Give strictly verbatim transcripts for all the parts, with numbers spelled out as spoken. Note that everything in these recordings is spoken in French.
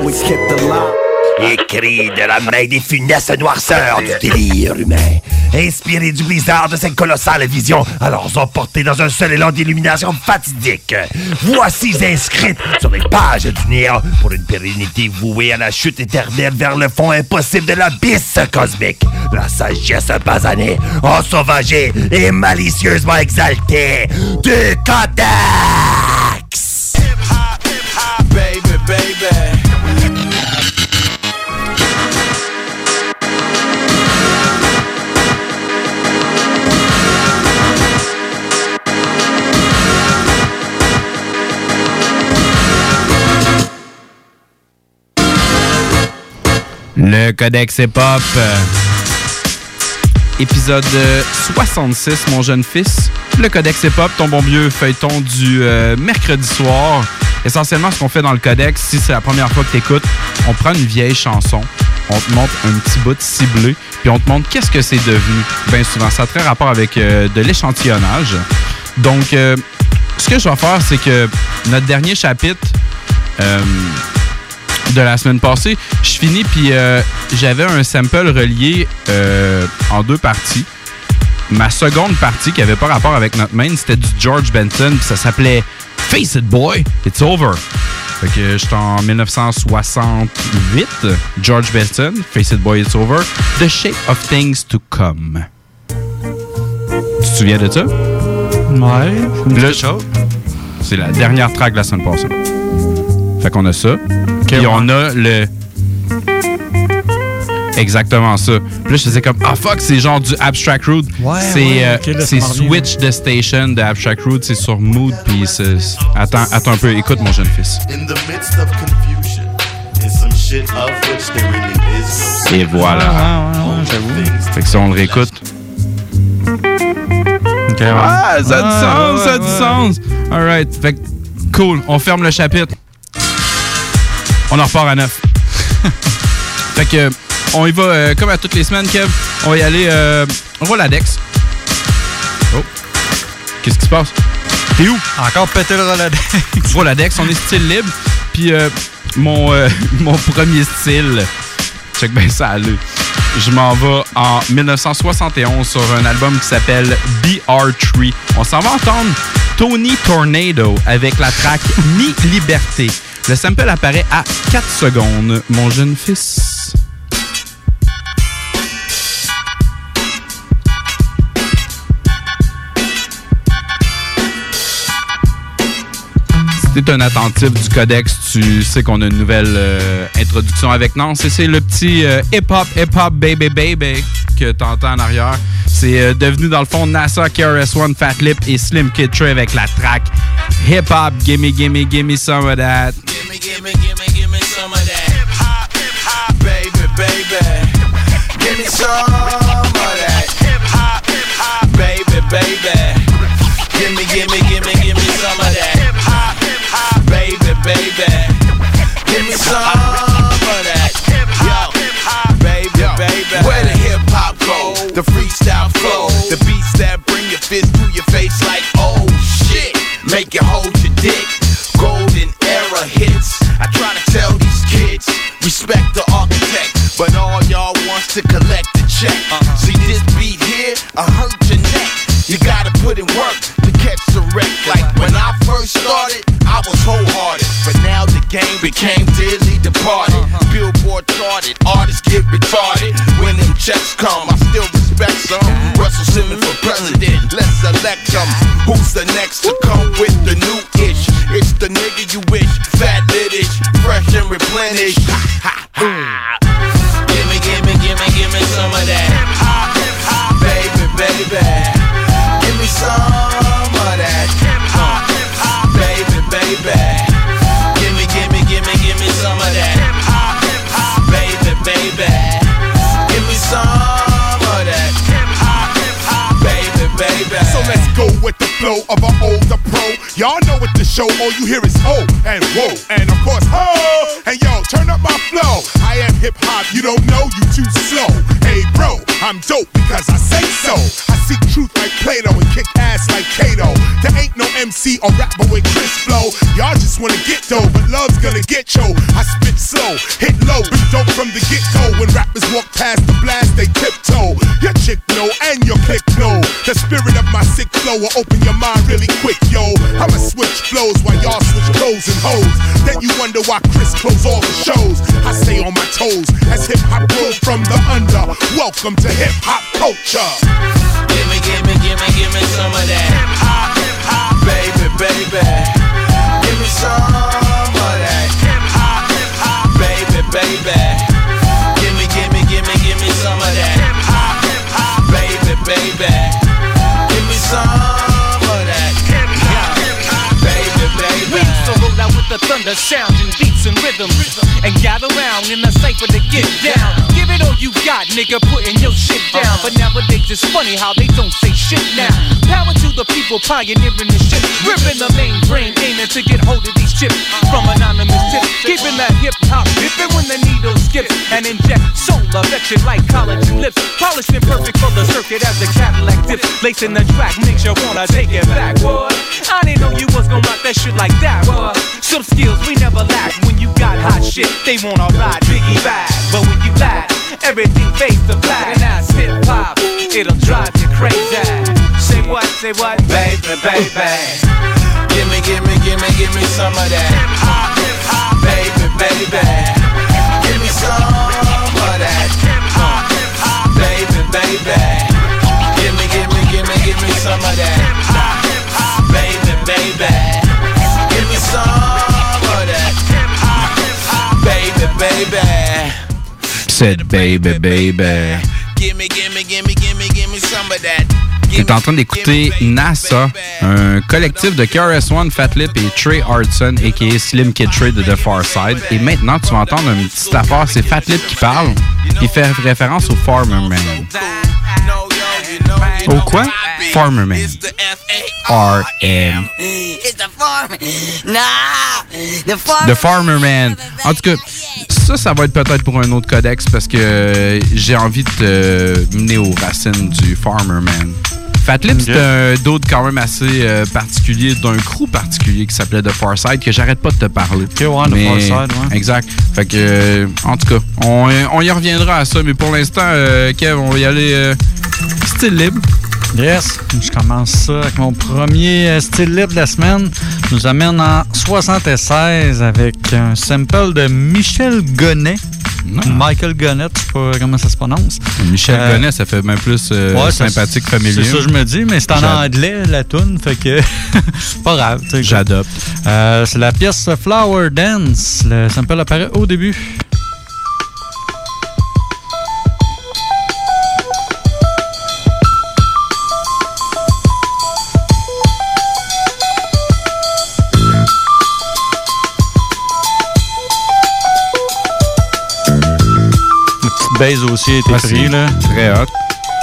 always kept alive. Écrit de la main des funestes noirceurs du délire humain, inspiré du blizzard de cette colossale vision, alors emporté dans un seul élan d'illumination fatidique. Voici inscrite sur les pages du néant pour une pérennité vouée à la chute éternelle vers le fond impossible de l'abysse cosmique. La sagesse basanée, ensauvagée et malicieusement exaltée du Codex! Hip-hop, hip-hop, baby, baby. Le Codex Hip-Hop, euh, épisode soixante-six, mon jeune fils. Le Codex Hip-Hop, ton bon vieux feuilleton du euh, mercredi soir. Essentiellement, ce qu'on fait dans le Codex, si c'est la première fois que tu écoutes, on prend une vieille chanson, on te montre un petit bout ciblé, puis on te montre qu'est-ce que c'est devenu. Bien souvent, ça a très rapport avec euh, de l'échantillonnage. Donc, euh, ce que je vais faire, c'est que notre dernier chapitre... Euh, de la semaine passée, je finis, puis euh, j'avais un sample relié euh, en deux parties. Ma seconde partie, qui avait pas rapport avec notre main, c'était du George Benson, puis ça s'appelait « Face It Boy, It's Over ». Fait que j'étais en dix-neuf cent soixante-huit, George Benson, « Face It Boy, It's Over », « The Shape of Things to Come ». Tu te souviens de ça? Ouais. Le show. C'est la dernière track de la semaine passée. Fait qu'on a ça. Puis on a le... Exactement ça. Puis là, je faisais comme, ah fuck, c'est genre du Abstract Rude. Ouais, c'est ouais, euh, okay, là, c'est Switch the Station de Abstract Rude. C'est sur Mood. Puis c'est... Attends, attends un peu. Écoute, mon jeune fils. Et voilà. Ah, ouais, ouais, j'avoue. Fait que ça, on le réécoute. Okay, ouais. Ah, ça a du ah, sens, ouais, ça a du ouais. sens. All right. Fait que, cool. On ferme le chapitre. On en repart à neuf. Fait que, on y va euh, comme à toutes les semaines, Kev. On va y aller. Euh, on va à l'Adex. Oh. Qu'est-ce qui se passe? T'es où? Encore péter le Rolodex. On va à l'Adex, on est style libre. Puis, euh, mon, euh, mon premier style, check bien ça, allez. Je m'en vais en dix-neuf cent soixante et onze sur un album qui s'appelle B R trois. On s'en va entendre Tony Tornado avec la track Mi Liberté. Le sample apparaît à quatre secondes, mon jeune fils. Si t'es un attentif du Codex, tu sais qu'on a une nouvelle euh, introduction avec Nance. Et c'est le petit euh, hip-hop, hip-hop, baby, baby que t'entends en arrière. C'est euh, devenu dans le fond NASA, K R S One, Fat Lip et Slim Kid Trey avec la track Hip-Hop, gimme, gimme, gimme some of that. Gimme, gimme, gimme, gimme some of that. Hip hop, hip hop, baby, baby. Gimme some of that. Hip hop, hip hop, baby, baby. Gimme, gimme, gimme, gimme some of that. Hip hop, hip hop, baby, baby. Gimme some of that. Hip hop, hip hop, baby, baby. Where the hip hop go? The freestyle flow, the beats that bring your fist to your face like oh shit. Make you hold your dick. Golden era hits. I try to tell these kids, respect the architect, but all y'all wants to collect the check. Uh-huh. See this beat here, I hurt your neck. You gotta put in work to catch the wreck. Like when I first started, I was wholehearted, but now the game became dearly departed. Uh-huh. Billboard charted, artists get retarded. When them checks come, I still respect some. Russell Simmons for president, let's select them. Who's the next to come with the new ish? It's the nigga you wish, fat lit-ish, fresh and replenished. Ha, ha, ha. Gimme, gimme, gimme, gimme some of that. Hip hop, hip hop, baby, baby. Give me some of that. Hip hop, hip hop, baby, baby. Gimme, gimme, gimme, gimme some of that. Hip hop, hip hop, baby, baby. Give me some of that. Hip hop, hip hop, baby, baby. So let's go with the flow. flow of an older pro. Y'all know what the show, all you hear is oh and whoa, and of course ho. And yo, turn up my flow. I am hip hop, you don't know, you too slow. Hey bro, I'm dope because I say so. I seek truth like Plato and kick ass like Kato. There ain't no M C or rapper with Chris Flow. Y'all just wanna get dough, but love's gonna get yo. I spit slow, hit low, be dope from the get-go. When rappers walk past the blast, they tiptoe. Your chick know and your click know. The spirit of my sick flow will open your mind really quick, yo. I'ma switch flows while y'all switch clothes and hoes. Then you wonder why Chris close all the shows. I stay on my toes as hip-hop grows from the under. Welcome to hip-hop culture. Gimme, gimme, gimme, gimme some of that hip-hop, hip-hop, baby, baby. Give me some of that hip-hop, hip-hop, baby, baby. Gimme, gimme, gimme, gimme some of that hip-hop, hip-hop, baby, baby. Give me some of that hip-hop, hip-hop, baby, baby. We used to roll out with the thunder sound and beats and rhythms and gather round in the cypher to get down. Give it all you got, nigga, putting your shit down. But nowadays it's funny how they don't say shit now. Power to the people pioneering the shit, ripping the main brain, aiming to get hold of these chips from anonymous tips, keeping that hip hop dipping when the needle skips and inject soul affection like collagen lips, polished and perfect for the circuit as the Cadillac dips, lacing the track makes you wanna take it back, boy. I didn't know you was gonna rock that shit like that, boy. Some skills we never lack when you got hot shit. They wanna ride Biggie back, but when you laugh, everything fades to black. And that's hip hop, it'll drive you crazy. Say what, say what, baby, baby. Gimme, gimme, gimme, gimme some of that hip-hop, hip-hop, baby, baby. Give me some of that hip-hop, hip-hop, baby, baby. Gimme, gimme, gimme, gimme some of that hip-hop, hip-hop, baby, baby. Give me some of that hip-hop, hip-hop, baby, baby. Said baby, baby. Gimme, gimme, gimme, gimme, gimme some of that. Tu es en train d'écouter NASA, un collectif de K R S One, Fat Lip et Trey Hardson, a k a. Slim Kid Trey de The Far Side. Et maintenant, tu vas entendre une petite affaire, c'est Fat Lip qui parle. Il fait référence au Farmer Man. Au quoi? Farmer Man. R M. It's the farmer. Nah, the farmer. The Farmer Man. En tout cas, ça, ça va être peut-être pour un autre codex parce que j'ai envie de te mener aux racines du Farmer Man. Fat Lip, okay. C'est un dude quand même assez euh, particulier, d'un crew particulier qui s'appelait The Far Side, que j'arrête pas de te parler. Ok, ouais, mais, The Far Side, ouais. Exact. Fait que, euh, en tout cas, on, on y reviendra à ça, mais pour l'instant, euh, Kev, on va y aller euh, style libre. Yes, je commence ça avec mon premier euh, style libre de la semaine. Je nous amène en soixante-seize avec un sample de Michel Gonnet. Non. Michael Gonnet, je sais pas comment ça se prononce. Michel euh, Gonnet, ça fait même plus euh, ouais, sympathique, ça, familier. C'est ça que je me dis, mais c'est en J'ad... anglais, la toune, fait que c'est pas grave. J'adopte. Euh, c'est la pièce Flower Dance. Le sample apparaît au début. Base aussi a été ah, pris, là. Très hot.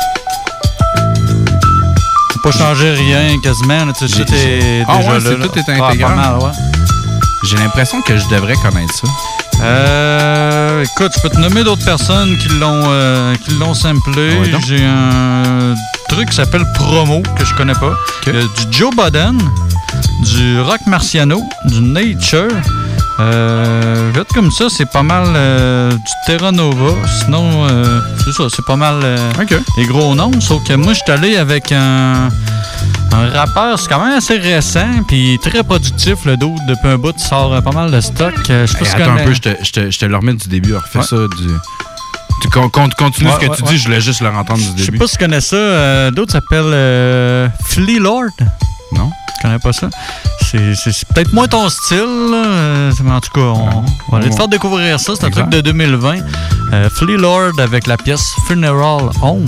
Faut pas changer rien quasiment, là. Tout, tout est ah, déjà ouais, là. C'est, là. Tout est intégral. Ah, mal, ouais. J'ai l'impression que je devrais connaître ça. Euh, écoute, je peux te nommer d'autres personnes qui l'ont, euh, qui l'ont samplé. Ouais, j'ai un truc qui s'appelle Promo, que je connais pas. Okay. Euh, du Joe Budden, du Rock Marciano, du Nature. Euh, vite comme ça, c'est pas mal euh, du Terra Nova. Sinon, euh, c'est ça, c'est pas mal euh, okay. les gros noms. Sauf que moi, je suis allé avec un, un rappeur, c'est quand même assez récent, puis très productif. Le dude, depuis un bout, il sort euh, pas mal de stock. Euh, je sais pas hey, si attends connais... un peu, je te, je, te, je te le remets du début. Refais ouais. ça du... Tu con, con, continues ouais, ce que ouais, tu ouais. dis, je voulais juste le entendre du début. Je sais pas si tu connais ça. Euh, d'autres s'appelle euh, Flea Lord. Non. Tu connais pas ça? C'est, c'est, c'est peut-être moins ton style, là. Mais en tout cas, on, non, on va aller te faire découvrir ça. C'est un truc de deux mille vingt. Euh, Flea Lord avec la pièce Funeral Home.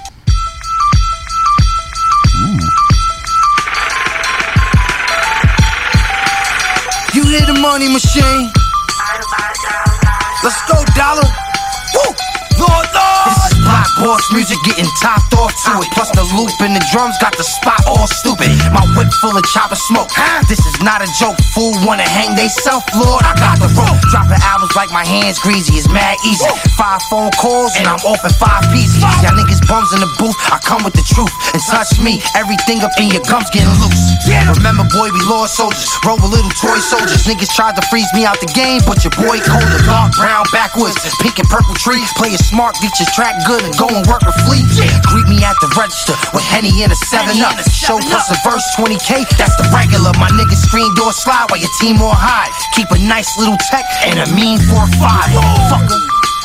Mm. You hear the money machine? Let's go, dollar. Woo! Lord, Lord! block boss music getting topped off to it. Plus the loop and the drums got the spot all stupid. My whip full of chopper smoke. This is not a joke. Fool wanna hang they self, Lord. I got the rope. Dropping albums like my hands greasy. It's mad easy. Five phone calls and I'm off in five pieces. Y'all niggas bums in the booth. I come with the truth and touch me. Everything up in your gums getting loose. Remember, boy, we lost soldiers. Roll a little toy soldiers. Niggas tried to freeze me out the game, but your boy colder. Dark brown backwoods, pink and purple tree. Play it smart, get your track good and go and work a fleet. Greet me at the register with Henny and a seven up. Show plus a verse, twenty K, that's the regular. My niggas screen door slide while your team on high. Keep a nice little tech and a mean four five. Fucker.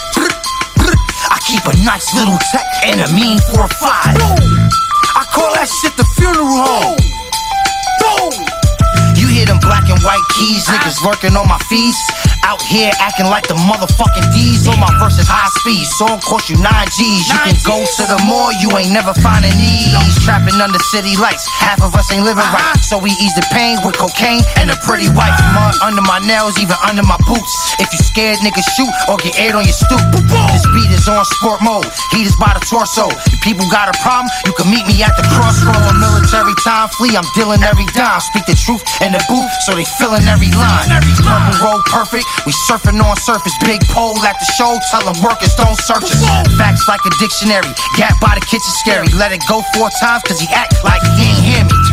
I keep a nice little tech and a mean four five. I call that shit the funeral home. Boom. You hear them black and white keys, niggas lurking on my fees. Out here acting like the motherfucking D's. On my verses high speed, song cost you nine G's. You can go to the mall, you ain't never finding these. Trapping under city lights, half of us ain't living right. So we ease the pain with cocaine and a pretty wife. Mud under my nails, even under my boots. If you scared, niggas shoot or get aired on your stoop. This beat is on sport mode, heat is by the torso. If people got a problem, you can meet me at the crossroad. On military time, flee, I'm dealing every dime. Speak the truth in the booth, so they feeling every line. Purple road perfect. We surfing on surface, big pole at the show, tell them workers don't search us. Facts like a dictionary, gap by the kitchen scary. Let it go four times cause he act like he ain't hear me.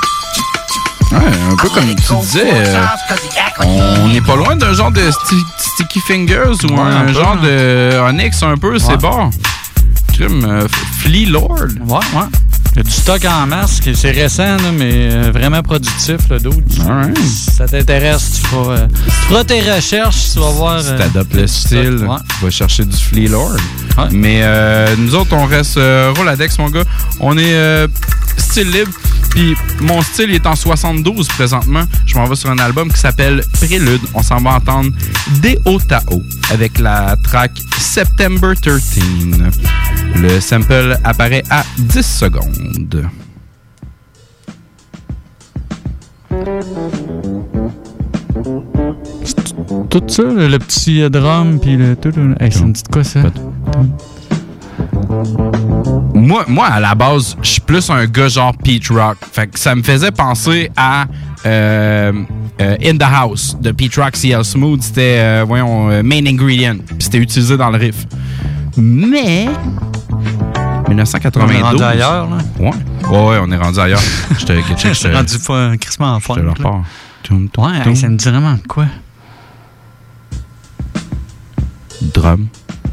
Ouais, un peu comme tu disais, euh, on n'est pas loin d'un genre de sti Sticky Fingers ou ouais, un, un genre peu, de Onyx un peu, ouais. C'est bon. Comme euh, Flea Lord. Ouais, ouais. Il y a du stock en masse, c'est récent, là, mais vraiment productif, le dude. Right. Si ça t'intéresse, tu feras, euh, tu feras tes recherches, tu vas voir. Si t'adoptes euh, le style, ouais. Tu vas chercher du Flea Lord. Ouais. Mais euh, nous autres, on reste euh, Roladex, mon gars. On est euh, style libre. Puis mon style il est en soixante-douze présentement. Je m'en vais sur un album qui s'appelle Prélude. On s'en va entendre Deo Tao avec la track September treize. Le sample apparaît à dix secondes. Tout ça, le, le petit drum, puis le tout. Hey, ça me dit de quoi ça? Moi, moi, à la base, je suis plus un gars genre Pete Rock. Fait que ça me faisait penser à euh, euh, In the House de Pete Rock, C L Smooth. C'était, euh, voyons, euh, Main Ingredient. Puis c'était utilisé dans le riff. Mais dix-neuf cent quatre-vingt-douze. On est rendu ailleurs, là? Ouais. Ouais, ouais, on est rendu ailleurs. Je te Je suis rendu pas crissement en forme. Je te le repars. Ouais, hey, ça me dit vraiment de quoi? Drum.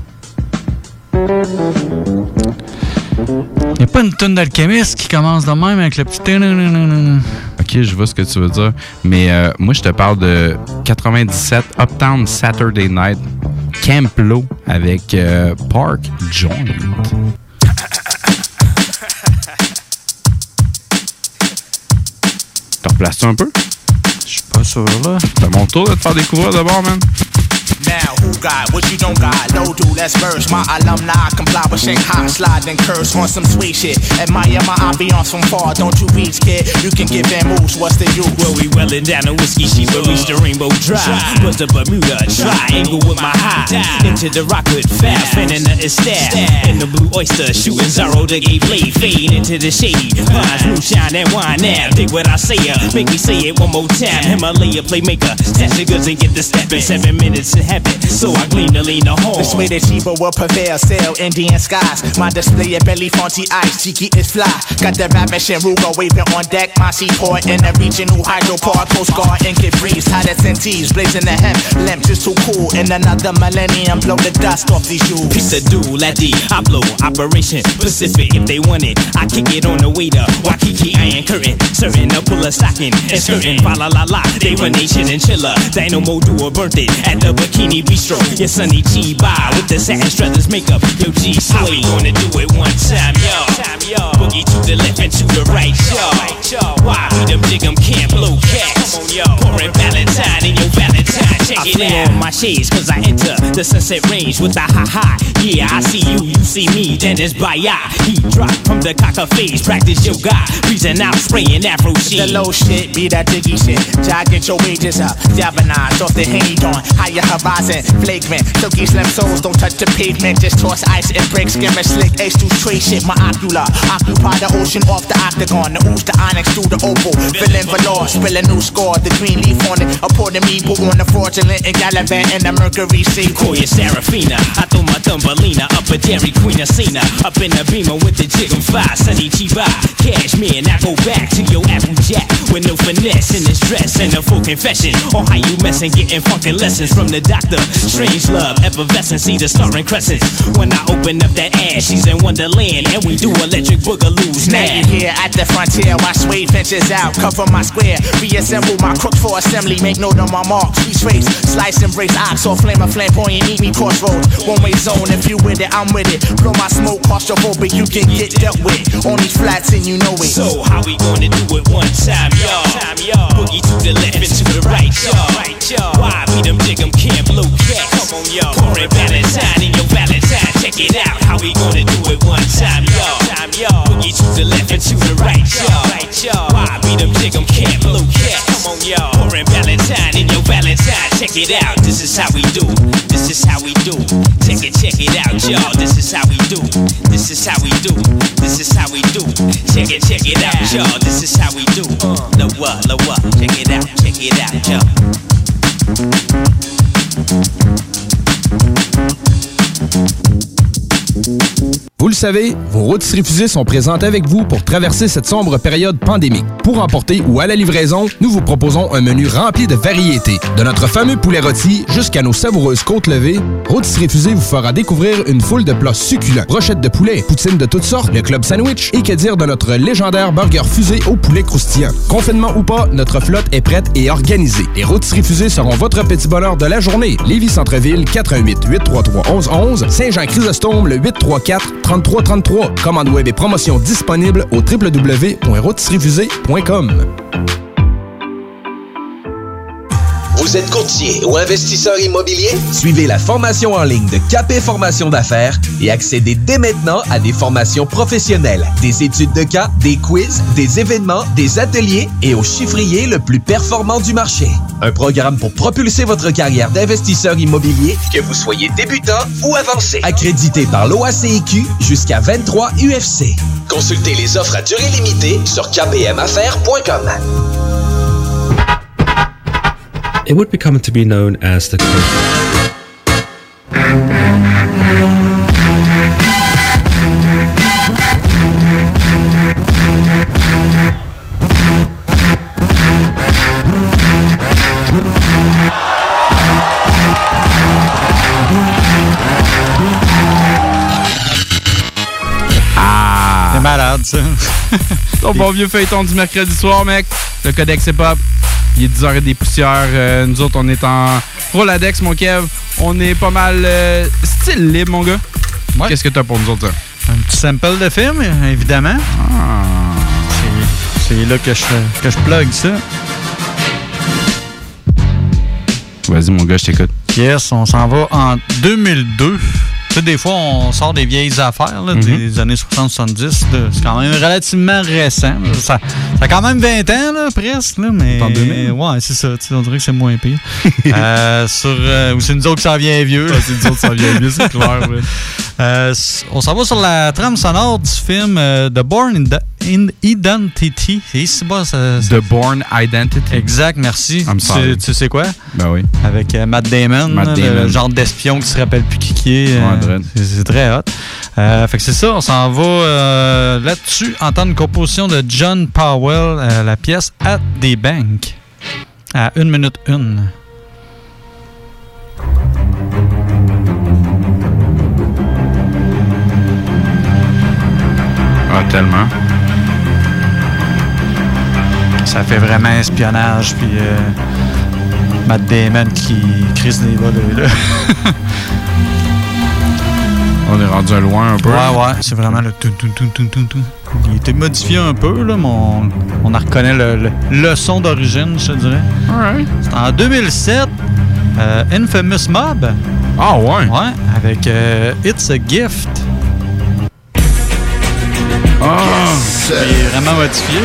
Il n'y a pas une tonne d'alchimiste qui commence de même avec le petit... Ok, je vois ce que tu veux dire. Mais euh, moi, je te parle de quatre-vingt-dix-sept Uptown Saturday Night Camp Low avec euh, Park Joint. T'en replaces-tu un peu? Je suis pas sûr, là. C'est à mon tour de te faire découvrir d'abord, man. Now, who got what you don't got? No, dude, let's verse. My alumni comply with Shanghai, slide and curse on some sweet shit. Admire my ambiance from far, don't you reach, kid? You can give them moves, what's the use? Well, we welling down the whiskey, she will reach the Rainbow Drive. Bust the Bermuda Triangle with my high. Into the Rockwood fast, spinning the estab. In the Blue Oyster, shooting Zorro to gay blade. Fade into the shady pines, moonshine and wine now. Dig what I say, uh, make me say it one more time. Himalaya playmaker, stash the goods and get the step in seven minutes in heaven. So I glean to lean the home. This way the cheaper will prevail, sail Indian skies. My display at belly fonty ice, cheeky is fly. Got the ravish and Ruger waving on deck. My seaport in the regional hydroport. Coast Guard and get breeze, hot as N Ts, blazing the hemp. Lamp just too cool. In another millennium, blow the dust off these shoes. Piece of dude, like the I blow Operation Pacific. If they want it, I kick it on the way to Waikiki. I ain't curtain, certain to pull a stocking and skirting. Fa la la la, they run nation and chiller. Dynamo duo burnt it at the Bikini Bistro. Your Sonny G by with the satin struthers makeup. Yo G Sway, we gonna do it one time, yo. Boogie to the left and to the right, yo. Why we them dig 'em can't blow cats? Pouring Valentine in your Valentine. Valentine, check I it out. On my shades cause I enter the sunset range with the high high. Yeah, I see you, you see me, then it's by eye. Heat drop from the cocker phase, practice yoga. Reason out, spraying afro shit. The low shit, be that diggy shit. Jog, get your wages up. Diabonage off the Henny Dawn. Higher horizon, flagrant. Silky slim soles, don't touch the pavement. Just toss ice and break, skimmer slick. H two tray shit, my ocular. Occupy the ocean off the octagon. The ooze, the onyx through the opal. Filling velour, spill a new score. The green leaf on it. A pour the meeple on the fraudulent and gallivant and the mercury sea. Call you Serafina. I throw my Thumbelina up a Dairy Queen Asina. Up in the beamer with the jig and five. Sunny Chiba. Cashmere, and I go back to your Applejack. With no finesse in this dress and a full confession. On how you messin', getting funkin' lessons from the doctor. Strange love, effervescence, see the starring crescents. When I open up that ass, she's in Wonderland. And we do electric boogaloos now. Now you here at the frontier, my suede ventures out. Cover my square, reassemble my crooks for assembly. Make note of my marks, we trace. Slice and brace ox or flame a flamboyant, eat me crossroads. One way zone, if you with it, I'm with it. Blow my smoke, claustrophobic, you can get dealt with. On these flats and you know it. So how we gonna do it one time, y'all? Time, y'all. Boogie to the left and to the right, y'all. Right, y'all. Why beat them, dig them, can't blow cats? Come on, y'all. Pouring Valentine in your Valentine, check it out. How we gonna do it one time, y'all? Time, y'all. Boogie to the left and to the right, y'all. Right, y'all. Why beat them, dig them, can't blow cats? Come on, y'all. Pouring Valentine in your Valentine, check it out. This is how we do. This is how we do. Check it, check it out, y'all. This is how we do. This is how we do. This is how we do. Check it, check it out, y'all. This is how we do. Uh, lower, lower. Check it out, check it out, y'all. Vous le savez, vos rôtisseries fusées sont présentes avec vous pour traverser cette sombre période pandémique. Pour emporter ou à la livraison, nous vous proposons un menu rempli de variétés. De notre fameux poulet rôti jusqu'à nos savoureuses côtes levées, Rôtisseries Fusées vous fera découvrir une foule de plats succulents. Brochettes de poulet, poutines de toutes sortes, le club sandwich et que dire de notre légendaire burger fusé au poulet croustillant. Confinement ou pas, notre flotte est prête et organisée. Les Rôtisseries Fusées seront votre petit bonheur de la journée. Lévis Centre-Ville, quatre un huit, huit trois trois, onze onze. Saint-Jean-Chrysostome, le huit trois quatre, trente-trois trente-trois. Commande web et promotion disponible au w w w point rôtisserie fusée point com. Vous êtes courtier ou investisseur immobilier? Suivez la formation en ligne de Capé Formation d'affaires et accédez dès maintenant à des formations professionnelles, des études de cas, des quiz, des événements, des ateliers et au chiffrier le plus performant du marché. Un programme pour propulser votre carrière d'investisseur immobilier, que vous soyez débutant ou avancé. Accrédité par l'O A C I Q jusqu'à vingt-trois U F C. Consultez les offres à durée limitée sur k p m affaires point com. It would become to be known as the Ah! C'est malade, ça. Ton bon vieux feuilleton du mercredi soir, mec. Le Codex Hip-Hop. Il est dix heures et des poussières. Euh, nous autres, on est en Roladex, mon Kev. On est pas mal euh, style libre, mon gars. Ouais. Qu'est-ce que t'as pour nous autres, ça? Un petit sample de film, évidemment. Ah. C'est, c'est là que je, que je plug ça. Vas-y, mon gars, je t'écoute. Yes, on s'en va en deux mille deux. Tu sais, des fois, on sort des vieilles affaires là, mm-hmm. des années soixante soixante-dix. Là. C'est quand même relativement récent. Là. Ça, ça a quand même vingt ans, là, presque. Là, mais en deux mille? Ouais, c'est ça. On dirait que c'est moins pire. euh, sur, euh, ou c'est nous autres qui s'en vient vieux. Ouais, c'est nous autres qui s'en vient vieux, c'est clair. Ouais. Euh, on s'en va sur la trame sonore du film euh, The Bourne in, in Identity. C'est ici bas, ça, ça... The Bourne Identity. Exact, merci. Tu, tu sais quoi? Ben oui. Avec euh, Matt Damon, Matt là, Damon. Le genre d'espion qui se rappelle plus qui qui est. Ouais, euh, c'est, c'est très hot. Euh, fait que c'est ça, on s'en va euh, là-dessus, entendre une composition de John Powell, euh, la pièce At the Bank, à une minute une. Ah, tellement. Ça fait vraiment espionnage, puis euh, Matt Damon qui crise des volets, là. On est rendu loin un peu. Ouais, ouais, c'est vraiment le tout, tout, tout, tout, tout, tout. Il a été modifié un peu, là, mais on, on en reconnaît le, le, le son d'origine, je te dirais. Alright. C'est en deux mille sept. Euh, Infamous Mob. Ah ouais? Ouais, avec euh, It's a Gift. Ah! Qui est vraiment modifié.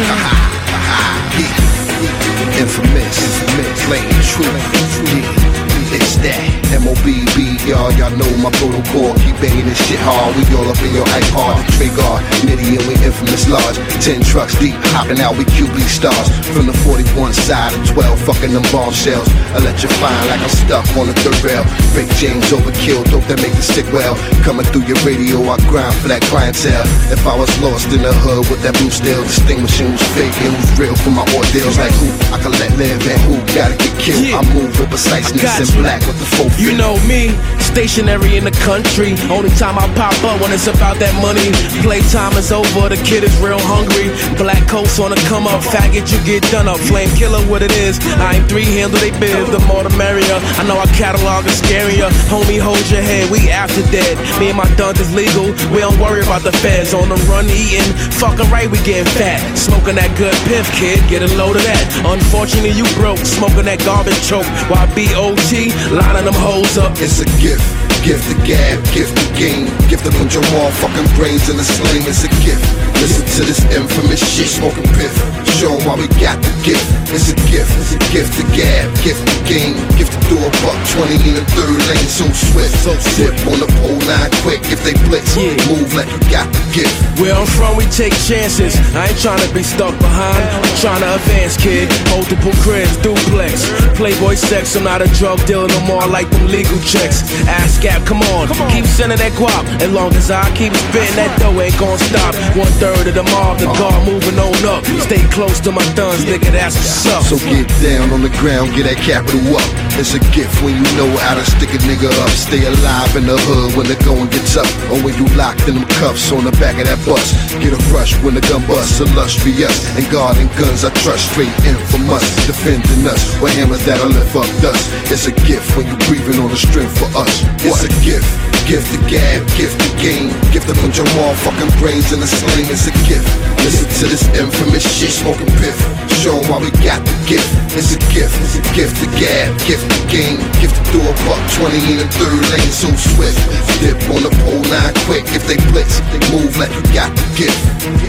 Infamous, infamous, plain true. Yeah, it's that M O B B, y'all, y'all know my protocol. Keep banging this shit hard. We all up in your iPod. Trigger, Nitty, and we infamous large. Ten trucks deep, hopping out, we Q B stars. From the forty-one side of twelve, fucking them bombshells. Electrifying like I'm stuck on a third rail. Fake James overkill, dope that make the stick well. Coming through your radio, I grind for that clientele. If I was lost in the hood with that blue steel, distinguishing who's fake and who's real for my ordeals. Like who I can let live and who gotta get killed. Yeah. I move with preciseness and black with the full. You know me, stationary in the country. Only time I pop up when it's about that money. Playtime is over, the kid is real hungry. Black coats on the come up, faggot you get done up. Flame killer what it is, I ain't three handle they biz. The more the merrier, I know our catalog is scarier. Homie hold your head, we after dead. Me and my duns is legal, we don't worry about the feds. On the run eating, fucking right we getting fat. Smoking that good piff kid, get a load of that. Unfortunately you broke, smoking that garbage choke. While B O T, lining them hoes up. It's a gift, gift the gab, gift the game. Gift to put your motherfucking brains in the sling. It's a gift, listen to this infamous shit. Smoking piff, show 'em why we got the gift. It's a gift, it's a gift the gab, gift the game. Gift to do a buck twenty in the third lane. So swift, so dip on the pole line quick. If they blitz, yeah. Move like you got the gift. Where I'm from we take chances. I ain't trying to be stuck behind, I'm trying to advance kid. Multiple cribs, duplex. Playboy sex, I'm not a drug dealer no more. I like them legal checks. Ask Gap, come on, come on. Keep sending that guap. As long as I keep spitting that dough ain't gon' stop. One third of the mob, the guard moving on up. Stay close to my thuns, nigga, that's what's up. So get down on the ground, get that capital up. It's a gift when you know how to stick a nigga up. Stay alive in the hood when the going gets up. Or when you locked in them cuffs on the back of that bus. Get a rush when the gun busts, a lush be us. And guarding guns I trust straight in from us. Defending us with hammers that'll lift up dust. It's a gift when you breathing on the strength for us. It's a gift, gift the gab, gift the game. Gift to put your motherfucking brains in the sling. It's a gift, listen to this infamous shit. Smoking piff, show 'em why we got the gift. It's a gift, it's a gift the gab, gift the game. Gift to do a buck twenty in the third lane. So swift, dip on the pole line quick. If they blitz, they move like you got the gift.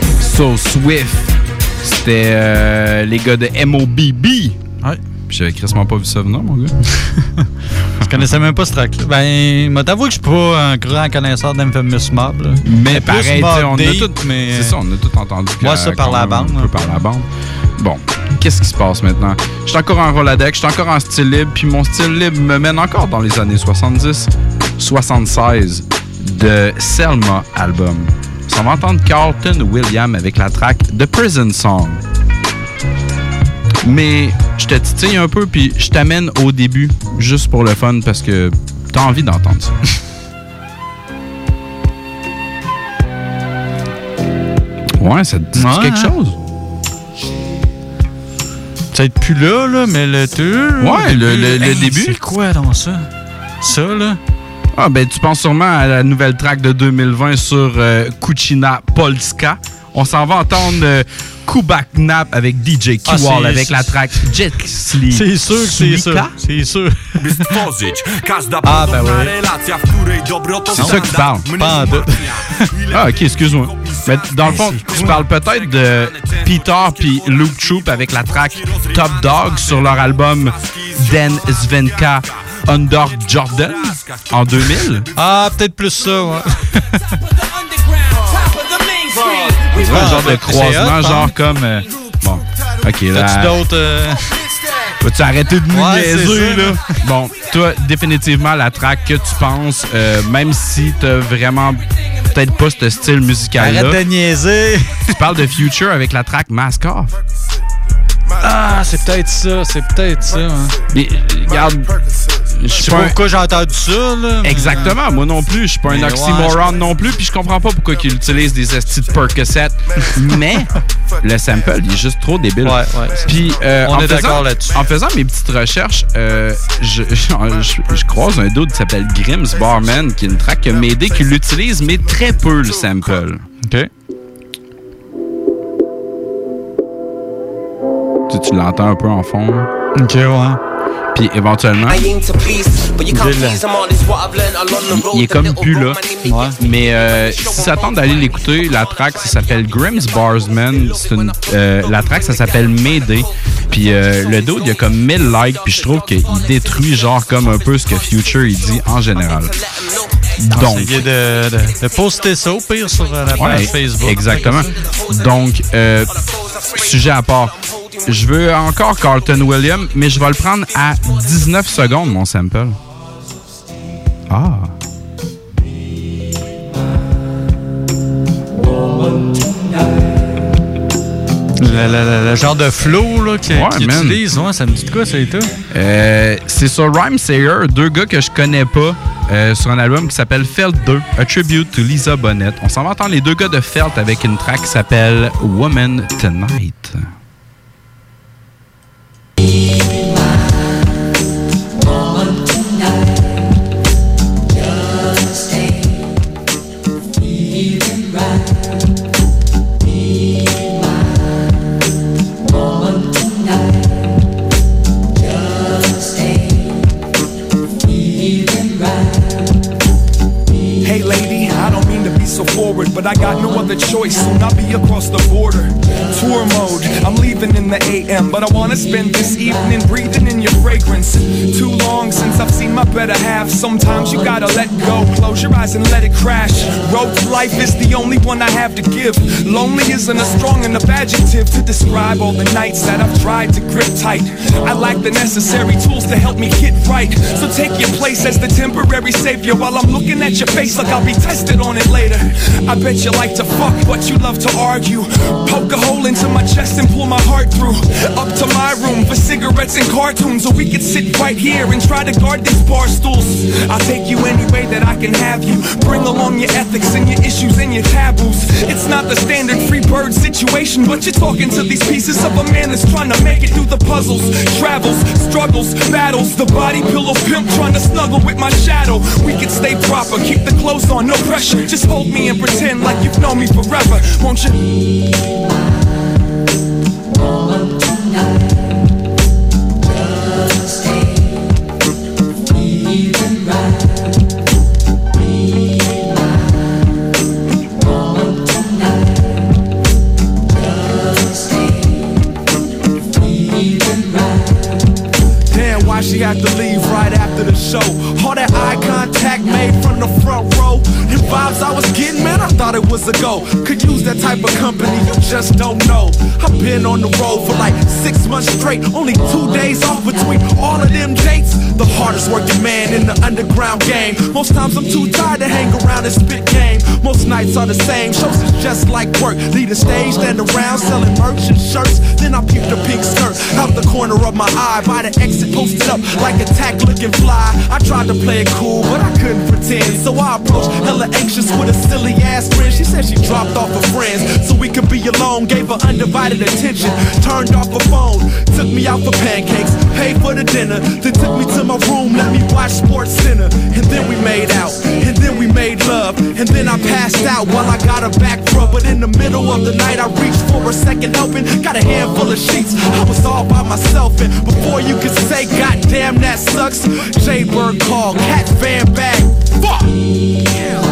So Swift, c'était euh, les gars de M O B B. Ouais. J'avais crissement pas vu ça venir, mon gars. Je connaissais même pas ce track-là. Ben, moi, t'avoue que je suis pas un grand connaisseur d'Infamous Mob. Là. Mais c'est pareil, on deep, a tout, mais... c'est ça, on a tout entendu. Moi, ça par la bande. Un peu par la bande. Bon, qu'est-ce qui se passe maintenant? Je suis encore en Roladex, je suis encore en style libre, puis mon style libre me mène encore dans les années soixante-dix, soixante-seize de Selma album. On va entendre Carlton Williams avec la track The Prison Song. Mais je te titille un peu, puis je t'amène au début, juste pour le fun, parce que t'as envie d'entendre ça. Ouais, ça te dit ouais, quelque hein? chose? Peut-être plus là, là, mais le tour. Ouais, le, le, le hey, début. C'est quoi dans ça? Ça, là? Ah, ben, tu penses sûrement à la nouvelle track de deux mille vingt sur euh, Kuchina Polska. On s'en va entendre euh, Kubak Nap avec D J Q-Wall ah, avec la track Jet Sleep. C'est sûr que c'est ça. C'est sûr. Ah, ben oui. C'est ça que tu parles. Pas en doute. Ah, ok, excuse-moi. Mais dans le fond, tu parles peut-être de Peter puis Luke Troop avec la track Top Dog sur leur album Den Svenka Under Jordan en deux mille. Ah, peut-être plus ça, ouais. C'est un genre de croisement, genre comme... Euh, bon, ok, là... T'as-tu d'autres... Euh... Vas-tu arrêter de nous ouais, niaiser, là? Bon, toi, définitivement, la track que tu penses, euh, même si t'as vraiment peut-être pas ce style musical-là... Arrête de niaiser! Tu parles de Future avec la track Mask Off. Ah, c'est peut-être ça, c'est peut-être ça. Hein. Mais, regarde... Je sais pas pourquoi j'ai entendu ça, là. Mais... Exactement, moi non plus. Je suis pas mais un oxymoron ouais, non plus, puis je comprends pas pourquoi ils utilisent des estis de Percocet. Mais le sample, il est juste trop débile. Ouais, ouais. Puis, euh, on en est faisant, d'accord là-dessus. En faisant mes petites recherches, euh, je, je, je, je croise un dude qui s'appelle Grims Barman, qui est une track qui m'a aidé, qui l'utilise, mais très peu le sample. OK. Tu, tu l'entends un peu en fond. OK, ouais. Puis éventuellement, il est comme plus là. Ouais. Mais euh, si ça tente d'aller l'écouter, la track, ça s'appelle Grimm's Barsman. C'est une, euh, la track, ça s'appelle Mayday. Puis euh, le dude, il y a comme mille likes. Puis je trouve qu'il détruit genre comme un peu ce que Future il dit en général. Donc, essayez de, de, de poster ça au pire sur la page ouais, Facebook. Exactement. Donc, euh, sujet à part. Je veux encore Carlton Williams, mais je vais le prendre à dix-neuf secondes, mon sample. Ah. Le, le, le genre de flow là, qu'il ouais, qu utilise, ouais, ça me dit de quoi, ça et tout? Euh, c'est sur Rhymesayers, deux gars que je connais pas, euh, sur un album qui s'appelle Felt deux, A Tribute to Lisa Bonet. On s'en va entendre les deux gars de Felt avec une track qui s'appelle Woman Tonight. But I got no other choice, soon I'll be across the border. Tour mode, I'm leaving in the A M, but I wanna spend this evening breathing in your fragrance. Too long since I've seen my better half. Sometimes you gotta let go, close your eyes and let it crash. Road to life is the only one I have to give. Lonely isn't a strong enough adjective to describe all the nights that I've tried to grip tight. I lack the necessary tools to help me hit right. So take your place as the temporary savior while I'm looking at your face like I'll be tested on it later. I bet you like to fuck, but you love to argue. Poke a hole into my chest and pull my heart through. Up to my room for cigarettes and cartoons, or we could sit right here and try to guard these bar stools. I'll take you any way that I can have you. Bring along your ethics and your issues and your taboos. It's not the standard free bird situation, but you're talking to these pieces of a man that's trying to make it through the puzzles, travels, struggles, battles. The body pillow pimp trying to snuggle with my shadow. We can stay proper, keep the clothes on, no pressure. Just hold me and pretend like you've known me forever, won't you? Woman tonight, just ain't feeling right. Be mine, woman tonight, just ain't feeling right. Damn, why she had to leave right after the show? All that eye contact made from the front row. The vibes I was getting, man, I thought it was a go. Could use that type of company, you just don't know. I've been on the road for like six months straight. Only two days off between all of them dates. The hardest working man in the underground game. Most times I'm too tired to hang around and spit game. Most nights are the same, shows is just like work. Lead a stage, stand around selling merch and shirts. Then I peep the pink skirt out the corner of my eye. By the exit posted up like a tack looking fly. I tried to play it cool, but I couldn't pretend. So I approached hella anxious with a silly ass grin. She said she dropped off her friends so we could be alone. Gave her undivided attention, turned off her phone. Took me out for pancakes, paid for the dinner. Then took me to my room, let me watch Sports Center. And then we made out, and then we made love. And then I passed out while I got her back rub. But in the middle of the night I reached for a second helping. Got a handful of sheets, I was all by myself. And before you could say goddamn that sucks, J-Bird called, Cat Van Bag. Fuck! Yeah.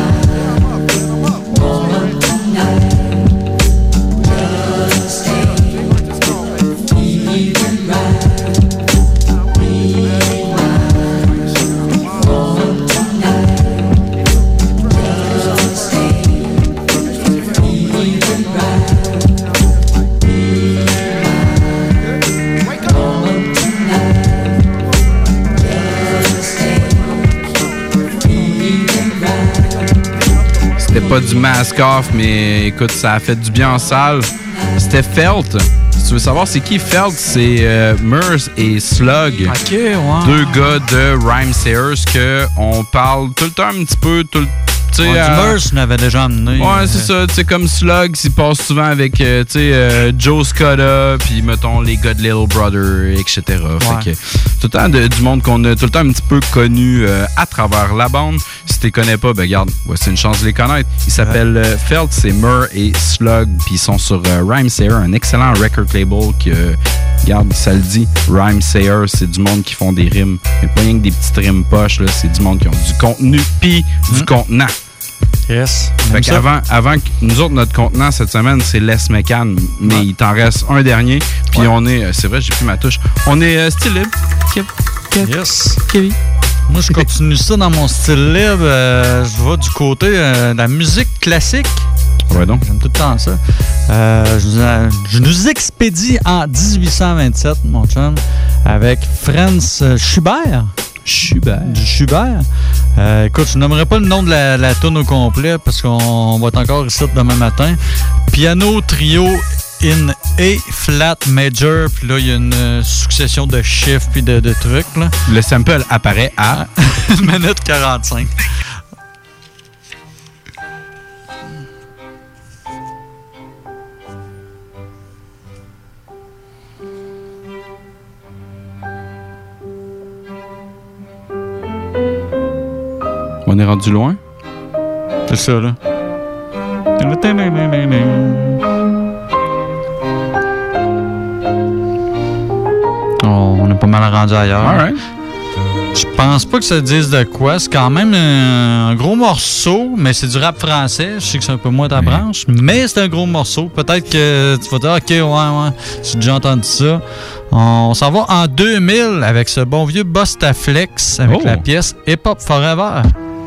Pas du mask-off, mais écoute, ça a fait du bien en salle. C'était Felt. Si tu veux savoir c'est qui Felt, c'est euh, Murs et Slug. Ok, ouais. Deux gars de Rhymesayers que on parle tout le temps un petit peu, tout le Ouais, euh, du Murs m'avait déjà amené. Ouais, c'est ça. Tu sais, comme Slug, il passe souvent avec euh, tu sais, euh, Joe Scotta, puis mettons les gars de Little Brother, et cetera. Ouais. Fait que tout le temps de, du monde qu'on a tout le temps un petit peu connu euh, à travers la bande. si tu les connais pas, ben regarde, voici une chance de les connaître. Ils s'appellent euh, Felt, c'est Mur et Slug, puis ils sont sur euh, Rhymesayers, un excellent record label que, euh, regarde, ça le dit, Rhymesayers, c'est du monde qui font des rimes. Mais pas rien que des petites rimes poches, là, c'est du monde qui ont du contenu puis du mmh. contenant. Yes. Fait qu'avant, avant que nous autres, notre contenant cette semaine, c'est Les Mécan, mais ouais. il t'en reste un dernier. Puis ouais. on est, c'est vrai, j'ai plus ma touche. On est euh, style libre. Kev, Kev, yes. Kevin. Moi, je continue ça dans mon style libre. Euh, je vais du côté euh, de la musique classique. Ouais, donc. J'aime tout le temps ça. Euh, je, je nous expédie en dix-huit cent vingt-sept, mon chum, avec Franz Schubert. Schubert. Du Schubert. Euh, écoute, je nommerai pas le nom de la, la toune au complet parce qu'on va être encore ici demain matin. Piano trio in A flat major. Puis là, il y a une euh, succession de chiffres puis de, de trucs. Là. Le sample apparaît à une minute quarante-cinq. On est rendu loin? C'est ça, là. Oh, on est pas mal rendu ailleurs. All right. Je pense pas que ça dise de quoi. C'est quand même un gros morceau, mais c'est du rap français. Je sais que c'est un peu moins ta oui. branche, mais c'est un gros morceau. Peut-être que tu vas dire, OK, ouais, ouais, j'ai déjà entendu ça. On s'en va en deux mille avec ce bon vieux Bustaflex avec oh. la pièce Hip Hop Forever.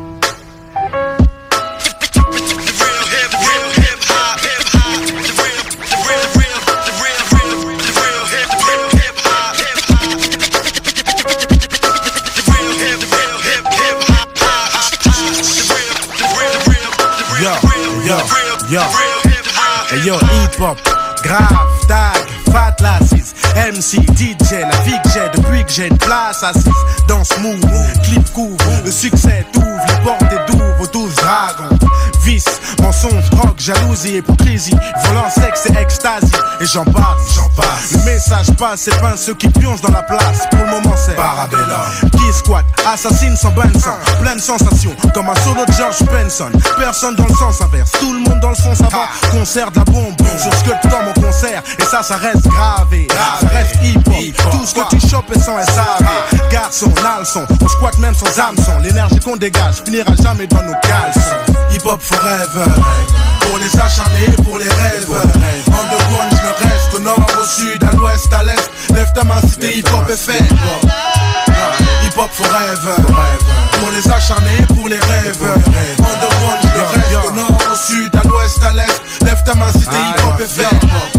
Yo, hey yo, hip-hop, grave, tag, fat lasses, M C, D J, la vie que j'ai depuis que j'ai une place assise dans ce mood, clip couvre, le succès t'ouvre, les portes et d'ouvre aux douze dragons. Vice, mensonge, drogue, jalousie, hypocrisie, violence, sexe et extasie, et j'en passe, j'en passe. Le message passe, c'est pas ceux qui pioncent dans la place. Pour le moment, c'est Parabellum. Qui squatte, assassine sans bain de sang, plein de sensations, comme un solo de George Benson. Personne dans le sens inverse, tout le monde dans le sens avant. Concert de la bombe, sur ce que tu dans mon concert, et ça, ça reste gravé. Ça reste hip-hop, tout ce que tu chopes est sans S A V. Garçon, nalson, on squatte même sans hameçon. L'énergie qu'on dégage finira jamais dans nos caleçons. Hip-hop forever, pour les acharnés, pour les rêves. Underground, je le reste, au nord, au sud, à l'ouest, à l'est. Lève ta main si t'es hip-hop est fait. Hip-hop forever, pour les acharnés, pour les rêves. Underground, je le reste, au nord, au sud, à l'ouest, à l'est. Lève ta main si t'es hip-hop est fait.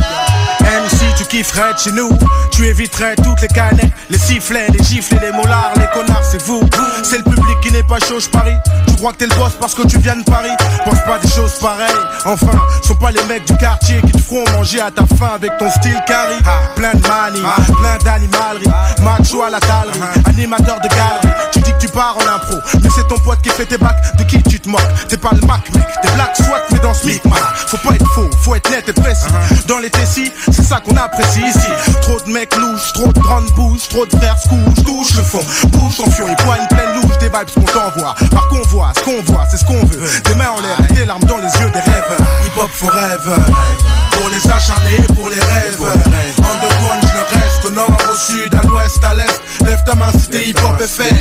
M C, tu kifferais de chez nous, tu éviterais toutes les canettes, les sifflets, les gifles, les mollards, les connards, c'est vous. C'est le public qui n'est pas chaud, je parie. Tu crois que t'es le boss parce que tu viens de Paris. Pense pas des choses pareilles. Enfin, sont pas les mecs du quartier qui te feront manger à ta faim avec ton style carry. Plein de manie, plein d'animalerie, macho à la talerie, animateur de galerie. Tu dis que tu pars en impro, mais c'est ton pote qui fait tes bacs. De qui tu te moques? T'es pas le Mac, mec. T'es black soit mais dans ce micmac. Faut pas être faux, faut être net et précis. Dans les Tessis, c'est ça qu'on apprécie ici. Trop de mecs louches, trop de grandes bouches, trop de frères se couchent, touche le fond, bouge ton fion, il poigne pleine louche, des vibes qu'on t'envoie. Par convoi, ce qu'on voit, c'est ce qu'on veut. Des mains en l'air, des larmes dans les yeux des rêveurs. Hip hop forever, pour les acharnés, pour les rêves. Underground, je le reste, au nord, au sud, à l'ouest, à l'est. Lève ta main si t'es hip hop est fait.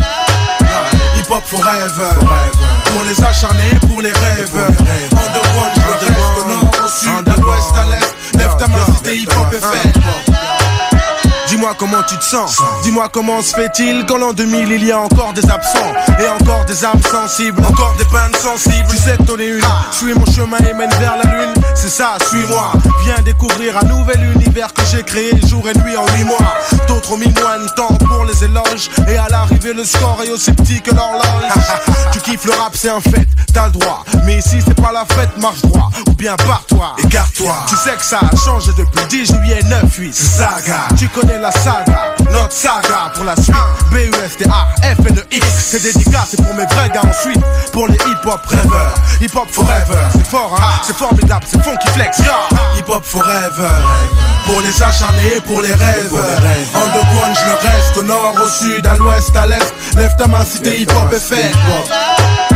Hip hop forever, pour les acharnés, pour les rêves. Underground, je le reste, au nord, au sud, à l'ouest, à l'est. Lève ta main si t'es hip hop est fait. Dis-moi comment tu te sens, dis-moi comment se fait-il qu'en l'an deux mille il y a encore des absents et encore des âmes sensibles, encore des peines sensibles. Tu sais que t'en es une, suis mon chemin et mène vers la lune, c'est ça, suis-moi. Viens découvrir un nouvel univers que j'ai créé jour et nuit en huit mois. D'autres ont mis moins de temps pour les éloges et à l'arrivée le score est aussi petit que l'horloge. Tu kiffes le rap, c'est un fait, t'as le droit, mais ici c'est pas la fête, marche droit ou bien barre-toi, écarte-toi. Tu sais que ça a changé depuis le dix juillet neuf huit, c'est saga. Tu connais la saga, notre saga pour la suite. B U S T A F N E X, c'est dédicace, c'est pour mes vrais gars ensuite. Pour les hip-hop rêveurs, hip-hop forever. C'est fort hein, c'est formidable, c'est funky flex, yeah. Hip-hop forever, pour les acharnés, pour les rêves. Underground, je le reste, au nord, au sud, à l'ouest, à l'est. Lève ta main si t'es hip-hop est fait.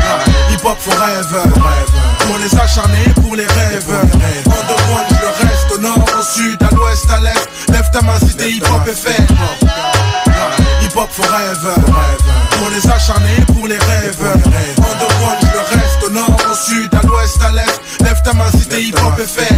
forever. Pour les acharnés, pour les rêves. Underground, je le reste. Au nord, au sud, à l'ouest, à l'est. Lève ta main si t'es hip-hop et fait. Hip-hop forever. Pour les acharnés, pour les rêves. Underground, je le reste. Au nord, au sud, à l'ouest, à l'est. Lève ta main si t'es hip-hop et fait.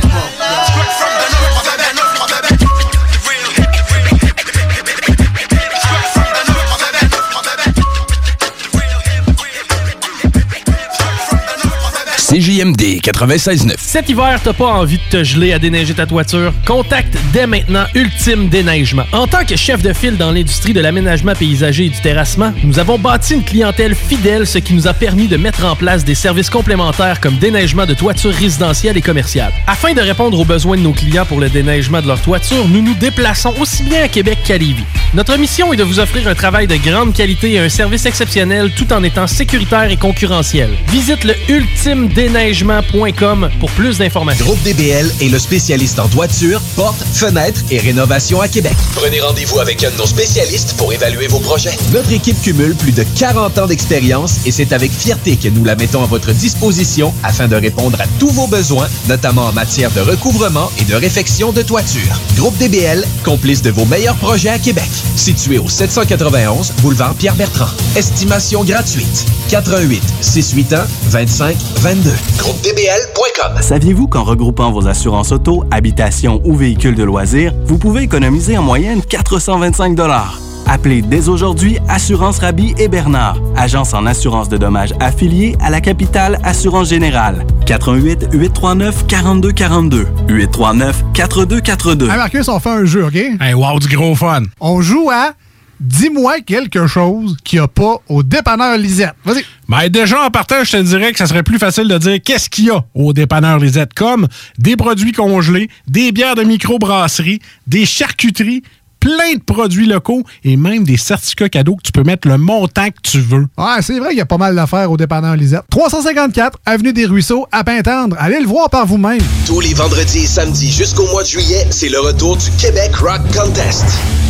C J M D quatre-vingt-seize neuf. Cet hiver, t'as pas envie de te geler à déneiger ta toiture? Contacte dès maintenant Ultime Déneigement. En tant que chef de file dans l'industrie de l'aménagement paysager et du terrassement, nous avons bâti une clientèle fidèle, ce qui nous a permis de mettre en place des services complémentaires comme déneigement de toitures résidentielles et commerciales. Afin de répondre aux besoins de nos clients pour le déneigement de leur toiture, nous nous déplaçons aussi bien à Québec qu'à Lévis. Notre mission est de vous offrir un travail de grande qualité et un service exceptionnel tout en étant sécuritaire et concurrentiel. Visite le ultime déneigement point com pour plus d'informations. Groupe D B L est le spécialiste en toiture, portes, fenêtres et rénovation à Québec. Prenez rendez-vous avec un de nos spécialistes pour évaluer vos projets. Notre équipe cumule plus de quarante ans d'expérience et c'est avec fierté que nous la mettons à votre disposition afin de répondre à tous vos besoins, notamment en matière de recouvrement et de réfection de toiture. Groupe D B L, complice de vos meilleurs projets à Québec. Situé au sept cent quatre-vingt-onze boulevard Pierre-Bertrand. Estimation gratuite. quatre un huit, six huit un, vingt-cinq vingt-deux. groupe d b l point com. Saviez-vous qu'en regroupant vos assurances auto, habitation ou véhicules de loisirs, vous pouvez économiser en moyenne quatre cent vingt-cinq dollars? Appelez dès aujourd'hui Assurance Rabi et Bernard, agence en assurance de dommages affiliée à la capitale Assurance Générale. quatre un huit, huit trois neuf, quatre deux quatre deux. huit trois neuf, quatre deux quatre deux. Hey Marcus, on fait un jeu, OK? Hey, wow, du gros fun! On joue à Dis-moi quelque chose qu'il n'y a pas au dépanneur Lisette. Vas-y. Ben déjà, en partant, je te dirais que ça serait plus facile de dire qu'est-ce qu'il y a au dépanneur Lisette, comme des produits congelés, des bières de microbrasserie, des charcuteries, plein de produits locaux et même des certificats cadeaux que tu peux mettre le montant que tu veux. Ouais, c'est vrai qu'il y a pas mal d'affaires au dépanneur Lisette. trois cent cinquante-quatre Avenue des Ruisseaux, à Pintendre. Allez le voir par vous-même. Tous les vendredis et samedis jusqu'au mois de juillet, c'est le retour du Québec Rock Contest.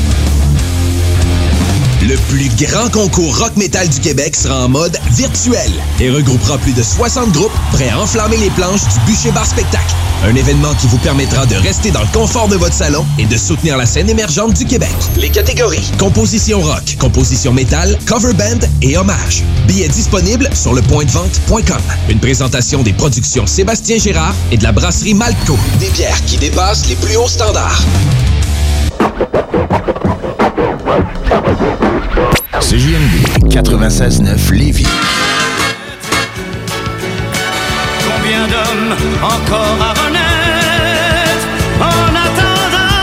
Le plus grand concours rock metal du Québec sera en mode virtuel et regroupera plus de soixante groupes prêts à enflammer les planches du Bûcher Bar Spectacle. Un événement qui vous permettra de rester dans le confort de votre salon et de soutenir la scène émergente du Québec. Les catégories: composition rock, composition métal, cover band et hommage. Billets disponibles sur le point de vente point com. Une présentation des productions Sébastien Gérard et de la brasserie Malco. Des bières qui dépassent les plus hauts standards. C J M D quatre-vingt-seize neuf Lévis. Combien d'hommes encore à renaître en attendant?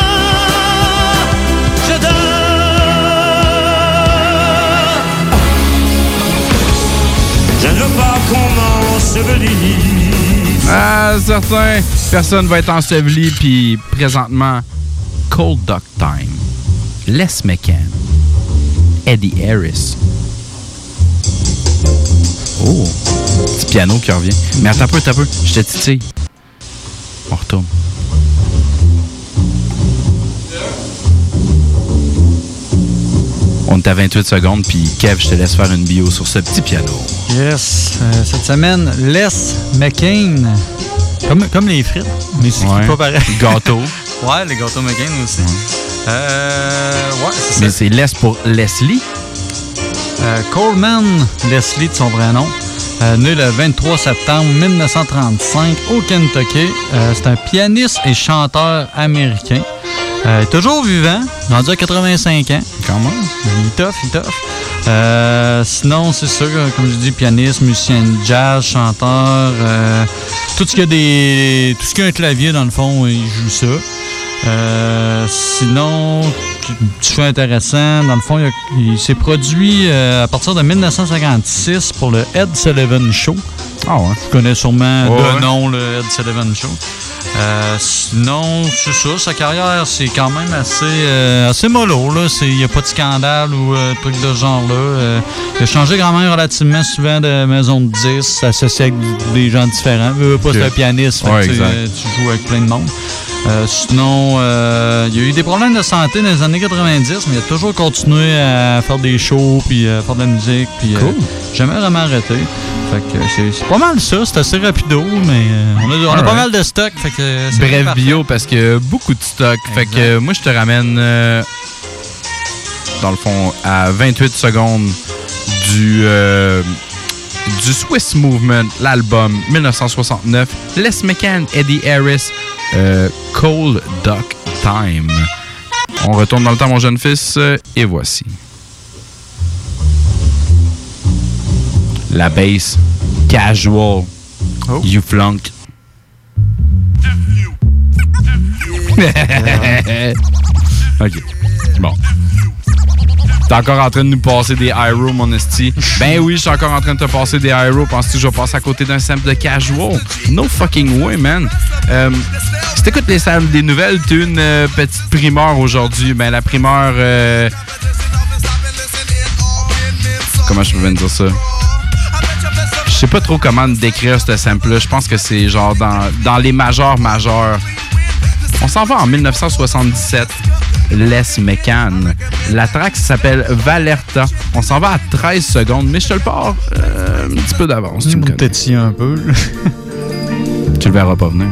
Je dors. Je ne veux pas qu'on m'ensevelisse. Ah, certain. Personne va être enseveli, puis présentement, Cold Duck Time. Les McCann. Eddie Harris. Oh, petit piano qui revient. Mais attends un peu, attends un peu. Je te titille. On retourne. On est à vingt-huit secondes, puis Kev, je te laisse faire une bio sur ce petit piano. Yes. Euh, cette semaine, Les McCann. Comme, comme les frites, mais c'est ouais. pas pareil. Gâteau. Ouais, les gâteaux McCann aussi. Ouais. Euh, ouais, c'est Mais ça. c'est Les pour Leslie. Euh, Coleman Leslie de son vrai nom. Euh, né le vingt-trois septembre mille neuf cent trente-cinq au Kentucky. Euh, c'est un pianiste et chanteur américain. Euh, toujours vivant, rendu à quatre-vingt-cinq ans. Quand même. Il est tough, il est tough. Euh, sinon, c'est sûr, comme je dis, pianiste, musicien de jazz, chanteur. Euh, tout ce qui a des. Tout ce qui a un clavier, dans le fond, il joue ça. Euh, sinon, petit fait intéressant, dans le fond, il, a, il s'est produit euh, à partir de mille neuf cent cinquante-six pour le Ed Sullivan Show. Ah ouais. Tu connais sûrement oh, de ouais. nom le Ed Sullivan Show. Euh, sinon, c'est ça, sa carrière, c'est quand même assez, euh, assez mollo. Il n'y a pas de scandale ou euh, truc de ce genre-là. Euh, il a changé quand même relativement souvent de maison de disques, associé avec des gens différents. Euh, pas okay. C'est un pianiste, fait ouais, que, euh, tu joues avec plein de monde. Euh, sinon, euh, il y a eu des problèmes de santé dans les années quatre-vingt-dix, mais il a toujours continué à faire des shows, puis à faire de la musique, puis cool. euh, jamais vraiment arrêté. Fait que c'est, c'est pas mal ça, c'est assez rapido, mais euh, on a, on a Alright. pas mal de stock. Fait que c'est Bref parfait. bio, parce que beaucoup de stock. Fait que euh, moi, je te ramène, euh, dans le fond, à vingt-huit secondes du, euh, du Swiss Movement, l'album dix-neuf cent soixante-neuf, Les McCann, Eddie Harris, euh, Cold Duck Time. On retourne dans le temps, mon jeune fils, euh, et voici. La bass casual. Oh. You flunk. OK. Bon. T'es encore en train de nous passer des Hyro, mon esti. Ben oui, je suis encore en train de te passer des Hyro. Penses-tu que je vais passer à côté d'un sample de casual? No fucking way, man. Euh, si t'écoutes les samples des nouvelles, t'as une euh, petite primeur aujourd'hui. Ben la primeur... Euh... Comment je peux bien dire ça? Je sais pas trop comment décrire ce sample-là. Je pense que c'est genre dans, dans les majeurs majeurs. On s'en va en dix-neuf cent soixante-dix-sept. Les McCann. La track s'appelle Valerta. On s'en va à treize secondes, mais je te le pars euh, un petit peu d'avance. Tu me connais. Tétille un peu. Tu le verras pas venir.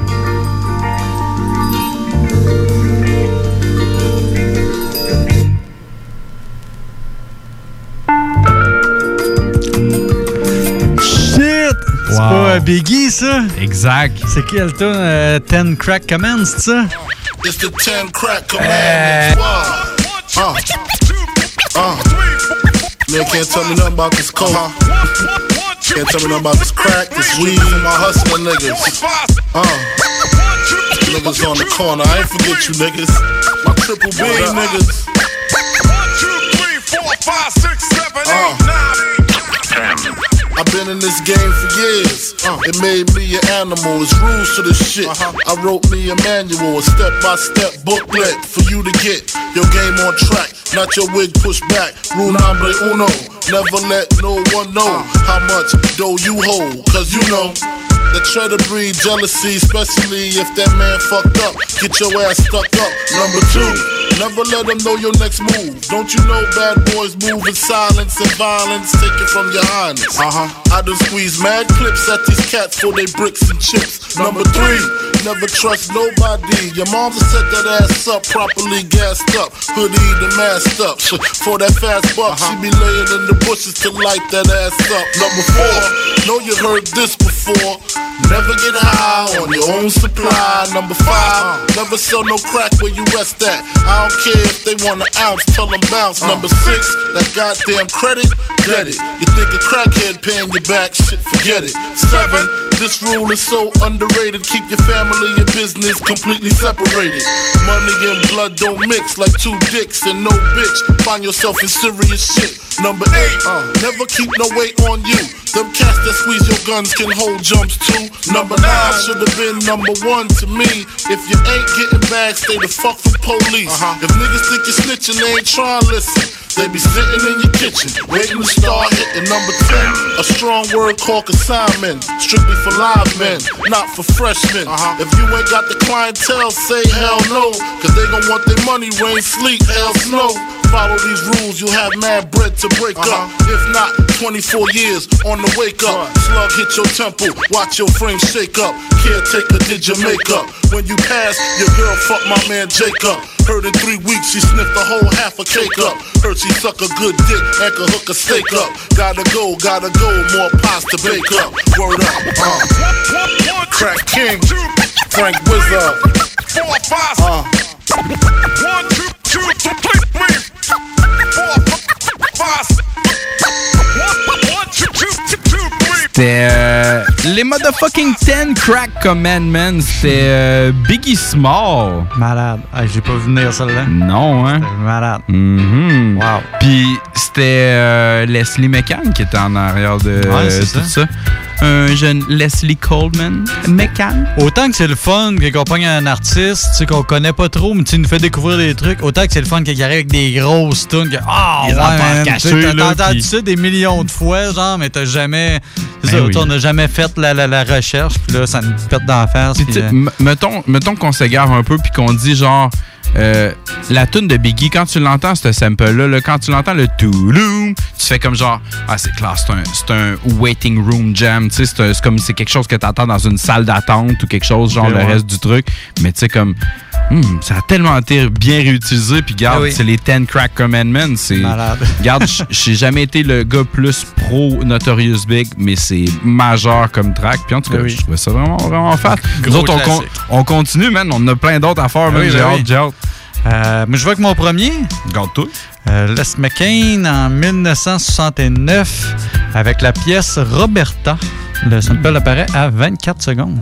C'est Wow. pas Biggie, ça? Exact. C'est quel tune? Euh, ten Crack Commands, c'est ça? It's the ten crack commandments. Uh, uh. Man can't tell me nothing about this coke. Can't tell me nothing about this crack, this weed, and my hustling niggas. Uh. Niggas on the corner, I ain't forget you niggas. My triple B niggas. Uh. I've been in this game for years. Uh, it made me an animal. It's rules to this shit. Uh-huh. I wrote me a manual, a step-by-step booklet for you to get your game on track. Not your wig pushed back. Rule number uno. Never let no one know how much dough you hold. Cause you know that try to breed jealousy, especially if that man fucked up. Get your ass stuck up. Number two, never let them know your next move. Don't you know bad boys move in silence and violence? Take it from your highness. Uh-huh. I done squeeze mad clips at these cats for they bricks and chips. Number three, never trust nobody. Your mom's set that ass up, properly gassed up. Hoodie the masked up. For that fast buck, uh-huh. She be laying in the bushes to light that ass up. Number four, know you heard this before. Never get high on your own supply. Number five, never sell no crack where you rest at. I don't care if they want an ounce, tell them bounce. Number six, that goddamn credit, get it. You think a crackhead paying you back, shit, forget it. Seven, this rule is so underrated. Keep your family and business completely separated. Money and blood don't mix like two dicks and no bitch. Find yourself in serious shit. Number eight, uh, never keep no weight on you. Them cats that squeeze your guns can hold jumps too. Number nine should have been number one to me. If you ain't getting back, stay the fuck from police. Uh-huh. If niggas think you're snitching, they ain't trying to listen. They be sitting in your kitchen, waiting to start hitting. Number ten, a strong word called consignment. Strictly for live men, not for freshmen. Uh-huh. If you ain't got the clientele, say hell no. Cause they gon' want their money, rain, sleet, hell, snow. Follow these rules, you'll have mad bread to break uh-huh. up. If not, twenty-four years on the wake up. Slug hit your temple, watch your frame shake up. Caretaker did your makeup. When you pass, your girl fuck my man Jacob. Heard in three weeks she sniffed the whole half a cake up. Heard she suck a good dick and could hook a steak up. Gotta go, gotta go, more pies to bake up. Word up, uh. Crack King, Frank Wizard. Four, five, uh. One, two, two, three, three. C'était euh, les motherfucking ten Crack Commandments. C'était euh, Biggie Small. Malade. Ah, j'ai pas vu venir celle-là. Non, hein? C'était malade. Mm-hmm. Wow. Puis c'était euh, Leslie McCann qui était en arrière de ouais, euh, tout ça. ça. Un jeune Leslie Coleman McCann. Autant que c'est le fun qu'on pogne un artiste, tu sais, qu'on connaît pas trop, mais tu nous fait découvrir des trucs, autant que c'est le fun qu'il arrive avec des grosses tunes. Ah, oh, ouais, man, cachées, t'as entendu qui... ça des millions de fois, genre, mais t'as jamais, C'est ça, oui. On n'a jamais fait la, la, la recherche, puis là, ça nous pète d'en face. Puis, puis, euh... mettons, mettons qu'on s'égare un peu, puis qu'on dit genre, euh, la tune de Biggie, quand tu l'entends, ce sample-là, là, quand tu l'entends, le touloum, tu fais comme genre, ah, c'est classe, c'est un, c'est un waiting room jam, tu sais, c'est, c'est comme c'est quelque chose que tu entends dans une salle d'attente ou quelque chose, genre okay, le ouais. reste du truc, mais tu sais, comme. Hmm, ça a tellement été bien réutilisé. Puis, garde, ah oui. c'est les Ten Crack Commandments. C'est malade. Garde, j'ai jamais été le gars plus pro Notorious Big, mais c'est majeur comme track. Puis, en tout cas, ah oui. je trouvais ça vraiment, vraiment fat. Nous autres, on, con, on continue, man. On a plein d'autres affaires. Ah oui, j'ai hâte, j'ai hâte. Euh, mais je vois que mon premier. Garde-toi. Euh, Les McCain en dix-neuf cent soixante-neuf avec la pièce Roberta. Le sample apparaît à vingt-quatre secondes.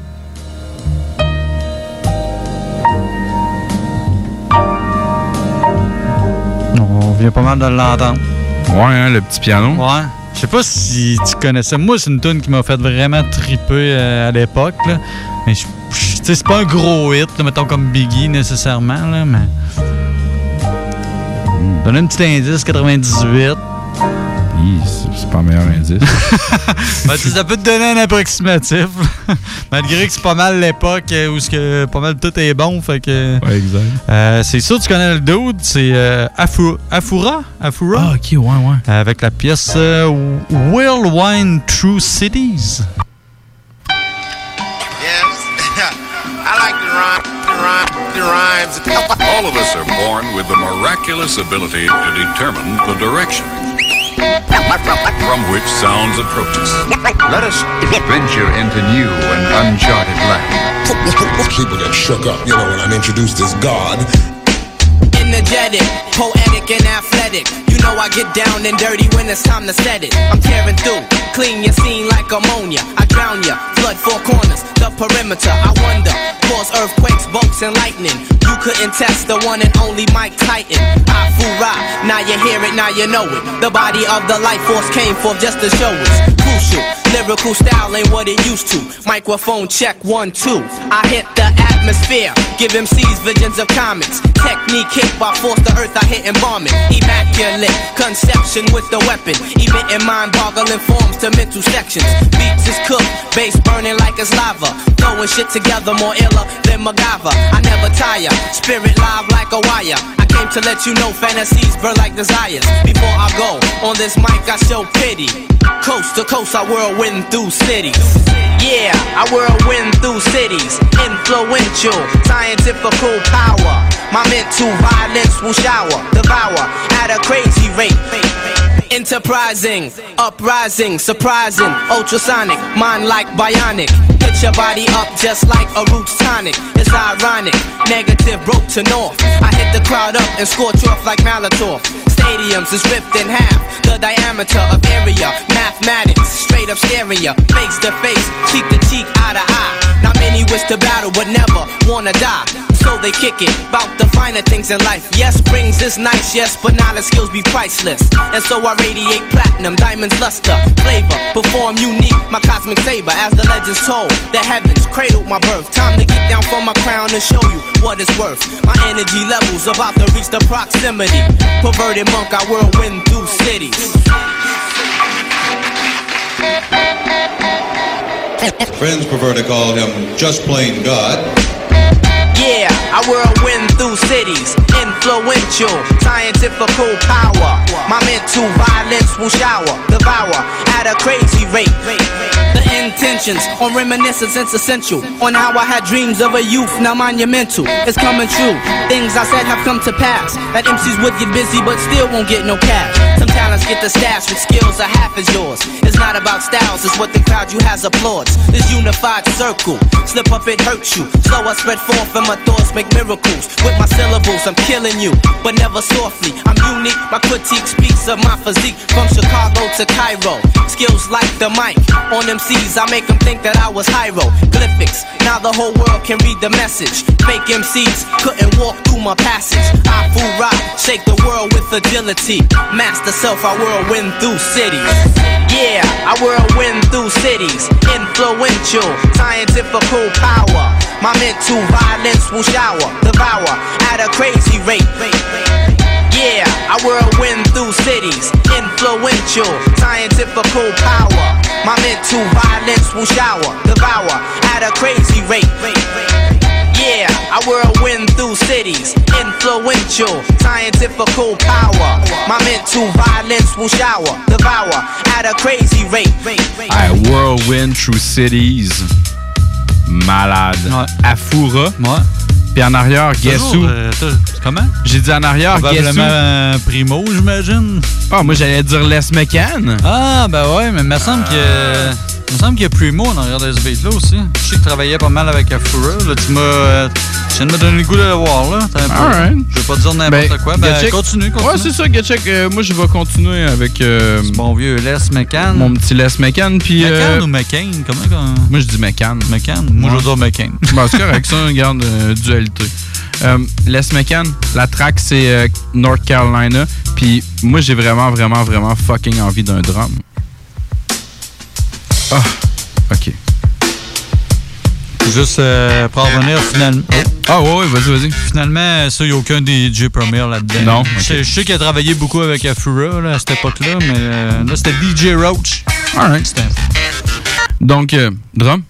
On vient pas mal de l'entendre. Ouais, hein, le petit piano. Ouais. Je sais pas si tu connaissais. Moi, c'est une tune qui m'a fait vraiment triper euh, à l'époque. Là. Mais tu sais, c'est pas un gros hit, là, mettons comme Biggie nécessairement. Là, mais. Mm. Donne un petit indice, quatre-vingt-dix-huit. C'est pas un meilleur indice. Ben, ça peut te donner un approximatif. Malgré que c'est pas mal l'époque où que pas mal tout est bon. Fait que, ouais, exact. Euh, c'est sûr que tu connais le dude. C'est euh, Afura. Afura. Afura. Ah, ok, ouais, ouais. Avec la pièce euh, Whirlwind Through Cities. I like the rhyme, the rhyme, the rhymes. All of us are born with the miraculous ability to determine the direction from which sounds approach us. Let us venture into new and uncharted land. People get shook up, you know, when I'm introduced as God. Energetic, poetic and athletic. You know I get down and dirty when it's time to set it. I'm tearing through, clean your scene like ammonia. I drown ya, flood four corners, the perimeter. I wonder, cause earthquakes, bolts and lightning. You couldn't test the one and only Mike Titan. Afura, now you hear it, now you know it. The body of the life force came forth just to show us. Crucial, lyrical style ain't what it used to. Microphone check, one, two. I hit the atmosphere, give M Cs visions of comets. Technique hit by force the earth, I hit and bomb it. Immaculate conception with the weapon. Emitting mind-boggling forms to mental sections. Beats is cooked, bass burning like it's lava. Throwing shit together more iller than MacGyver. I never tire, spirit live like a wire. I came to let you know fantasies burn like desires. Before I go on this mic, I show pity. Coast to coast, I whirlwind through cities. Yeah, I whirlwind through cities. Influential, scientifical power. My mental violence will shower, devour at a crazy rate. Enterprising, uprising, surprising, ultrasonic, mind like bionic. Put your body up just like a roots tonic. It's ironic, negative broke to north. I hit the crowd up and scorch off like Molotov. Stadiums is ripped in half, the diameter of area. Mathematics, straight up stereo, face to face, cheek to cheek, eye to eye. Not many wish to battle but never wanna die. So they kick it, bout the finer things in life. Yes, rings is nice, yes, but knowledge skills be priceless. And so I radiate platinum, diamonds, luster, flavor, perform unique, my cosmic saber. As the legends told, the heavens cradled my birth. Time to get down from my crown and show you what it's worth. My energy levels about to reach the proximity. Perverted monk, I whirlwind through cities. Friends prefer to call him just plain God. Yeah, I whirlwind through cities. Influential, scientifical power. My mental violence will shower, devour at a crazy rate. The intentions on reminiscence is essential. On how I had dreams of a youth, now monumental. It's coming true. Things I said have come to pass. That M Cs would get busy but still won't get no cash. Some talents get the stash with skills are half as yours. It's not about styles, it's what the crowd you has applauds. This unified circle, slip up it hurts you. Slow I spread forth and my thoughts make miracles. With my syllables I'm killing you, but never softly. I'm unique, my critique speaks of my physique. From Chicago to Cairo, skills like the mic. On M Cs I make them think that I was hieroglyphics. Now the whole world can read the message. Fake M Cs couldn't walk through my passage. I fool rock, shake the world with agility. Master self, I whirlwind through cities. Yeah, I whirlwind through cities. Influential, scientifical power. My mental violence will shower, devour at a crazy rate. Yeah, I whirlwind through cities. Influential, scientifical power. My mental violence will shower, devour at a crazy rate. Yeah, I whirlwind through cities, influential, scientifical power. My mental violence will shower, devour at a crazy rate. I whirlwind through cities. Malade. Ouais. Afura. Ouais. Puis en arrière, guess who? Euh, comment? J'ai dit en arrière, guess who? Probablement Primo, j'imagine. Ah, moi j'allais dire Les McCann. Ah, ben ouais, mais il me semble euh... que... Il me semble qu'il y a Primo en arrière de ce beat-là aussi. Je sais qu'il travaillait pas mal avec Afura. Là, tu m'as... Euh, tu viens de me donner le goût de le voir, là. Right. Je vais pas te dire n'importe ben, quoi. Ben, Getcheck. continue, continue. Ouais, c'est ça, Getcheck. Euh, moi, je vais continuer avec... Euh, ce bon vieux Les McCann. Mon petit Les McCann, puis... McCann euh, ou McCain? Comment qu'on... Moi, je dis McCann. McCann? Moi, ouais. Je veux dire McCain. Bon, c'est correct, ça, regarde, euh, dualité. Euh, Les McCann, la track, c'est euh, North Carolina. Puis moi, j'ai vraiment, vraiment, vraiment fucking envie d'un drum. Ah, oh, OK. Juste euh, pour revenir finalement. Oh. Ah ouais, ouais, vas-y, vas-y. Finalement, ça, il n'y a aucun D J Premier là-dedans. Non. Okay. Je, je sais qu'il a travaillé beaucoup avec Afura là, à cette époque-là, mais euh, là, c'était D J Roach. Alright. C'était... Donc, euh, drum.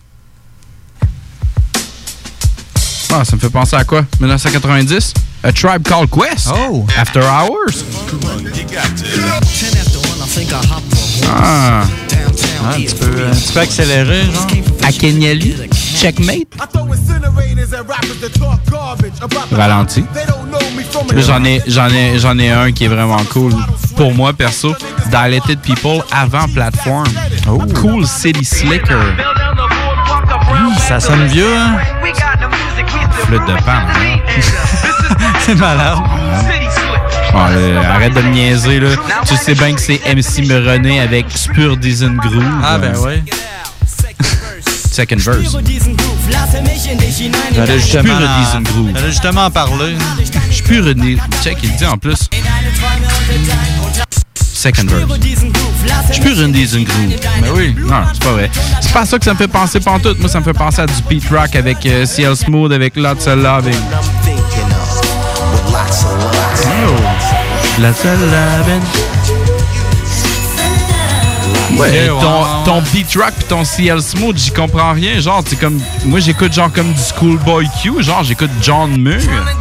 Ah, ça me fait penser à quoi? dix-neuf quatre-vingt-dix? A Tribe Called Quest? Oh! After Hours? Ah! Ah, tu, peux, euh, tu peux accélérer, genre? Akenyeli? Checkmate? Ralenti. Là, j'en ai, j'en ai, j'en ai un qui est vraiment cool. Pour moi, perso, Dilated People avant Platform. Oh. Cool City Slicker. Mmh, ça sonne vieux, hein? Flûte de pan, hein? C'est malade. Bon, là, arrête de me niaiser, là. Tu sais bien que c'est M C Meronnet avec Spur Dizen Groove. Ah, ben ouais. Second verse. J'allais justement, en... justement en parler. Je suis pur une... Check, il dit en plus. Second verse. Je suis pur une Dizen Groove. Ben oui. Non, c'est pas vrai. C'est pas ça que ça me fait penser pantoute. Moi, ça me fait penser à du Pete Rock avec euh, C L Smooth, avec Lots of Loving. Oh. Lots of Loving. Ouais, ton, ton Beat Rock pis ton C L Smooth, j'y comprends rien. Genre, c'est comme. Moi, j'écoute genre comme du Schoolboy Q. Genre, j'écoute John Muir.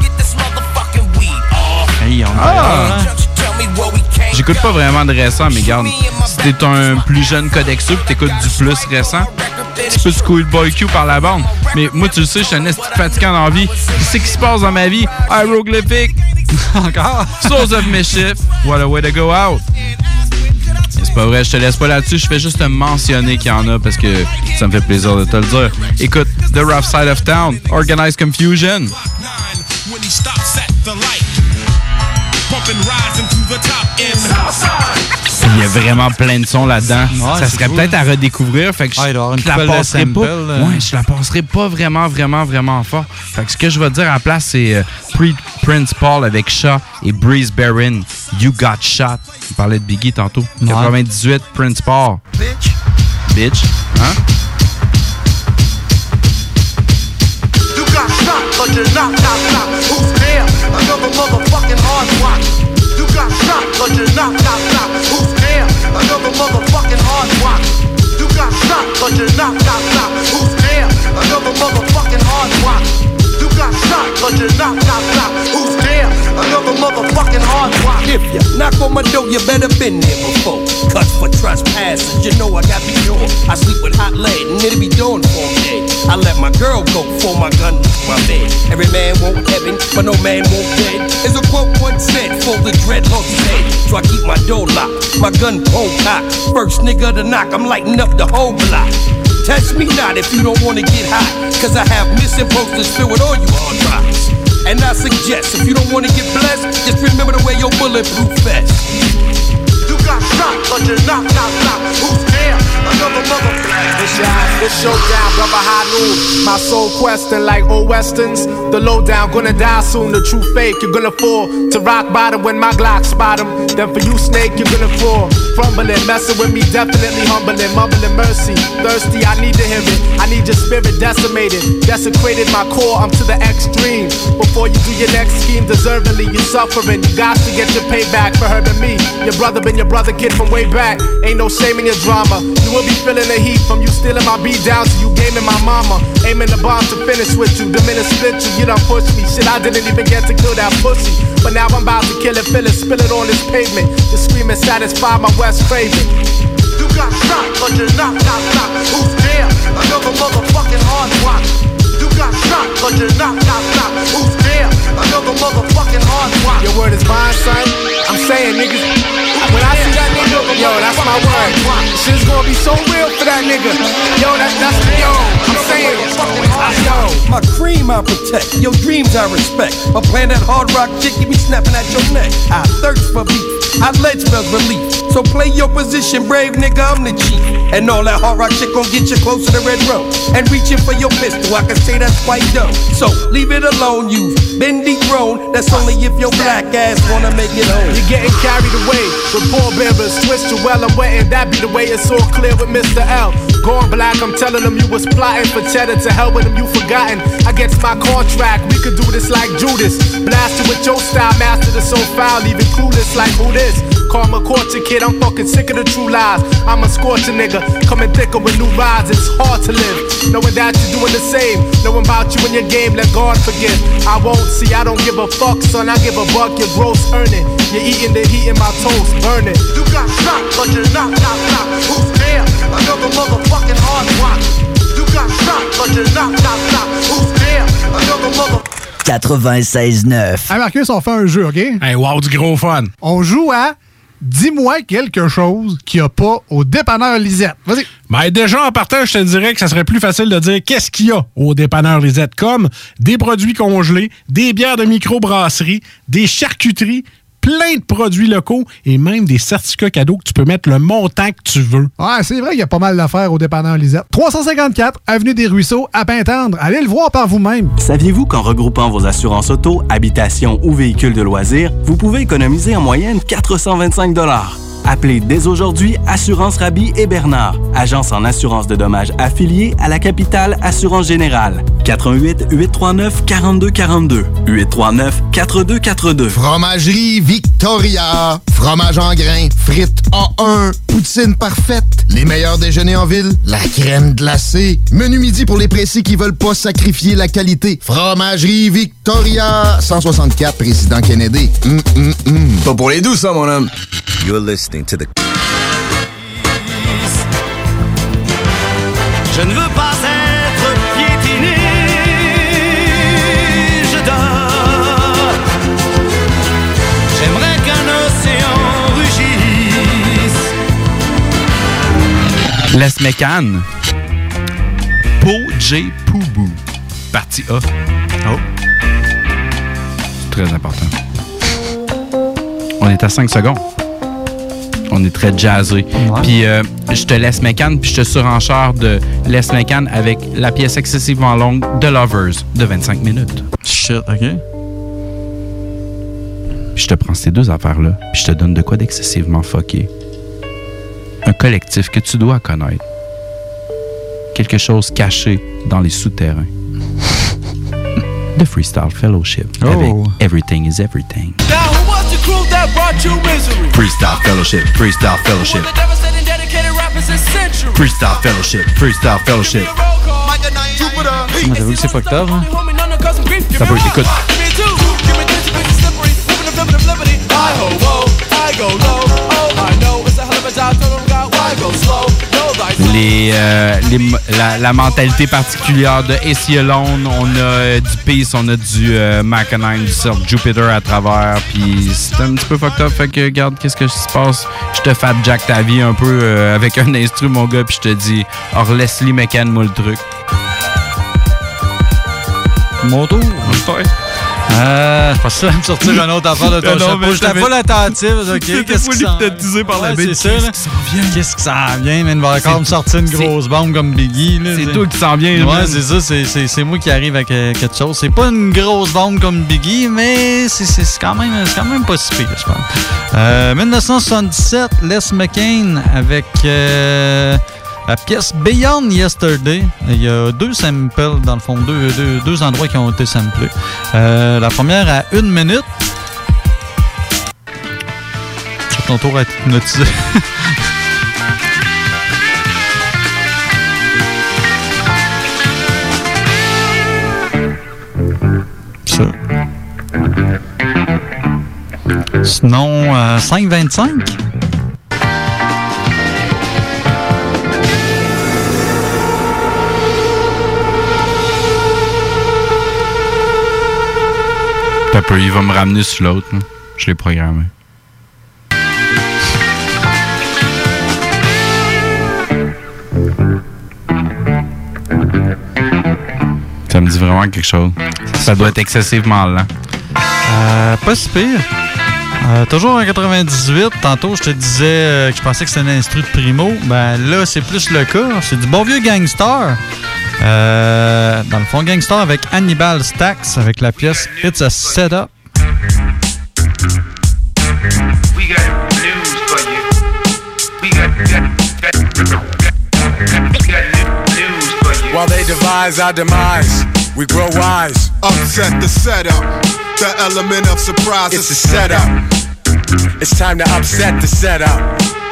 Hey, on ah. J'écoute pas vraiment de récent, mais regarde, si t'es un plus jeune Codexo pis t'écoutes du plus récent, tu peux Schoolboy Q par la bande. Mais moi, tu le sais, je suis un esti fatigant dans la vie. Qu'est-ce qui se passe dans ma vie? Hieroglyphic. Encore? Source of Mischief. What a way to go out. C'est pas vrai, je te laisse pas là-dessus. Je fais juste te mentionner qu'il y en a parce que ça me fait plaisir de te le dire. Écoute, The Rough Side of Town, Organized Confusion. Il y a vraiment plein de sons là-dedans. Ouais, ça serait cool. Peut-être à redécouvrir. Fait que je, ah, je la passerai pas. Euh... Ouais, je la passerai pas vraiment, vraiment, vraiment fort. Fait que ce que je vais dire à la place, c'est euh, Prince Paul avec Shaw et Breeze Barron. You Got Shot. On parlait de Biggie tantôt. Ouais. quatre-vingt-dix-huit, Prince Paul. Bitch. Bitch. Hein? You got shot, but you're not, not, not. Who's there? Another motherfucking hard rock. You got shot, but you're not, not, not. Who's there? Another motherfucking hard rock. You got shot, but you're not, not, not. Who's there? Another motherfucking hard rock. You got shot, but you're not, not, not. Who's there? Another motherfucking hard rock. If you knock on my door, you better been there before. Cut for trespassing, you know I got me sure. I sleep with hot lead and it'll be dawn for me. I let my girl go for my gun to my bed. Every man won't heaven, but no man won't dead. Is a quote once said for the dreadlocks head. So I keep my door locked, my gun pulled cocked. First nigga to knock, I'm lighting up the whole block. Test me not if you don't wanna get hot, cause I have missing posters filled with all you hard rocks. And I suggest, if you don't wanna get blessed, just remember to wear your bulletproof vest. You got shot, but you're not, not, not. Who's there? Another mother. It's your This showdown, brother high noon. My soul questing like old westerns. The lowdown, gonna die soon. The true fake, you're gonna fall to rock bottom when my Glock spot him. Then for you, snake, you're gonna fall. Crumbling, messing with me, definitely humbling, mumbling mercy. Thirsty, I need to hear it. I need your spirit decimated, desecrated my core. I'm to the extreme. Before you do your next scheme, deservedly you suffering. You got to get your payback for hurting me. Your brother been your brother, kid from way back. Ain't no shame in your drama. You will be feeling the heat from you stealing my beat down to you gaming my mama. Aiming the bomb to finish with you. The minute split you, you done pushed me. Shit, I didn't even get to kill that pussy. But now I'm about to kill it, fill it, spill it on this pavement. The screaming satisfy my West craving. You got shot, but you're not, not, not. Who's there? Another motherfucking hard rock. You got shot, but you're not, not, not. Who's there? Another motherfucking hard rock. Your word is mine, son. I'm saying, niggas. When I see that nigga, yo, that's my word. Shit's gonna be so real for that nigga. Yo, that, that's yo. I'm saying, yo. My cream I protect, your dreams I respect. But playing that hard rock chick, you be snapping at your neck. I thirst for beef, I ledge spells relief. So play your position, brave nigga, I'm the chief. And all that hard rock shit gon' get you close to the red road. And reaching for your pistol, I can say that's quite dumb. So leave it alone, you've been dethroned. That's only if your black ass wanna make it home. You're getting carried away with pallbearers. Twist your well, I'm wetting. That be the way it's all clear with Mister L. Going black, I'm telling them you was plotting for cheddar. To hell with them, you forgotten. Against my contract, we could do this like Judas. Blasted with your style, master the so foul, leaving clueless like who this? Karma caught your kid, I'm fucking sick of the true lies. I'm a scorcher nigga, coming thicker with new rides. It's hard to live, knowing that you're doing the same. Knowing about you and your game, let God forgive. I won't see, I don't give a fuck, son. I give a buck, your gross earning. You're eating the heat in my toast, burning. You got shot, but you're not, not, not. Who's there? Another motherfucking hard rock. You got shot, but you're not, not, not. Who's there? Another motherfucking quatre-vingt-seize neuf. Hey Marcus, on fait un jeu, OK? Hey, wow, du gros fun. On joue à Dis-moi quelque chose qu'il n'y a pas au dépanneur Lisette. Vas-y. Ben déjà, en partant, je te dirais que ça serait plus facile de dire qu'est-ce qu'il y a au dépanneur Lisette, comme des produits congelés, des bières de microbrasserie, des charcuteries, plein de produits locaux et même des certificats cadeaux que tu peux mettre le montant que tu veux. Ouais, c'est vrai qu'il y a pas mal d'affaires au dépanneur Lisette. trois cent cinquante-quatre Avenue des Ruisseaux, à Pintendre. Allez le voir par vous-même. Saviez-vous qu'en regroupant vos assurances auto, habitation ou véhicules de loisirs, vous pouvez économiser en moyenne quatre cent vingt-cinq dollars? Appelez dès aujourd'hui Assurance Rabi et Bernard, agence en assurance de dommages affiliée à la capitale Assurance Générale. quatre un huit, huit trois neuf, quatre deux quatre deux. huit trois neuf, quatre deux quatre deux. Fromagerie Victoria. Fromage en grains. Frites A un. Poutine parfaite. Les meilleurs déjeuners en ville. La crème glacée. Menu midi pour les pressés qui veulent pas sacrifier la qualité. Fromagerie Victoria. cent soixante-quatre Président Kennedy. Mm, mm, mm. Pas pour les doux, ça, mon homme. You're listening to the... Je ne veux pas être piétiné, je dors. J'aimerais qu'un océan rugisse. Les Mécan. Po J Poubou. Partie A. Oh. C'est très important. On est à cinq secondes. On est très jazzé. Ouais. Puis euh, je te laisse Mécan, puis je te surenchère de Les Mécan avec la pièce excessivement longue de Lovers de vingt-cinq minutes. Shit, OK. Puis je te prends ces deux affaires-là, puis je te donne de quoi d'excessivement fucké. Un collectif que tu dois connaître. Quelque chose caché dans les souterrains. The Freestyle Fellowship oh. avec Everything is Everything. Now who was the crew that brought you misery? Freestyle Fellowship, Freestyle Fellowship. Freestyle Fellowship, Freestyle Fellowship. Moi, j'avoue que c'est fucked up, hein? Ça peut, écoute. Les, euh, les, la, la mentalité particulière de Acey Alone, on a euh, du Peace, on a du euh, Mackinine, du Surf Jupiter à travers, puis c'est un petit peu fucked up, fait que regarde qu'est-ce que se passe, je te fat jack ta vie un peu euh, avec un instru mon gars, puis je te dis, or Leslie McCann moi le truc. Mon tour, je Euh, je pensais me sortir une autre affaire de ton non, chapeau. J'étais pas l'attentive. OK, qu'est-ce qui s'en hypnotisé par la ouais, bête. C'est ça, là. Qu'est-ce qui s'en vient, man? Il va encore me sortir une grosse bombe comme Biggie. Là, c'est toi qui s'en viens. Ouais, c'est ça. C'est, c'est, c'est moi qui arrive avec euh, quelque chose. C'est pas une grosse bombe comme Biggie, mais c'est, c'est, c'est, quand, même, c'est quand même pas si pire, je pense. Euh, dix-neuf cent soixante-dix-sept, Les McCain avec... Euh, la pièce Beyond Yesterday. Il y a deux samples, dans le fond, deux, deux, deux endroits qui ont été samplés. Euh, la première à une minute. C'est ton tour à être hypnotisé. Ça. Sinon, euh, cinq vingt-cinq. Pepper, il va me ramener sur l'autre. Là. Je l'ai programmé. Ça me dit vraiment quelque chose. Ça doit être excessivement lent. Euh, pas si pire. Euh, toujours en quatre-vingt-dix-huit, tantôt je te disais euh, que je pensais que c'était un instru de Primo. Ben là, c'est plus le cas. C'est du bon vieux Gangstar. Euh, dans le fond, Gangstar avec Hannibal Stax avec la pièce It's a Setup. We got news for you. We got, got, got, got, got news for you. While they devise our demise, we grow wise. Upset the setup. The element of surprise. It's a setup. It's time to upset the setup.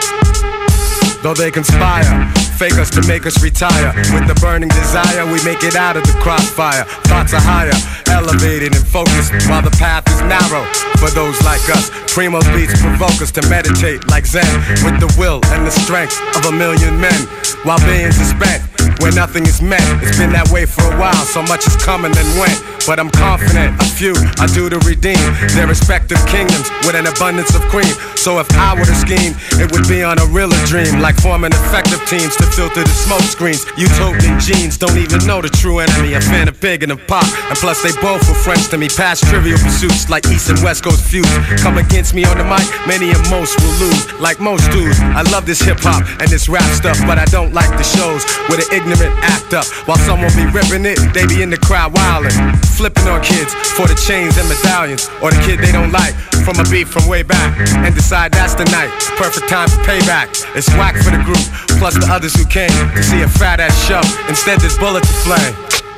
Though they conspire, fake us to make us retire. With the burning desire, we make it out of the crossfire. Thoughts are higher, elevated and focused, while the path is narrow. For those like us, Primo's beats provoke us to meditate like Zen, with the will and the strength of a million men, while billions are spent where nothing is met. It's been that way for a while, so much has come and then went. But I'm confident a few are due to redeem their respective kingdoms with an abundance of cream. So if I were to scheme, it would be on a realer dream, like forming effective teams to filter the smoke screens. Utopian genes don't even know the true enemy, a fan of Pig and of Pop. And plus they both were friends to me, past trivial pursuits like East and West Coast feuds. Come against me on the mic, many and most will lose. Like most dudes, I love this hip hop and this rap stuff, but I don't like the shows where the ignorant act up. While someone be ripping it, they be in the crowd wildin', flipping on kids for the chains and medallions, or the kid they don't like from a beat from way back, and decide that's the night, perfect time for payback. It's whack for the group, plus the others who came to see a fat ass show. Instead there's bullets to flame.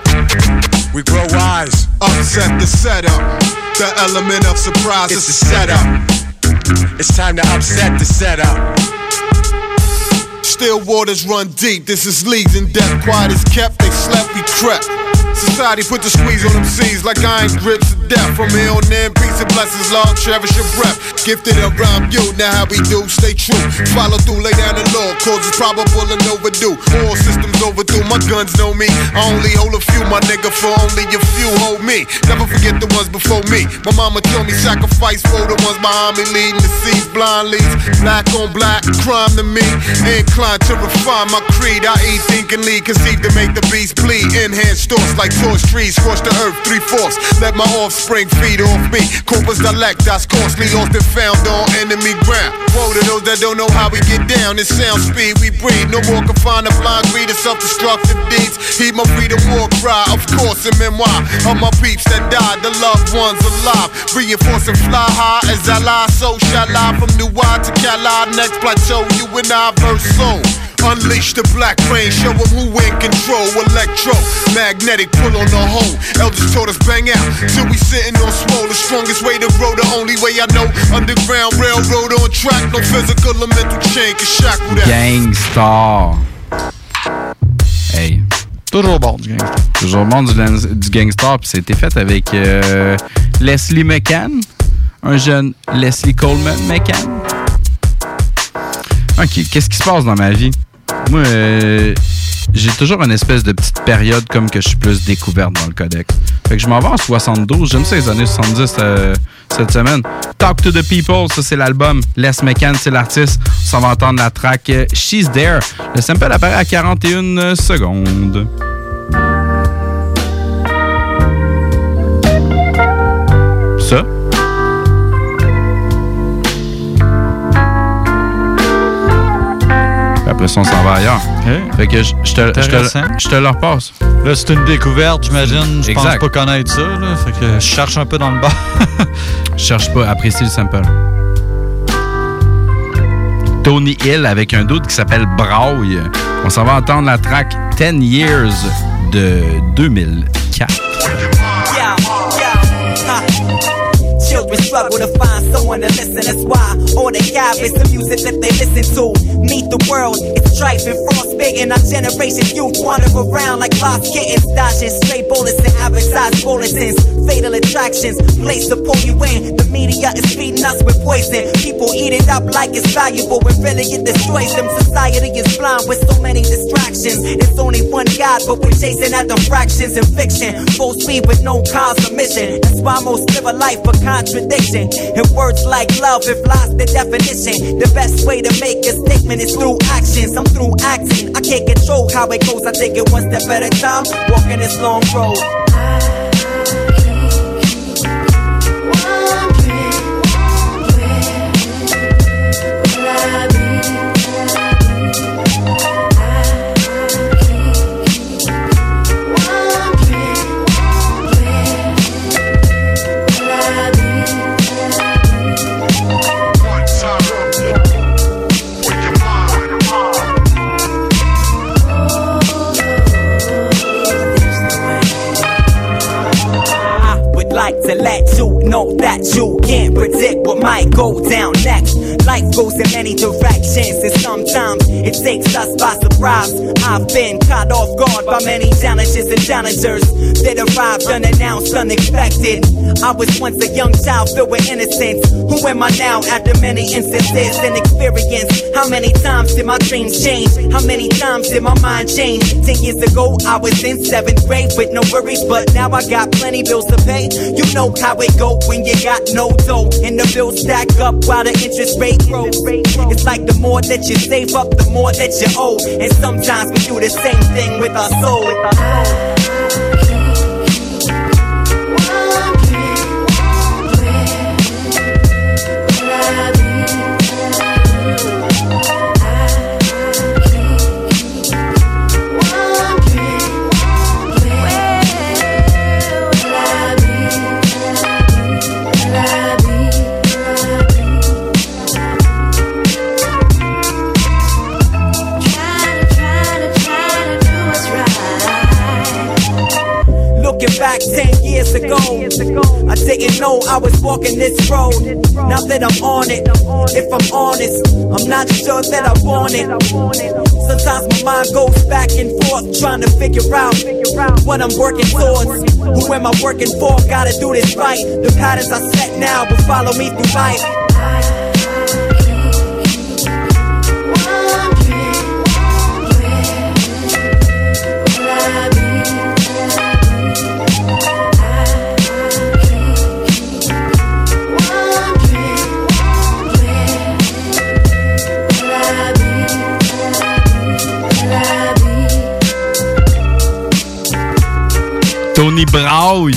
We grow wise. Upset the setup. The element of surprise. It's a setup. It's time to upset the setup. Still waters run deep. This is leagues in depth. Quiet is kept. They slept. We crept. Society put the squeeze on them C's like iron grips of death. From here on in, peace and blessings, Lord, cherish your breath. Gifted around you, now how we do, stay true. Follow through, lay down the law, cause it's probable and overdue. All systems overdue, my guns know me. I only hold a few, my nigga, for only a few hold me. Never forget the ones before me. My mama told me sacrifice for the ones behind me, leading the seas, blind leads. Black on black, crime to me. Inclined to refine my creed. I eat, think, and lead, conceive to make the beast bleed. Enhanced thoughts like torch trees, scorch the earth, three-fourths. Let my offspring feed off me. Corpus delectas, costly, lost and found on enemy ground. Woe to those that don't know how we get down. This sound speed we breathe. No more confined to blind greed and self-destructive deeds. Heed my freedom war cry, of course, a memoir of my peeps that died, the loved ones alive. Reinforcing fly high as I lie, so shall I. From New Wide to Cali, next plateau, you and I verse soul. Unleash the black rain, show them who in control. Electro, magnetic, pull on the hole. Elders taught us bang out, till we sitting on swole. The strongest way to grow, the only way I know. Underground railroad on track, no physical or mental chain can shackle that. Gangstar. Hey. Toujours bon du Gangstar. Toujours bon du, du Gangstar, puis c'était fait avec euh, Leslie McCann, un jeune Leslie Coleman McCann. Ok, qu'est-ce qui se passe dans ma vie? Moi, euh, j'ai toujours une espèce de petite période comme que je suis plus découverte dans le codex. Fait que je m'en vais en soixante-douze. J'aime ça les années soixante-dix euh, cette semaine. Talk to the People, ça c'est l'album. Les McCann, c'est l'artiste. On s'en va entendre la track euh, She's There. Le sample apparaît à quarante et une secondes. ça. Après ça, on s'en va ailleurs. Hey. Fait que je, je, te, je, te, je te le repasse. Là, c'est une découverte, j'imagine. Je pense Exact. pas connaître ça. Là. Fait que je cherche un peu dans le bas. Je cherche pas, apprécie le sample. Tony Hill avec un doute qui s'appelle Braille. On s'en va entendre la track ten years de deux mille quatre. Yeah, yeah, huh. Children struggle to find someone to listen. That's why all they have is the music that they listen to. Meet the world, it's strife and frostbite, and our generation youth wander around like lost kittens, dodging stray bullets and advertised bulletins. Fatal attractions, place to pull you in. The media is feeding us with poison. People eat it up like it's valuable, when really it destroys them. Society is blind with so many distractions. It's only one God, but we're chasing at the fractions in fiction. Full speed with no cause or mission. That's why most live a life of contradiction. And words like love have lost their definition. The best way to make a statement is through actions. I'm through acting. I can't control how it goes. I take it one step at a time, walking this long road. To let you know that you can't predict what might go down next. Life goes in many directions, and sometimes it takes us by surprise. I've been caught off guard by many challenges and challengers that arrived unannounced, unexpected. I was once a young child filled with innocence. Who am I now after many instances and experience? How many times did my dreams change? How many times did my mind change? Ten years ago I was in seventh grade with no worries, but now I got plenty bills to pay. You know how it go when you got no dough, and the bills stack up while the interest rate grows. It's like the more that you save up, the more that you owe, and sometimes we do the same thing with our soul. With our soul. Back ten years ago, I didn't know I was walking this road. Now that I'm on it, if I'm honest, I'm not sure that I want it. Sometimes my mind goes back and forth, trying to figure out what I'm working towards. Who am I working for? Gotta do this right. The patterns I set now will follow me through life. Tony Braille.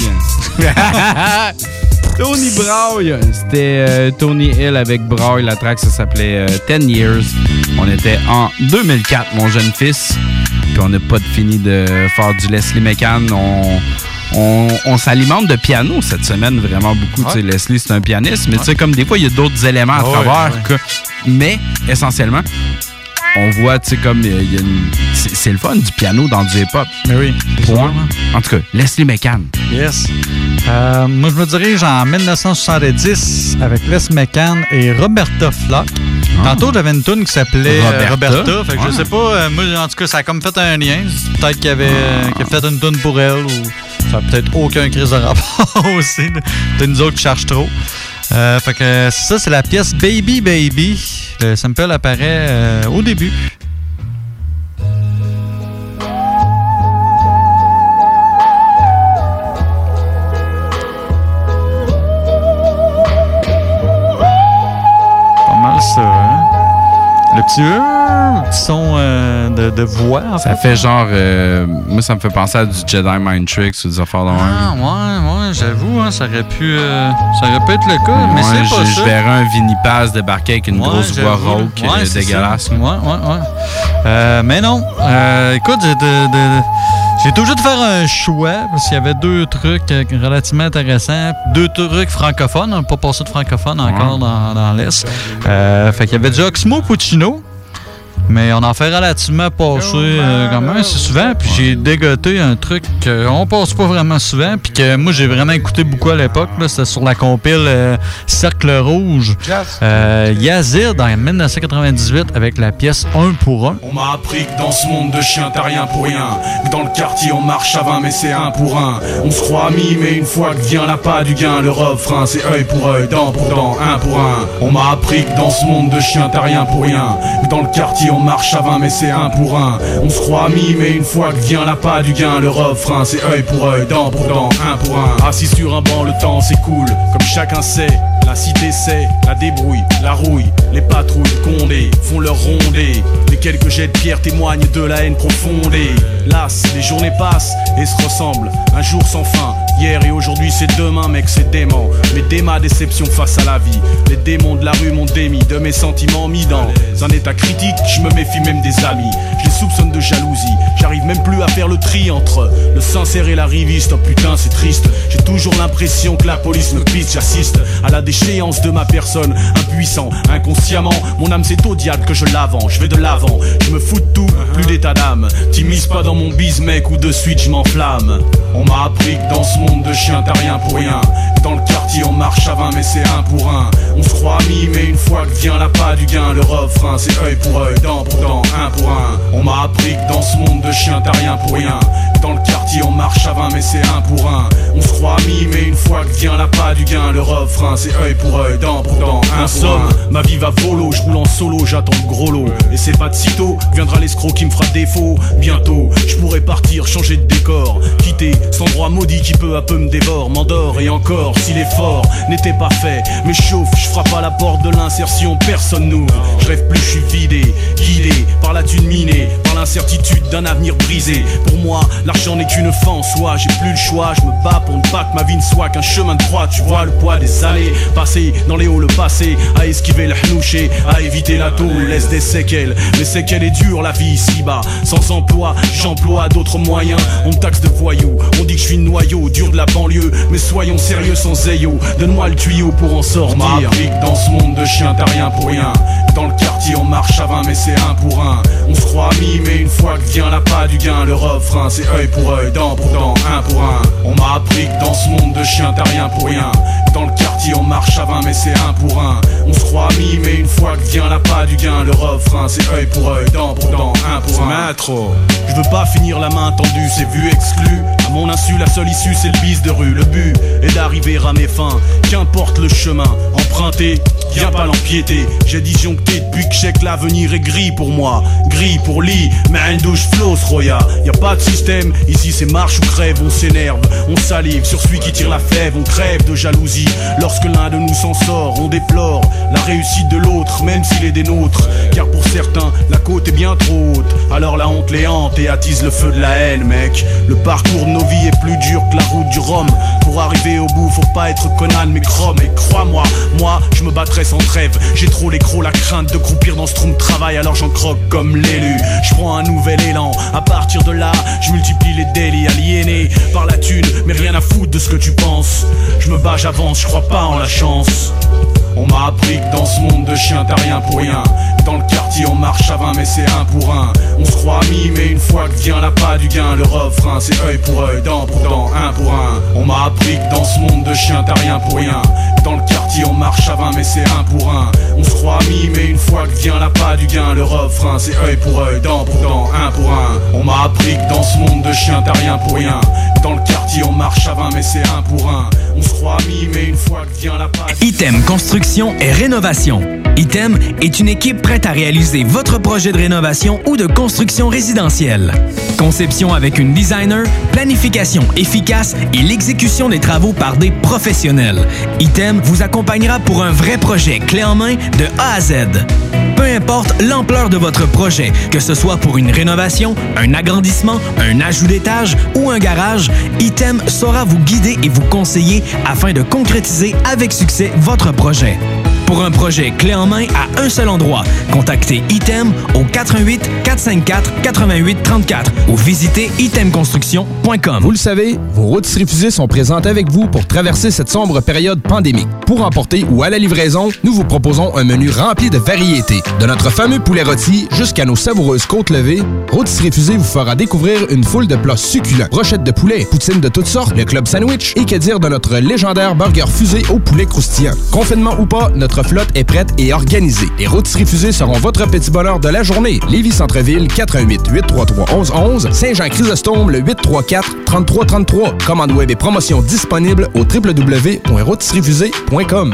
Tony Braille. C'était euh, Tony Hill avec Braille. La track, ça s'appelait euh, ten years. On était en deux mille quatre, mon jeune fils. Puis on n'a pas fini de faire du Leslie McCann. On, on, on s'alimente de piano cette semaine vraiment beaucoup. Ouais. Leslie, c'est un pianiste. Mais ouais. tu sais, comme des fois, il y a d'autres éléments à ouais, travers. Ouais. Que, mais essentiellement, on voit, tu sais, comme il y a une... C'est, c'est le fun du piano dans du hip-hop. Mais oui. Point. En tout cas, Leslie McCann. Yes. Euh, moi, je me dirige en dix-neuf cent soixante-dix avec Les McCann et Roberta Flack. Ah. Tantôt, j'avais une tune qui s'appelait Roberta. Roberta fait que ah. je sais pas, euh, moi, en tout cas, ça a comme fait un lien. Peut-être qu'il y avait ah. qu'il a fait une tune pour elle, ou ça a peut-être aucun crise de rapport aussi. Peut-être nous autres qui cherchent trop. Euh, fait que ça, c'est la pièce Baby Baby. Le sample apparaît euh, au début. Pas mal ça, hein? Le petit, euh, petit son euh, de, de voix, en Ça fait. fait genre... euh, moi, ça me fait penser à du Jedi Mind Tricks ou des affaires de même. Ah, ouais, ouais, j'avoue, hein, ça aurait pu euh, ça aurait pu être le cas, mais Ouais, c'est pas je, ça. je verrais un Vinnie Paz débarquer avec une Ouais, grosse voix j'avoue, rauque ouais, euh, c'est dégueulasse. ça. Ouais, ouais, ouais. Euh, mais non. Euh, écoute, j'ai, de, de, j'ai été obligé de faire un choix parce qu'il y avait deux trucs euh, relativement intéressants. Deux trucs francophones. On n'a pas passé de francophone encore Ouais. dans, dans l'Est. Euh, fait qu'il y avait déjà Oxmo Puccino. Mais on en fait relativement passer euh, quand même assez souvent. Puis j'ai dégoté un truc qu'on passe pas vraiment souvent. Puis que moi, j'ai vraiment écouté beaucoup à l'époque. Là, c'était sur la compile euh, Cercle Rouge. Euh, Yazid en dix-neuf cent quatre-vingt-dix-huit avec la pièce un pour un. On m'a appris que dans ce monde de chiens t'as rien pour rien. Que dans le quartier on marche à vingt mais c'est un pour un. On se croit amis mais une fois que vient la pas du gain, le refrain c'est œil pour œil, dent pour dent, un pour un. On m'a appris que dans ce monde de chiens t'as rien pour rien. Que dans le quartier on marche à vingt mais c'est un pour un. On se croit amis mais une fois que vient la pas du gain, le refrain c'est œil pour œil, dent pour dent, un pour un. Assis sur un banc le temps s'écoule, comme chacun sait. La cité sait, la débrouille, la rouille, les patrouilles Condé font leur rondée. Les quelques jets de pierre témoignent de la haine profondée. Las, les journées passent et se ressemblent, un jour sans fin. Hier et aujourd'hui c'est demain mec, c'est dément. Mais dès ma déception face à la vie, les démons de la rue m'ont démis de mes sentiments mis dans un état critique. Je me méfie même des amis, je les soupçonne de jalousie. J'arrive même plus à faire le tri entre le sincère et la riviste. Oh putain c'est triste, j'ai toujours l'impression que la police me pisse. J'assiste à la déchéance de ma personne, impuissant, inconsciemment. Mon âme c'est au diable que je l'avance, je vais de l'avant. Je me fous de tout, plus d'état d'âme. T'immises pas dans mon bise mec ou de suite je m'enflamme. On m'a appris que dans ce monde de chiens t'as rien pour rien. Dans le quartier on marche à vingt mais c'est un pour un. On se croit amis mais une fois que vient la pas du gain, le refrain c'est œil pour œil, dent pour dent, un pour un. On m'a appris que dans ce monde de chiens t'as rien pour rien. Dans le quartier on marche à vingt mais c'est un pour un. On se croit amis mais une fois que vient la pas du gain, le refrain c'est œil pour œil, dent pour dent, un pour un. Ma vie va volo, je roule en solo, j'attends le gros lot. Et c'est pas de sitôt, viendra l'escroc qui me fera défaut. Bientôt, je pourrai partir, changer de décor, quitter cet endroit maudit qui peu à peu me dévore, m'endort. Et encore, si l'effort n'était pas fait, me chauffe, je frappe à la porte de l'insertion, personne n'ouvre. Je rêve plus, je suis vidé, guidé par la thune minée, par l'incertitude d'un avenir brisé. Pour moi, l'argent n'est qu'une fin en soi, j'ai plus le choix, je me bats pour ne pas que ma vie ne soit qu'un chemin de croix. Tu vois le poids des années passées dans les hauts, le passé, à esquiver le hnouché, à éviter la tôle, laisse des séquelles. Mais séquelles est dure la vie ici-bas, sans emploi, j'emploie d'autres moyens. On me taxe de voyou, on dit que je suis noyau, dur de la banlieue, mais soyons sérieux sans zéyo. Donne-moi le tuyau pour en sortir. On m'a appris que dans ce monde de chiens t'as rien pour rien. Dans le quartier on marche à vingt mais c'est un pour un. On se croit amis mais une fois que vient la pas du gain, le refrain c'est œil pour œil, dent pour dent, un pour un. On m'a appris que dans ce monde de chiens t'as rien pour rien. Dans le quartier on marche à vingt mais c'est un pour un. On se croit amis mais une fois que vient la pas du gain, le refrain c'est œil pour œil, dent pour dent, un pour un. Maître, je veux pas finir la main tendue, c'est vu exclu. À mon insu la seule issue c'est le bise de rue. Le but est d'arriver à mes fins, qu'importe le chemin emprunté, viens pas l'empiéter. J'ai disjoncté depuis que check l'avenir est gris pour moi, gris pour lit, mais une douche flosse roya. Y a pas de système, ici c'est marche ou crève. On s'énerve, on salive sur celui qui tire la fève. On crève de jalousie lorsque l'un de nous s'en sort. On déplore la réussite de l'autre, même s'il est des nôtres. Car pour certains, la côte est bien trop haute, alors la honte les hante et attise le feu de la haine, mec. Le parcours de nos vies est plus dur que la route du Rhum. Pour arriver au bout, faut pas être Conan mais Chrome. Et crois-moi, moi, je me battrai sans trêve. J'ai trop l'écro, la crainte de croupir dans ce trou de travail, alors j'en croque comme l'élu. Je prends un nouvel élan, à partir de là, je multiplie les délits aliénés par la thune, mais rien à foutre de ce que tu penses. Je me bats, j'avance, je crois pas en la chance. On m'a appris que dans ce monde de chiens t'as rien pour rien. Dans le quartier on marche à vingt mais c'est un pour un. On se croit amis mais une fois que vient la pas du gain, le refrain c'est œil pour œil, dent pour dent, un pour un. On m'a appris que dans ce monde de chiens t'as rien pour rien. Dans le quartier on marche à vingt mais c'est un pour un. On se croit amis mais une fois que vient la pas du gain, le refrain c'est œil pour œil, dent pour dent, un pour un. On m'a appris que dans ce monde de chiens t'as rien pour rien. Dans le quartier on marche à vingt mais c'est un pour un. On se croit amis mais une fois que vient la pas du... Item Construction et Rénovation. Item est une équipe prête prête à réaliser votre projet de rénovation ou de construction résidentielle. Conception avec une designer, planification efficace et l'exécution des travaux par des professionnels. Item vous accompagnera pour un vrai projet clé en main de A à Z. Peu importe l'ampleur de votre projet, que ce soit pour une rénovation, un agrandissement, un ajout d'étage ou un garage, Item saura vous guider et vous conseiller afin de concrétiser avec succès votre projet. Pour un projet clé en main à un seul endroit, contactez Item au quatre un huit, quatre cinq quatre, huit huit trois quatre ou visitez item construction point com. Vous le savez, vos rôtisseries fusées sont présentes avec vous pour traverser cette sombre période pandémique. Pour emporter ou à la livraison, nous vous proposons un menu rempli de variétés. De notre fameux poulet rôti jusqu'à nos savoureuses côtes levées, Rôtisseries fusées vous fera découvrir une foule de plats succulents. Brochettes de poulet, poutines de toutes sortes, le club sandwich et que dire de notre légendaire burger fusé au poulet croustillant. Confinement ou pas, notre Notre flotte est prête et organisée. Les rôtisseries fusées seront votre petit bonheur de la journée. Lévis Centre-Ville, quatre un huit, huit trois trois, un un un un. Saint-Jean-Chrysostome, le huit trois quatre, trois trois trois trois. Commande web et promotion disponible au w w w point rôtisserie fusée point com.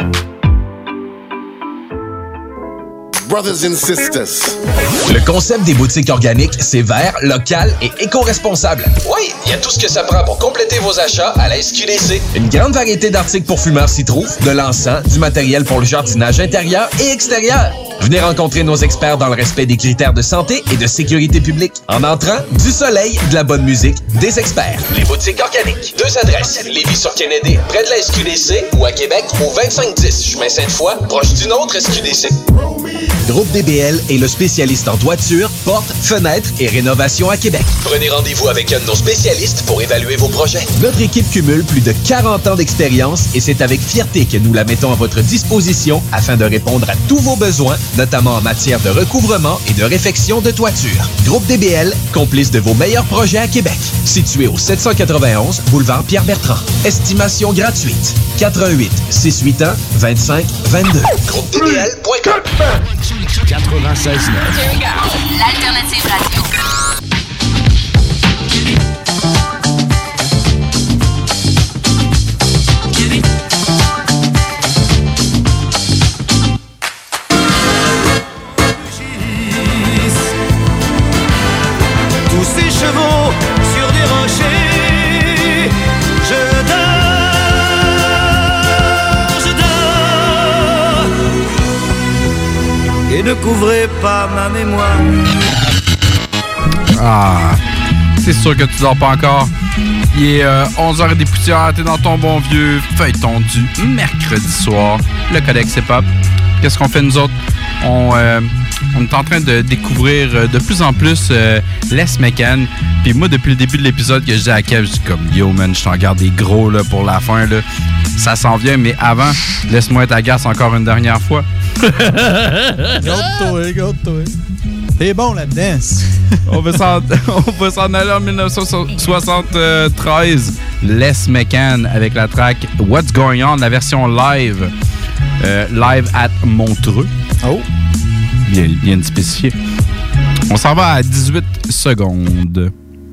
Brothers and sisters. Le concept des boutiques organiques, c'est vert, local et éco-responsable. Oui, il y a tout ce que ça prend pour compléter vos achats à la S Q D C. Une grande variété d'articles pour fumeurs s'y trouve, de l'encens, du matériel pour le jardinage intérieur et extérieur. Venez rencontrer nos experts dans le respect des critères de santé et de sécurité publique. En entrant, du soleil, de la bonne musique, des experts. Les boutiques organiques. Deux adresses. Lévis-sur-Kennedy, près de la S Q D C, ou à Québec, au vingt-cinq dix, chemin Sainte-Foy, proche d'une autre S Q D C. Groupe D B L est le spécialiste en toiture, portes, fenêtres et rénovation à Québec. Prenez rendez-vous avec un de nos spécialistes pour évaluer vos projets. Notre équipe cumule plus de quarante ans d'expérience et c'est avec fierté que nous la mettons à votre disposition afin de répondre à tous vos besoins, notamment en matière de recouvrement et de réfection de toiture. Groupe D B L, complice de vos meilleurs projets à Québec. Situé au sept cent quatre-vingt-onze, boulevard Pierre-Bertrand. Estimation gratuite. quatre un huit, six huit un, vingt-cinq vingt-deux. groupe D B L point com. quatre-vingt-seize neuf. Here we go. L'alternative radio. Tous ces chevaux sur des rochers, je dors, je dors, et ne couvrez pas ma mémoire. Ah, c'est sûr que tu dors pas encore. Il est euh, onze heures des poussières, t'es dans ton bon vieux feuilleton du mercredi soir. Le Codex Hip-Hop. Qu'est-ce qu'on fait nous autres? On, euh, on est en train de découvrir de plus en plus euh, Les Mécan. Puis moi, depuis le début de l'épisode que je dis à Kev, je dis comme « Yo, man, je t'en garde des gros là, pour la fin. Là. Ça s'en vient, mais avant, laisse-moi être agace encore une dernière fois. » Garde-toi, garde-toi. T'es bon là-dedans. on va s'en, on va s'en aller en dix-neuf cent soixante-treize. Les Mécan avec la track What's Going On, la version live. Euh, live at Montreux. Oh! Bien, bien spécifié. On s'en va à dix-huit secondes.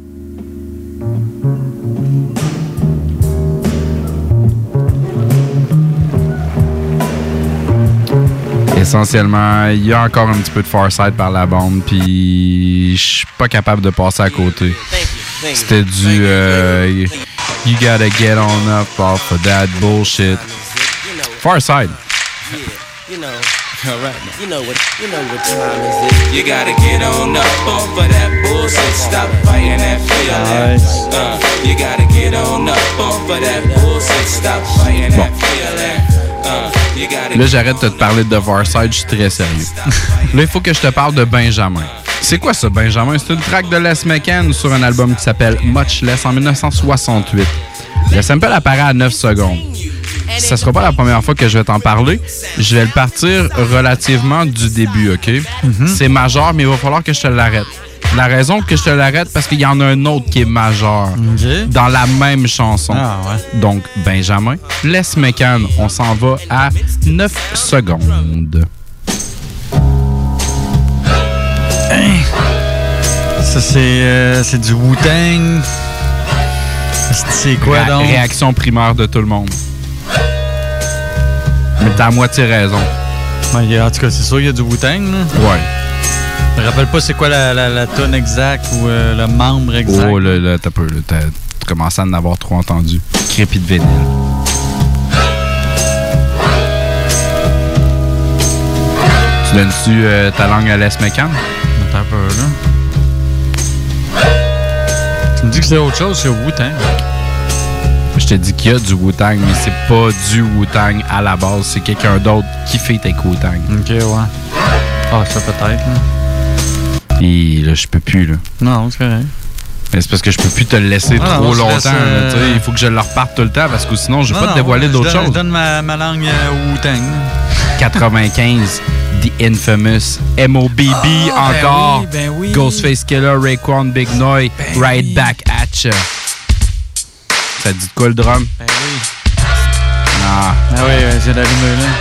Essentiellement, il y a encore un petit peu de Farside par la bande, puis je suis pas capable de passer à côté. C'était du euh, You gotta get on up off of that bullshit. Farside. You know, all right. You know what? You know what time is it? You gotta get on up off of that bullshit. Stop fighting that feeling. Uh, you gotta get on up off of that bullshit. Stop fighting that feeling. Uh, you gotta. Là, j'arrête de te parler de Farside, je suis très sérieux. Là, il faut que je te parle de Benjamin. C'est quoi ça, Benjamin? C'est une track de Les Mécan sur un album qui s'appelle Much Less en dix-neuf cent soixante-huit. Le sample apparaît à neuf secondes. Ça sera pas la première fois que je vais t'en parler. Je vais le partir relativement du début, OK? Mm-hmm. C'est majeur, mais il va falloir que je te l'arrête. La raison que je te l'arrête, parce qu'il y en a un autre qui est majeur okay. dans la même chanson. Ah, ouais. Donc, Benjamin, Les Mécan, on s'en va à neuf secondes. Hey. Ça, c'est, euh, c'est du Wu-Tang. C'est quoi, Ré- donc? Réaction primaire de tout le monde. Mais t'as à moitié raison. Ouais, en tout cas, c'est sûr qu'il y a du Wu-Tang. Là. Ouais. Je me rappelle pas c'est quoi la, la, la tonne exacte ou euh, le membre exact. Oh, là, là, t'as peu. Là, t'as, t'as commencé à en avoir trop entendu. Crépi de vinyle. Tu donnes-tu euh, ta langue à Les McCann? T'as un peu, là. Tu me dis que c'est autre chose que Wu-Tang. Je te dis qu'il y a du Wu-Tang, mais c'est pas du Wu-Tang à la base. C'est quelqu'un d'autre qui fait avec Wu-Tang. Ok, ouais. Ah, ça peut-être, là. Et là, je peux plus, là. Non, c'est correct. Mais c'est parce que je peux plus te le laisser ah, trop non, longtemps. laisse, euh... là, il faut que je le reparte tout le temps parce que sinon, je vais pas non, te dévoiler ouais, d'autres je donne, choses. Je donne ma, ma langue euh, Wu-Tang. quatre-vingt-quinze, The Infamous, M O B B oh, encore, ben oui, ben oui. Ghostface Killer, Raekwon, Big Noi, ben Right oui. Back at ya. Ça dit de quoi le drum? Ben oui. Ah. Ben oui, j'ai d'allumer là.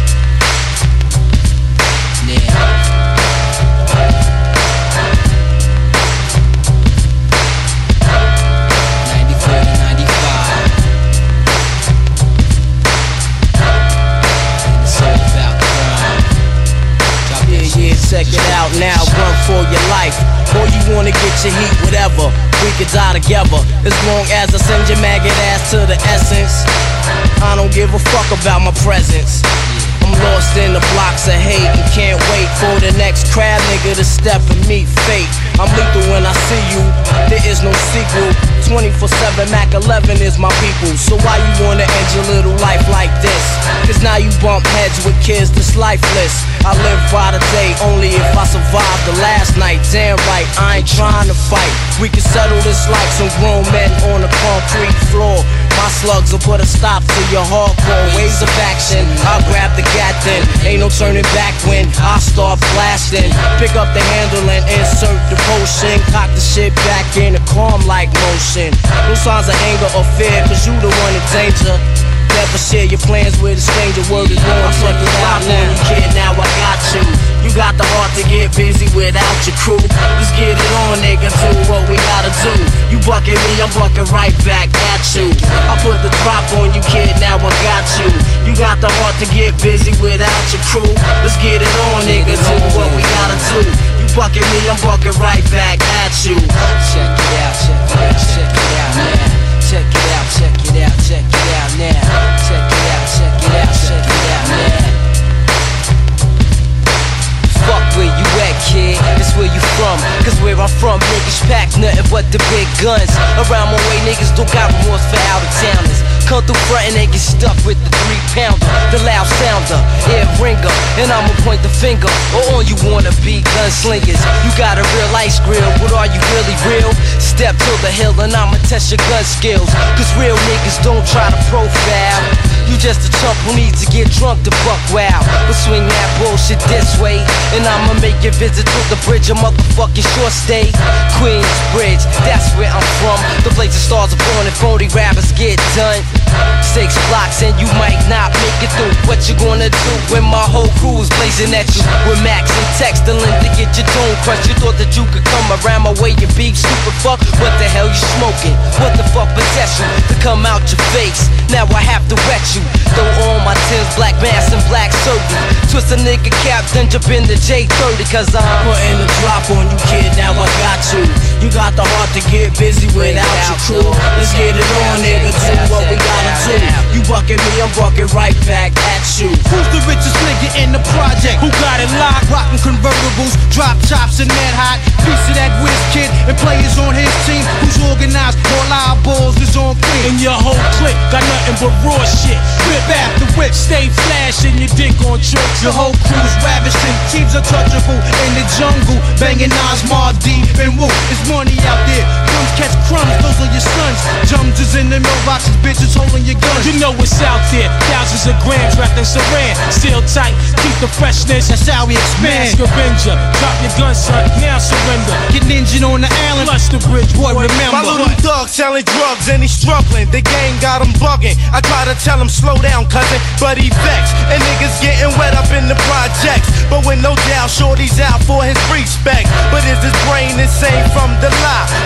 Check it out now, run for your life. Or you wanna get your heat, whatever. We could die together. As long as I send your maggot ass to the essence. I don't give a fuck about my presence. I'm lost in the blocks of hate and can't wait for the next crab nigga to step and meet fate. I'm lethal when I see you, there is no sequel. twenty-four seven Mac eleven is my people. So why you wanna end your little life like this? Cause now you bump heads with kids that's lifeless. I live by the day only if I survive the last night. Damn right, I ain't trying to fight. We can settle this like some grown men on a concrete floor. My slugs will put a stop to your hardcore ways of action. I'll grab the gat then, ain't no turning back when I start blasting. Pick up the handle and insert the potion. Cock the shit back in a calm like motion. No signs of anger or fear, cause you the one in danger. Never share your plans with a stranger. Word is born, I fuck it out now. You kid, now I got you. You got the heart to get busy without your crew. Let's get it on, nigga, do what we gotta do. You bucking me, I'm bucking right back at you. I put the drop on you, kid, now I got you. You got the heart to get busy without your crew. Let's get it on, nigga, do what we gotta do. You bucking me, I'm bucking right back at you. Check it out, check it out, check it out now. Check it out, check it out, check it out now. Check it out, check it out, check it out now. Fuck where you at, kid, it's where you from. Cause where I'm from, niggas pack nothing but the big guns. Around my way, niggas don't got remorse for out of towners. Come through front and they get stuck with the three pounder, the loud sounder, ear ringer. And I'ma point the finger, or on you wanna be gunslingers. You got a real ice grill, but are you really real? Step to the hill and I'ma test your gun skills. Cause real niggas don't try to profile. You just a chump who needs to get drunk to buck wow. But swing that bullshit this way, and I'ma make your visit to the bridge a motherfucking short stay. Queensbridge, that's where I'm from. The place the stars are born and phony rappers get done. Six blocks and you might not make it through. What you gonna do when my whole crew is blazing at you? With Max and texting to get your dome crushed. You thought that you could come around my way and be stupid fuck? What the hell you smoking? What the fuck possess you to come out your face? Now I have to wet you. Throw on my Tim's, black mask and black surgery. Twist a nigga cap, then jump in the J thirty. Cause I'm putting the drop on you, kid, now I got you. You got the heart to get busy without your crew. Let's get it on, nigga, do what we gotta do. You bucking me, I'm bucking right back at you. Who's the richest nigga in the project? Who got it locked? Rockin' convertibles, drop chops and mad hot. Piece of that whiz kid and players on his team. Who's organized? All our balls is on clean. And your whole clique got nothing but raw shit. Whip after whip, stay flashing your dick on tricks. Your whole crew's ravishing, teams untouchable in the jungle. Banging Nas, Mar D, and Woo. It's money out there. Crumbs catch crumbs, those are your sons. Jumps in the mailboxes, bitches holding your guns. You know what's out there. Thousands of grams wrapped in saran. Still tight, keep the freshness. That's how we expand. Mask Avenger, drop your gun, son. Now surrender. Get ninja on the island, flush the bridge, boy, remember. My little thug selling drugs and he's struggling. The gang got him bugging. I try to tell him slow down, cousin, but he vexed. And niggas getting wet up in the projects. But with no doubt, shorty's out for his respect. But is his brain insane from the lie? For smoking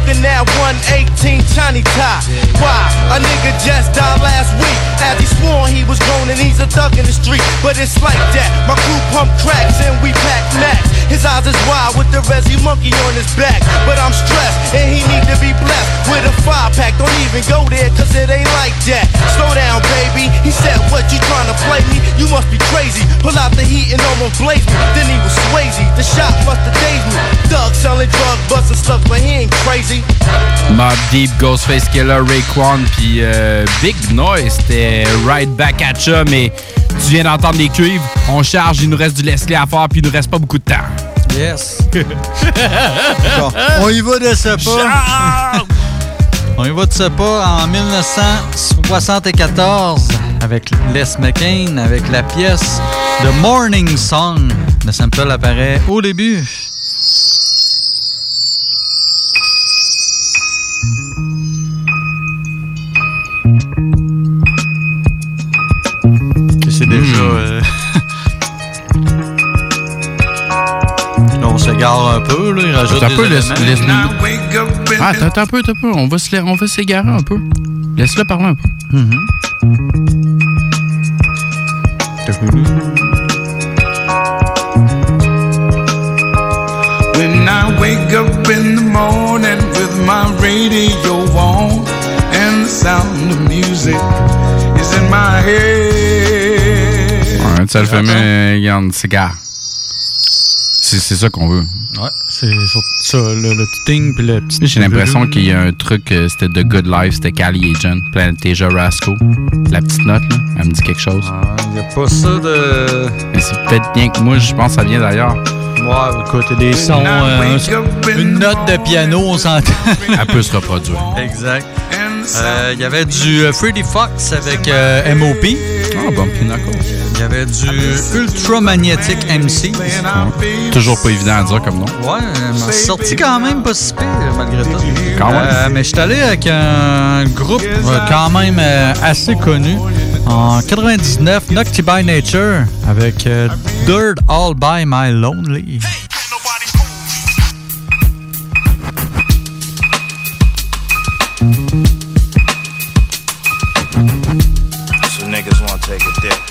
looking at one eighteen Johnny Tie. Why? A nigga just died last week. As he swore he was grown and he's a thug in the street. But it's like that. My crew pump cracks and we pack max. His eyes is wild with the Resi monkey on his back. But I'm stressed and he need to be blessed with a five pack. Don't even go there cause it ain't like that. Slow down, baby. He said, what, you trying to play me? You must be crazy. Pull out the heat and almost blaze me. Then he was Swayze. The shot must have dazed me. Thug selling drug busting stuff, but he ain't crazy. Mobb Deep, Ghostface Killah, Raekwon, puis euh, Big Noise, c'était Right Back at Ya, mais tu viens d'entendre les cuivres, on charge, il nous reste du Leslie à faire, puis il nous reste pas beaucoup de temps. Yes. Bon, on y va de ce pas. On y va de ce pas en dix-neuf cent soixante-quatorze avec Les McCain, avec la pièce The Morning Song. Le sample apparaît au début. C'est déjà... Mmh. Euh... là, on s'égare un peu, là. Il rajoute un des peu, éléments. laisse, laisse ah, attends un peu, attends un peu. On va, se, on va s'égarer un peu. Laisse-le parler un peu. Mm-hmm. When I wake up in the morning with my radio on and the sound of music is in my head. Ouais, ça le fait, mais regarde, cigare. C'est, c'est ça qu'on veut. Ouais, c'est ça, le, le petit ting puis le petit... J'ai l'impression qu'il y a un truc, euh, c'était The Good Life, c'était Cali Agent, Planetasia Rasco. La petite note, là, elle me dit quelque chose. Ah, il n'y a pas ça de... Mais c'est peut-être bien que moi, je pense que ça vient d'ailleurs. Ouais, écoute, des sons, euh, une note de piano, on s'entend. Elle peut se reproduire. Exact. Il euh, y avait du Freddie Fox avec euh, M O P. Ah, bon, puis d'accord. Il y avait du Ultramagnetic M C. Ouais. Toujours pas évident à dire comme nom. Ouais, m'a sorti quand même pas si pire, malgré tout. Quand même. Euh, mais je suis allé avec un groupe euh, quand même euh, assez connu. En quatre-vingt-dix-neuf, Nocti by Nature avec euh, Dirt All By My Lonely. So niggas wanna take a dip.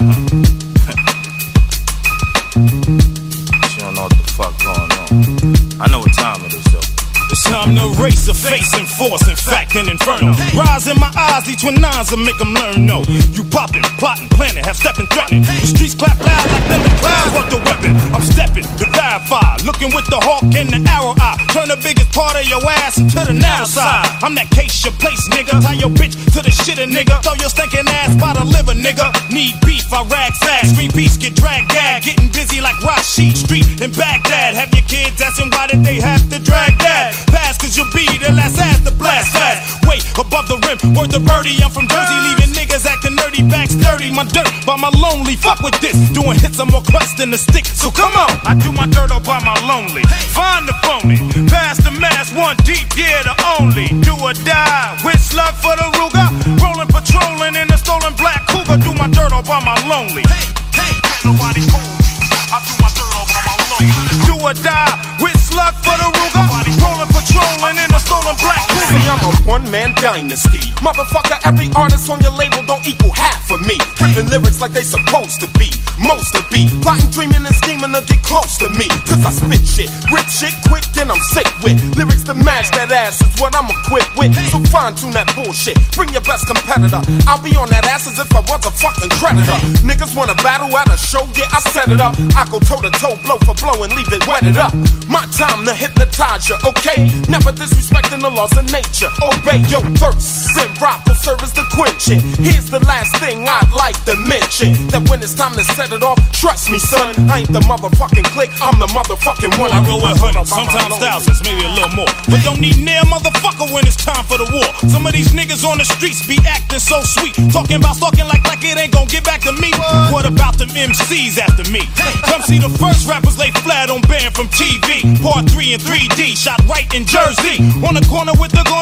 You don't know what the fuck going on. I know what time it is though. It's time to race a face and force, in fact, an inferno. Rise in my eyes, each one nines and make them learn, no. You poppin', plotting, planning, have stepping, threatening. The streets clap loud like them the clouds work the weapon. I'm stepping, the verify, looking with the hawk and the arrow eye. Turn the biggest part of your ass into the narrow side. I'm that case your place, nigga. Tie your bitch to the shitter, nigga. Throw your stinking ass by the liver, nigga. Need beef, I rag fast. Screen beats get dragged gag. Getting busy like Rashid Street in Baghdad. Have your kids asking why did they have to drag that? Pass cause you'll be the last ass to blast fast. Wait, above the rim, word the birdie. I'm from Jersey, leaving niggas acting nerdy, back sturdy. My dirt by my lonely, fuck with this. Doing hits, I'm more clutch than the stick. So come on, I do my dirt all by my lonely. Find the phony, pass the mass, one deep, yeah, the only. Do or die, with slug for the Ruger. Rolling, patrolling in a stolen black Cougar. Do my dirt all by my lonely. Hey, hey, nobody cool. I do my dirt all by my lonely. Do or die, with slug for the Ruger. Rolling, patrolling in a stolen black Cougar. See, I'm a one-man dynasty. Motherfucker, every artist on your label don't equal half of me. Ripping lyrics like they supposed to be. Most to be. Plotting, dreaming, and scheming to get close to me. Cause I spit shit, rip shit quick, then I'm sick with. Lyrics to match that ass is what I'm equipped with. So fine-tune that bullshit. Bring your best competitor. I'll be on that ass as if I was a fucking creditor. Niggas wanna battle at a show, yeah, I set it up. I go toe-to-toe, blow for blow, and leave it wetted up. My time to hypnotize you, okay? Never disrespecting the laws of nature. Obey your thirst, and rock will serve as the quenching. Here's the last thing I'd like to mention. That when it's time to set it off, trust me, son, I ain't the motherfucking click, I'm the motherfucking one. I go with hundreds, sometimes thousands, maybe a little more. But don't need near motherfucker when it's time for the war. Some of these niggas on the streets be acting so sweet. Talking about stalking like, like it ain't gon' get back to me. What, what about them M Cs after me? Come see the first rappers lay flat on banned from T V. Part three in three D, shot right in Jersey. On the corner with the corners looking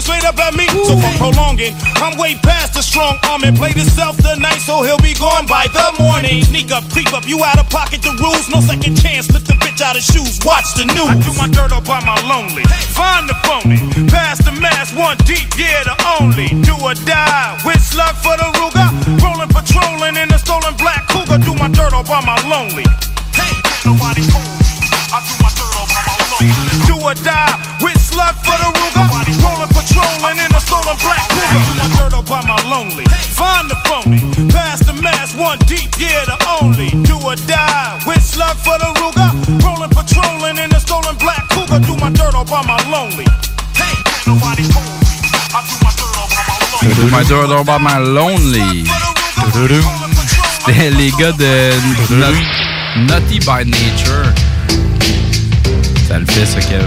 straight up at me. So for prolonging, I'm way past the strong arm and played himself the night, so he'll be gone by the morning. Sneak up, creep up, you out of pocket the rules, no second chance, lift the bitch out of shoes, watch the news. I do my dirt up by my lonely, find the phony, pass the mask, one deep, yeah, the only. Do or die, with slug for the Ruger, rolling, patrolling in the stolen black Cougar. Do my dirt up by my lonely. Hey, nobody cool. I do my dirt up by my lonely. Do or die, with slug for the Ruger, rolling, patrolling in the stolen black Cougar. Do my dirt up by my lonely, find the phony, pass the mask, one deep, yeah, the only. Do or die, with slug for the Ruger, rolling, patrolling in the stolen black Cougar. Do my dirt up by my lonely. Hey, nobody cool. I do my dirt up by my lonely. Do my dirt up by my lonely. C'était les gars de Not- Naughty by Nature. Ça le fait, ça, Kev.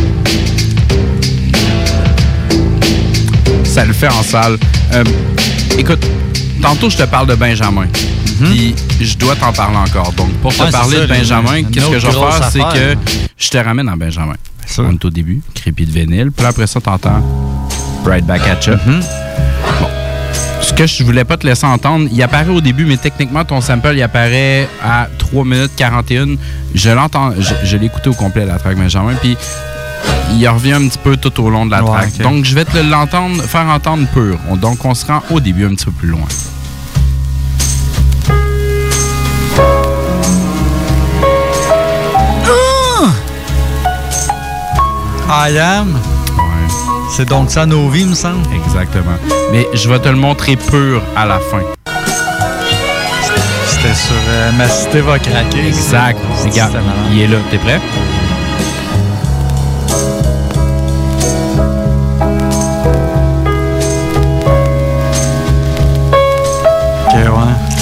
Ça le fait en salle. Euh, écoute, tantôt, je te parle de Benjamin. Puis, je dois t'en parler encore. Donc, pour te Ouais, parler ça, de Benjamin, une qu'est-ce que je vais autre faire? C'est grosse que affaire. je te ramène en Benjamin. On est au début, crépi de vinyle. Puis après ça, t'entends Right Back at Ya. Bon. Ce que je voulais pas te laisser entendre, il apparaît au début, mais techniquement, ton sample, il apparaît à trois minutes quarante et un. Je l'entends, je, je l'ai écouté au complet, la track Benjamin, puis il revient un petit peu tout au long de la Ouais, track. okay. Donc, je vais te l'entendre, faire entendre pur. On- donc, on se rend au début un petit peu plus loin. I am. C'est donc ça nos vies, me semble. Exactement. Mais je vais te le montrer pur à la fin. C'était sur euh, Ma cité va craquer. Exact. ça. Regarde, C'était malade. il est là. T'es prêt? Ok, ouais.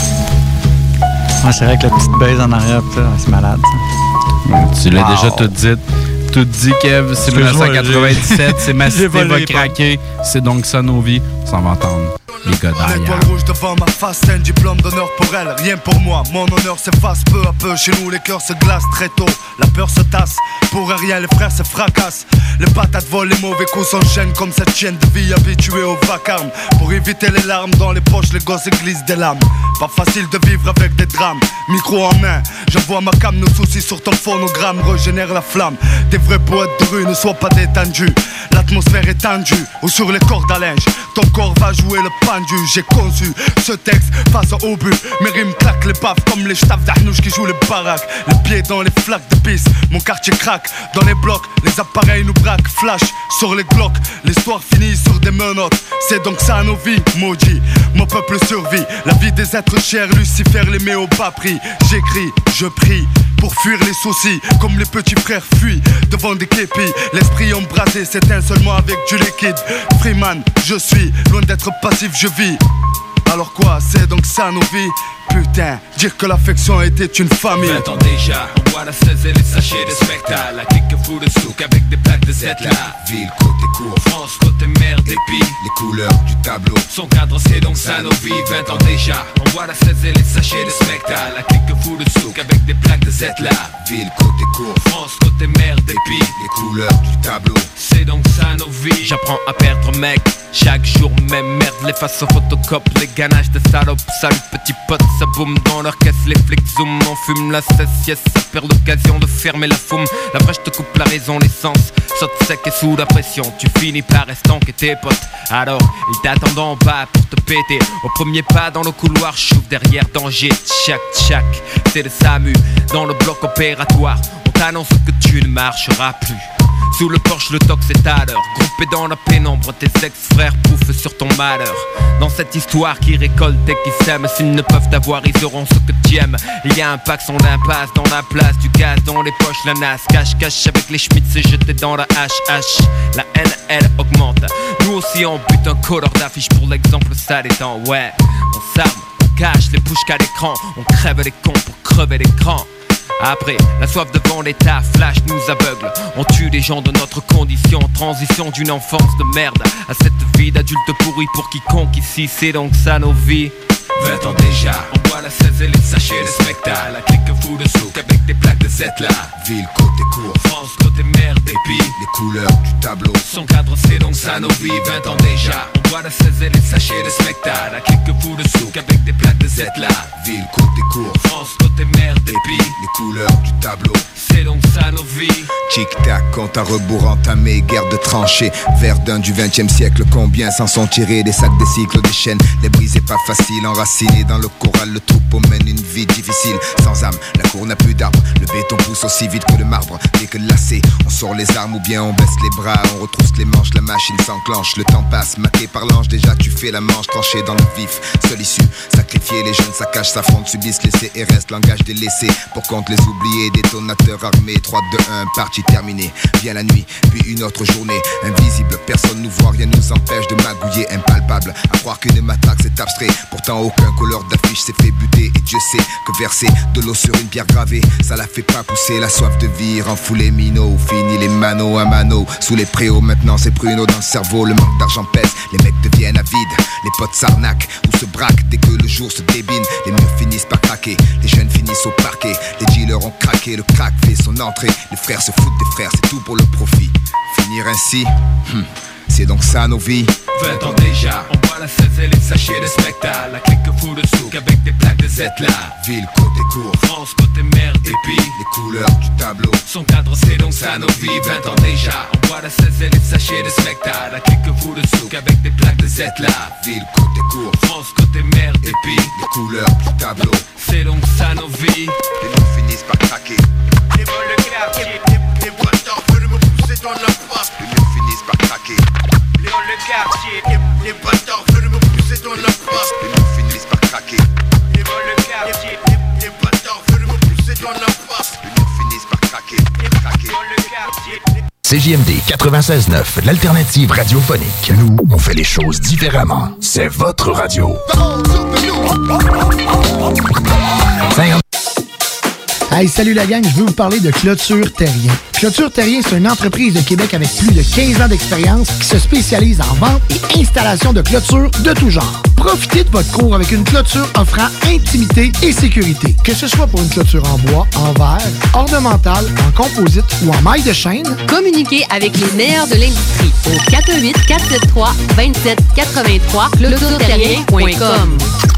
Ouais, c'est vrai que la petite baise en arrière, pis ça, c'est malade, ça. Tu l'as Wow. déjà tout dit. Tout dit, Kev. C'est Excuse-moi, dix-neuf cent quatre-vingt-dix-sept. C'est Ma j'ai cité volé va les pommes. craquer. C'est donc ça nos vies. Ça va entendre. Les gars derrière. L'étoile rouge devant ma face, c'est un diplôme d'honneur pour elle. Rien pour moi, mon honneur s'efface peu à peu. Chez nous, les cœurs se glacent très tôt. La peur se tasse, pour rien, les frères se fracassent. Les patates volent, les mauvais coups s'enchaînent comme cette chienne de vie habituée au vacarme. Pour éviter les larmes dans les poches, les gosses glissent des lames. Pas facile de vivre avec des drames. Micro en main, j'envoie ma cam, nos soucis sur ton phonogramme régénère la flamme. Des vrais poètes de rue ne soient pas détendus. L'atmosphère est tendue, ou sur les cordes à linge. Ton corps va jouer le pendu. J'ai conçu ce texte face au but. Mes rimes claquent les baffes comme les staffs d'Arnouche qui jouent les baraques. Les pieds dans les flaques de pisse, mon quartier craque. Dans les blocs, les appareils nous braquent. Flash sur les glocks, l'histoire finit sur des menottes. C'est donc ça nos vies, maudit. Mon peuple survit, la vie des êtres chers. Lucifer les met au bas prix. J'écris, je prie pour fuir les soucis, comme les petits frères fuient devant des képis. L'esprit embrasé s'éteint seulement avec du liquide. Freeman, je suis loin d'être passif, je vis. Alors quoi, c'est donc ça nos vies? Putain, dire que l'affection était une famille. vingt ans déjà, on boit la seize et les sachets de spectacle. La clique fout le souk avec des plaques de Z là. Ville, côté court, France, côté mer, dépit. Les couleurs du tableau sont cadres, c'est donc ça nos vies. vingt ans déjà, on boit la seize et les sachets de spectacle. La clique fout le souk avec des plaques de Z là. Ville, côté court, France, côté mer, dépit. Les couleurs du tableau, c'est donc ça nos vies. J'apprends à perdre mec, chaque jour même merde. Les faces aux photocopes, les ganaches de salopes. Salut petit pote, ça boum dans leur caisse, les flics zoom. On fume la cesse, yes, ça perd l'occasion de fermer la foume. La brèche te coupe la raison, l'essence saute sec et sous la pression. Tu finis par estanquer tes potes. Alors, ils t'attendent en bas pour te péter. Au premier pas dans le couloir, j'ouvre derrière danger. Tchac, tchac, c'est le SAMU dans le bloc opératoire. On t'annonce que tu ne marcheras plus. Sous le porche, le tox est à l'heure. Groupé dans la pénombre, tes ex-frères pouffent sur ton malheur. Dans cette histoire qui récolte et qui sème, s'ils ne peuvent t'avoir, ils auront ce que tu aimes. Il y a un pack son d'impasse dans la place, du gaz dans les poches, la nasse. Cache, cache avec les schmitts, c'est jeté dans la hache, hache. La haine, elle augmente. Nous aussi on bute un colleur d'affiche pour l'exemple, ça détend. Ouais, on s'arme, on cache les bouches qu'à l'écran. On crève les cons pour crever l'écran. Après, la soif devant l'état, flash nous aveugle. On tue des gens de notre condition. Transition d'une enfance de merde à cette vie d'adulte pourri pour quiconque ici. C'est donc ça nos vies. vingt ans déjà, on boit la seize et les sachets de spectacle. La clique fout le souk avec des plaques de Z là. Ville, côté court, France, côté mer, dépit. Les couleurs du tableau sont cadencées donc ça nos vies, vingt ans déjà. On boit la seize et les sachets de spectacle à quelques fous de souk avec des plaques de Z là. Ville, côté court, France, côté mer, dépit. Les couleurs du tableau, c'est donc ça nos vies. Tic-tac, compte à rebours entamé, guerre de tranchées. Verdun du vingtième siècle, combien s'en sont tirés? Des sacs, des cycles, des chaînes, les briser pas facile. Enracinés dans le corral, le troupeau mène une vie difficile. Sans âme, la cour n'a plus d'arbres. Le béton pousse aussi vite que le marbre. Dès que lassé, on sort les armes ou bien on baisse les bras. On retrousse les manches, la machine s'enclenche. Le temps passe, maté par l'ange, déjà tu fais la manche. Tranché dans le vif, seule issue. Sacrifier les jeunes, saccages, s'affrontent, subissent les C R S. Langage délaissé, pour compte les oubliés. Détonateurs armés, trois, deux, un, partie terminée. Vient la nuit, puis une autre journée. Invisible, personne nous voit, rien nous empêche de magouiller. Impalpable, à croire qu'une matraque c'est abstrait. Pourtant aucun couleur d'affiche s'est fait buter. Et Dieu sait que verser de l'eau sur une pierre gravée, ça la fait pas pousser. La soif de vie rend fou les minots. Fini les manos à mano. Sous les préaux maintenant c'est pruneau dans le cerveau. Le manque d'argent pèse, les mecs deviennent avides. Les potes s'arnaquent ou se braquent dès que le jour se débine. Les murs finissent par craquer, les jeunes finissent au parquet. Les dealers ont craqué, le crack fait son entrée. Les frères se foutent des frères, c'est tout pour le profit. Finir ainsi, hmm, c'est donc ça nos vies. Vingt ans déjà, on boit la seize et les sachets de spectacle à quelques fous de souk avec des plaques de Z là. Ville, côté court, France, côté mer, dépit. Les couleurs du tableau sont cadencées donc ça nos vies. Vingt ans déjà, on boit la seize et les sachets de spectacle à quelques fous de souk avec des plaques de Z là. Ville, côté court, France, côté mer, dépit. Les couleurs du tableau, c'est donc ça nos vies. Les mots finissent par craquer. Les vols de quartier, les boiteurs veulent me pousser dans la face. Les murs finissent par craquer. Les vols de quartier, les boiteurs veulent me pousser dans la face. Les murs finissent par craquer. Les vols de quartier, les boiteurs veulent me pousser dans la face. Les murs finissent par craquer, craquer. C J M D quatre-vingt-seize neuf, l'alternative radiophonique. Nous, on fait les choses différemment. C'est votre radio. Hey, salut la gang, je veux vous parler de Clôture Terrien. Clôture Terrien, c'est une entreprise de Québec avec plus de quinze ans d'expérience qui se spécialise en vente et installation de clôtures de tout genre. Profitez de votre cour avec une clôture offrant intimité et sécurité. Que ce soit pour une clôture en bois, en verre, ornementale, en composite ou en maille de chaîne, communiquez avec les meilleurs de l'industrie au quatre un huit, quatre sept trois, deux sept huit trois, clôture terrien point com.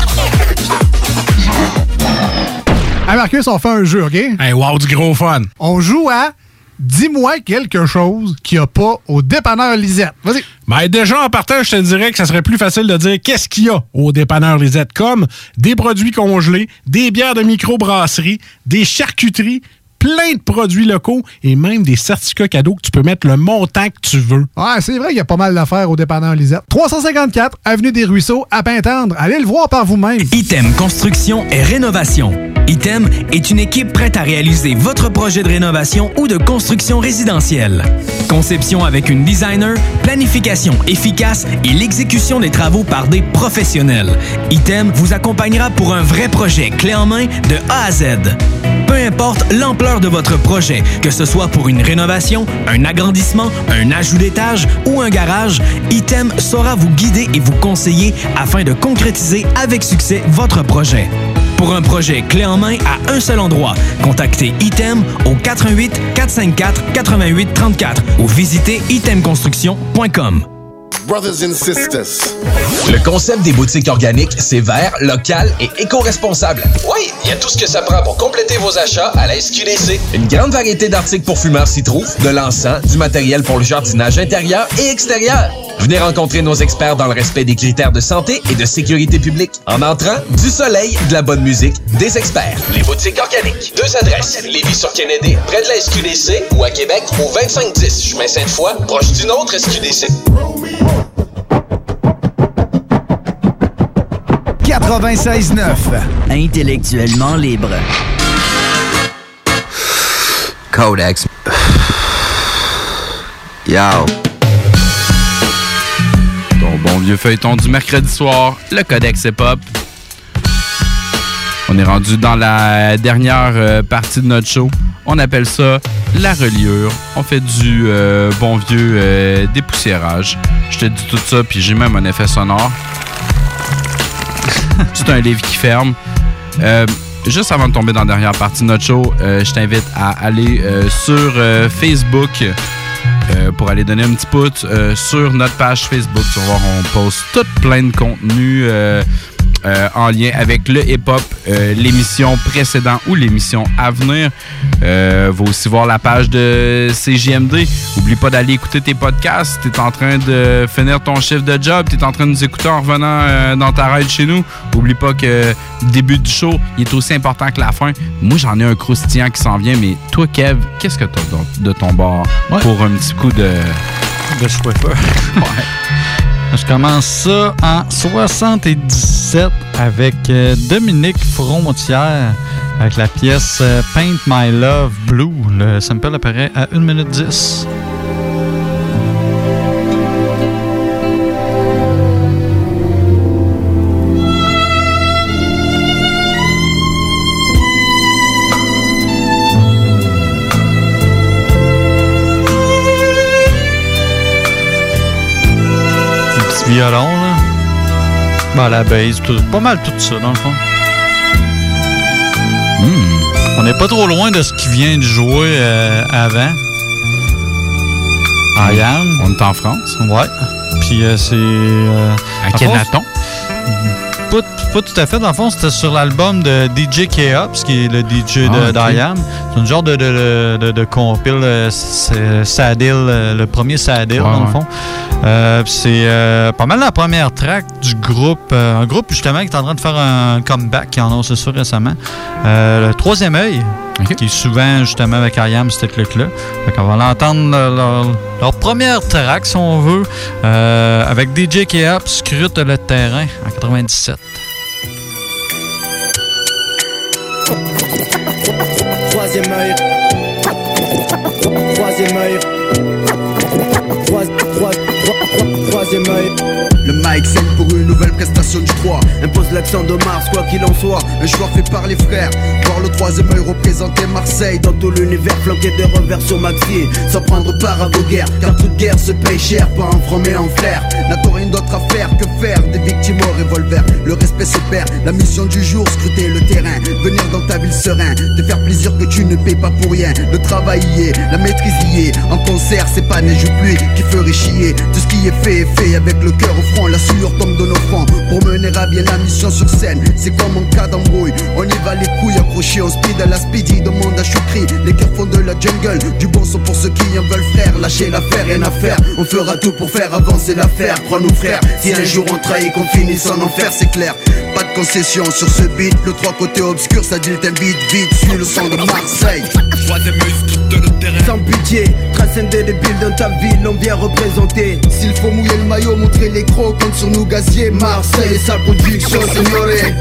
Hey Marcus, on fait un jeu, OK? Hey, wow, du gros fun! On joue à Dis-moi quelque chose qu'il n'y a pas au dépanneur Lisette. Vas-y. Ben déjà, en partant, je te dirais que ça serait plus facile de dire qu'est-ce qu'il y a au dépanneur Lisette, comme des produits congelés, des bières de microbrasserie, des charcuteries, plein de produits locaux et même des certificats cadeaux que tu peux mettre le montant que tu veux. Ouais, c'est vrai qu'il y a pas mal d'affaires au dépanneur Lisette. trois cent cinquante-quatre, Avenue des Ruisseaux, à Pintendre. Allez le voir par vous-même. Item Construction et Rénovation. Item est une équipe prête à réaliser votre projet de rénovation ou de construction résidentielle. Conception avec une designer, planification efficace et l'exécution des travaux par des professionnels. Item vous accompagnera pour un vrai projet clé en main de A à Z. Peu importe l'ampleur de votre projet, que ce soit pour une rénovation, un agrandissement, un ajout d'étage ou un garage, Item saura vous guider et vous conseiller afin de concrétiser avec succès votre projet. Pour un projet clé en main à un seul endroit, contactez Item au quatre un huit, quatre cinq quatre, huit huit trois quatre ou visitez item construction point com. Brothers and sisters. Le concept des boutiques organiques, c'est vert, local et éco-responsable. Oui, il y a tout ce que ça prend pour compléter vos achats à la S Q D C. Une grande variété d'articles pour fumeurs s'y trouve, de l'encens, du matériel pour le jardinage intérieur et extérieur. Venez rencontrer nos experts dans le respect des critères de santé et de sécurité publique. En entrant, du soleil, de la bonne musique, des experts. Les boutiques organiques. Deux adresses. Lévis-sur-Kennedy, près de la S Q D C, ou à Québec, au vingt-cinq dix chemin Sainte-Foy, proche d'une autre S Q D C. quatre-vingt-seize neuf. Intellectuellement libre. Codex. Yo. Ton bon vieux feuilleton du mercredi soir, le Codex Hip-Hop. On est rendu dans la dernière euh, partie de notre show. On appelle ça la reliure. On fait du euh, bon vieux euh, dépoussiérage. Je te dis tout ça, puis j'ai même un effet sonore. C'est un livre qui ferme. Euh, juste avant de tomber dans la dernière partie de notre show, euh, je t'invite à aller euh, sur euh, Facebook euh, pour aller donner un petit pouce euh, sur notre page Facebook. Tu vas voir, on poste tout plein de contenu euh, euh, en lien avec le hip-hop, euh, l'émission précédente ou l'émission à venir. Euh, va aussi voir la page de C J M D. Oublie pas d'aller écouter tes podcasts. Tu es en train de finir ton chiffre de job. Tu es en train de nous écouter en revenant euh, dans ta ride chez nous. Oublie pas que le début du show, il est aussi important que la fin. Moi, j'en ai un croustillant qui s'en vient, mais toi, Kev, qu'est-ce que tu as de ton bord ouais. pour un petit coup de... de Swiffer. Ouais. Je commence ça en soixante-dix-sept avec euh, Dominique Frontière avec la pièce euh, Paint My Love Blue. Le sample apparaît à une minute dix. Violon, là. Ben, la bass, tout, pas mal tout ça, dans le fond. Mm. On n'est pas trop loin de ce qui vient de jouer euh, avant. I Am. On est en France. Ouais. Puis euh, c'est... Euh, à Kenaton. Pas, pas tout à fait. Dans le fond, c'était sur l'album de D J K-Ops, qui est le D J ah, de okay. d'I Am. C'est une genre de, de, de, de compile. Euh, c'est Sadil, euh, le premier Sadil, ouais, dans le fond. Euh, c'est euh, pas mal la première track du groupe. Euh, un groupe, justement, qui est en train de faire un comeback, qui en a annoncé ça récemment. Euh, le Troisième Œil, okay. qui est souvent, justement, avec I Am, cette clique-là. Fait qu'on va l'entendre leur, leur première track, si on veut, euh, avec D J K-Ops, Scrute le terrain, en quatre-vingt-dix-sept. Troisième œil. Troisième œil. Troisième œil. Le mic saigne pour une nouvelle prestation du trois. Impose l'accent de Mars, quoi qu'il en soit. Un choix fait par les frères. Voir le troisième œil représenter Marseille dans tout l'univers, flanqué de revers sur Maxi. Sans prendre part à vos guerres, car toute guerre se paye cher. Pas en franc mais en flair. N'a-t-on rien d'autre à faire que faire des victimes au revolver. Le respect se perd, la mission du jour, scruter le terrain. Venir dans ta ville serein, te faire plaisir que tu ne payes pas pour rien. Le travail y est, la maîtrise y est. En concert c'est pas neige ou pluie qui ferait chier. Tout ce qui est fait est fait avec le cœur au front. La sueur tombe de nos fronts pour mener à bien la mission sur scène. C'est comme en cas d'embrouille, on y va les couilles accrochées en speed à la speedy. Demande à Choukri, les cœurs font de la jungle. Du bon son pour ceux qui en veulent frère. Lâchez l'affaire, rien à faire. On fera tout pour faire avancer l'affaire. Crois-nous frère, si un jour on trahit qu'on finisse en enfer, c'est clair. Pas de concession sur ce beat. Le trois côtés obscur, ça dit t'invite vite. Suis le son de Marseille. Sans pitié, transcender les billes dans ta ville, on vient représenter. S'il faut mouiller le maillot, montrer les crocs, compte sur nous gazier. Marseille et sa production, signoré.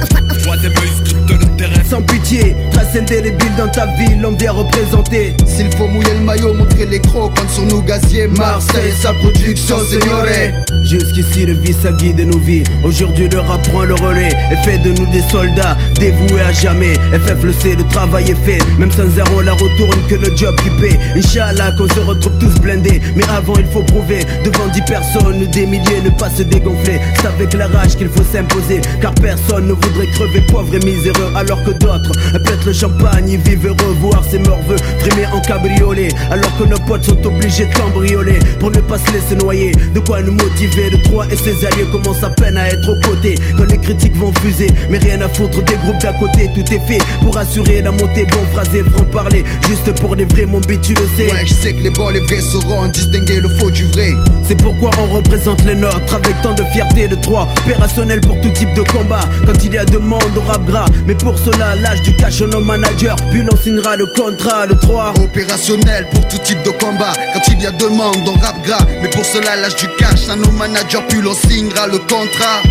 Sans pitié, transcender les billes dans ta ville, on vient représenter. S'il faut mouiller le maillot, montrer les crocs, compte sur nous gazier. Marseille et sa production, signoré. Jusqu'ici le vice a guidé nos vies. Aujourd'hui le rap prend le relais et fait de nous des soldats dévoués à jamais. F F le sait, le travail est fait. Même sans zéro, la retourne que le job qui paie. Inch'Allah qu'on se retrouve tous blindés. Mais avant il faut prouver devant dix personnes, des milliers, ne pas se dégonfler. C'est avec la rage qu'il faut s'imposer, car personne ne voudrait crever pauvre et miséreux. Alors que d'autres pètent le champagne, ils vivent heureux, voir ses morveux frimer en cabriolet. Alors que nos potes sont obligés de cambrioler pour ne pas se laisser noyer. De quoi nous motiver, de Troyes et ses alliés commencent à peine à être aux côtés. Quand les critiques vont fuser, mais rien à foutre des groupes d'à côté. Tout est fait pour assurer la montée, bon phrasé, franc parler. Juste pour les vrais, mon beat tu le sais. Ouais, je sais que les bons, les vrais sauront distinguer le faux du vrai. C'est pourquoi on représente les nôtres avec tant de fierté. De Troyes, opérationnel pour tout type de combat. Quand il y a demande au rap gras, mais pour cela l'âge du cash nos managers. Puis l'on signera le contrat de Troyes. Opérationnel pour tout type de combat. Quand il y a demande on rap gras, mais pour cela l'âge du cash à nos managers. Puis l'on signera le contrat.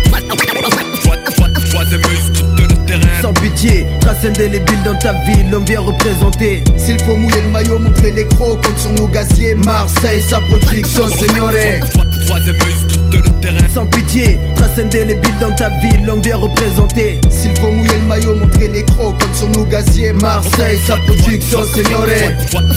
Sans pitié, transcender les billes dans ta ville, on vient représenter. S'il faut mouiller le maillot, montrer les crocs, compte sur nos gaziers. Marseille, sa production, signoré. Sans pitié, transcender les billes dans ta ville, on vient représenter. S'il faut mouiller le maillot, montrer les crocs, compte sur nos gaziers. Marseille, sa production, signoré.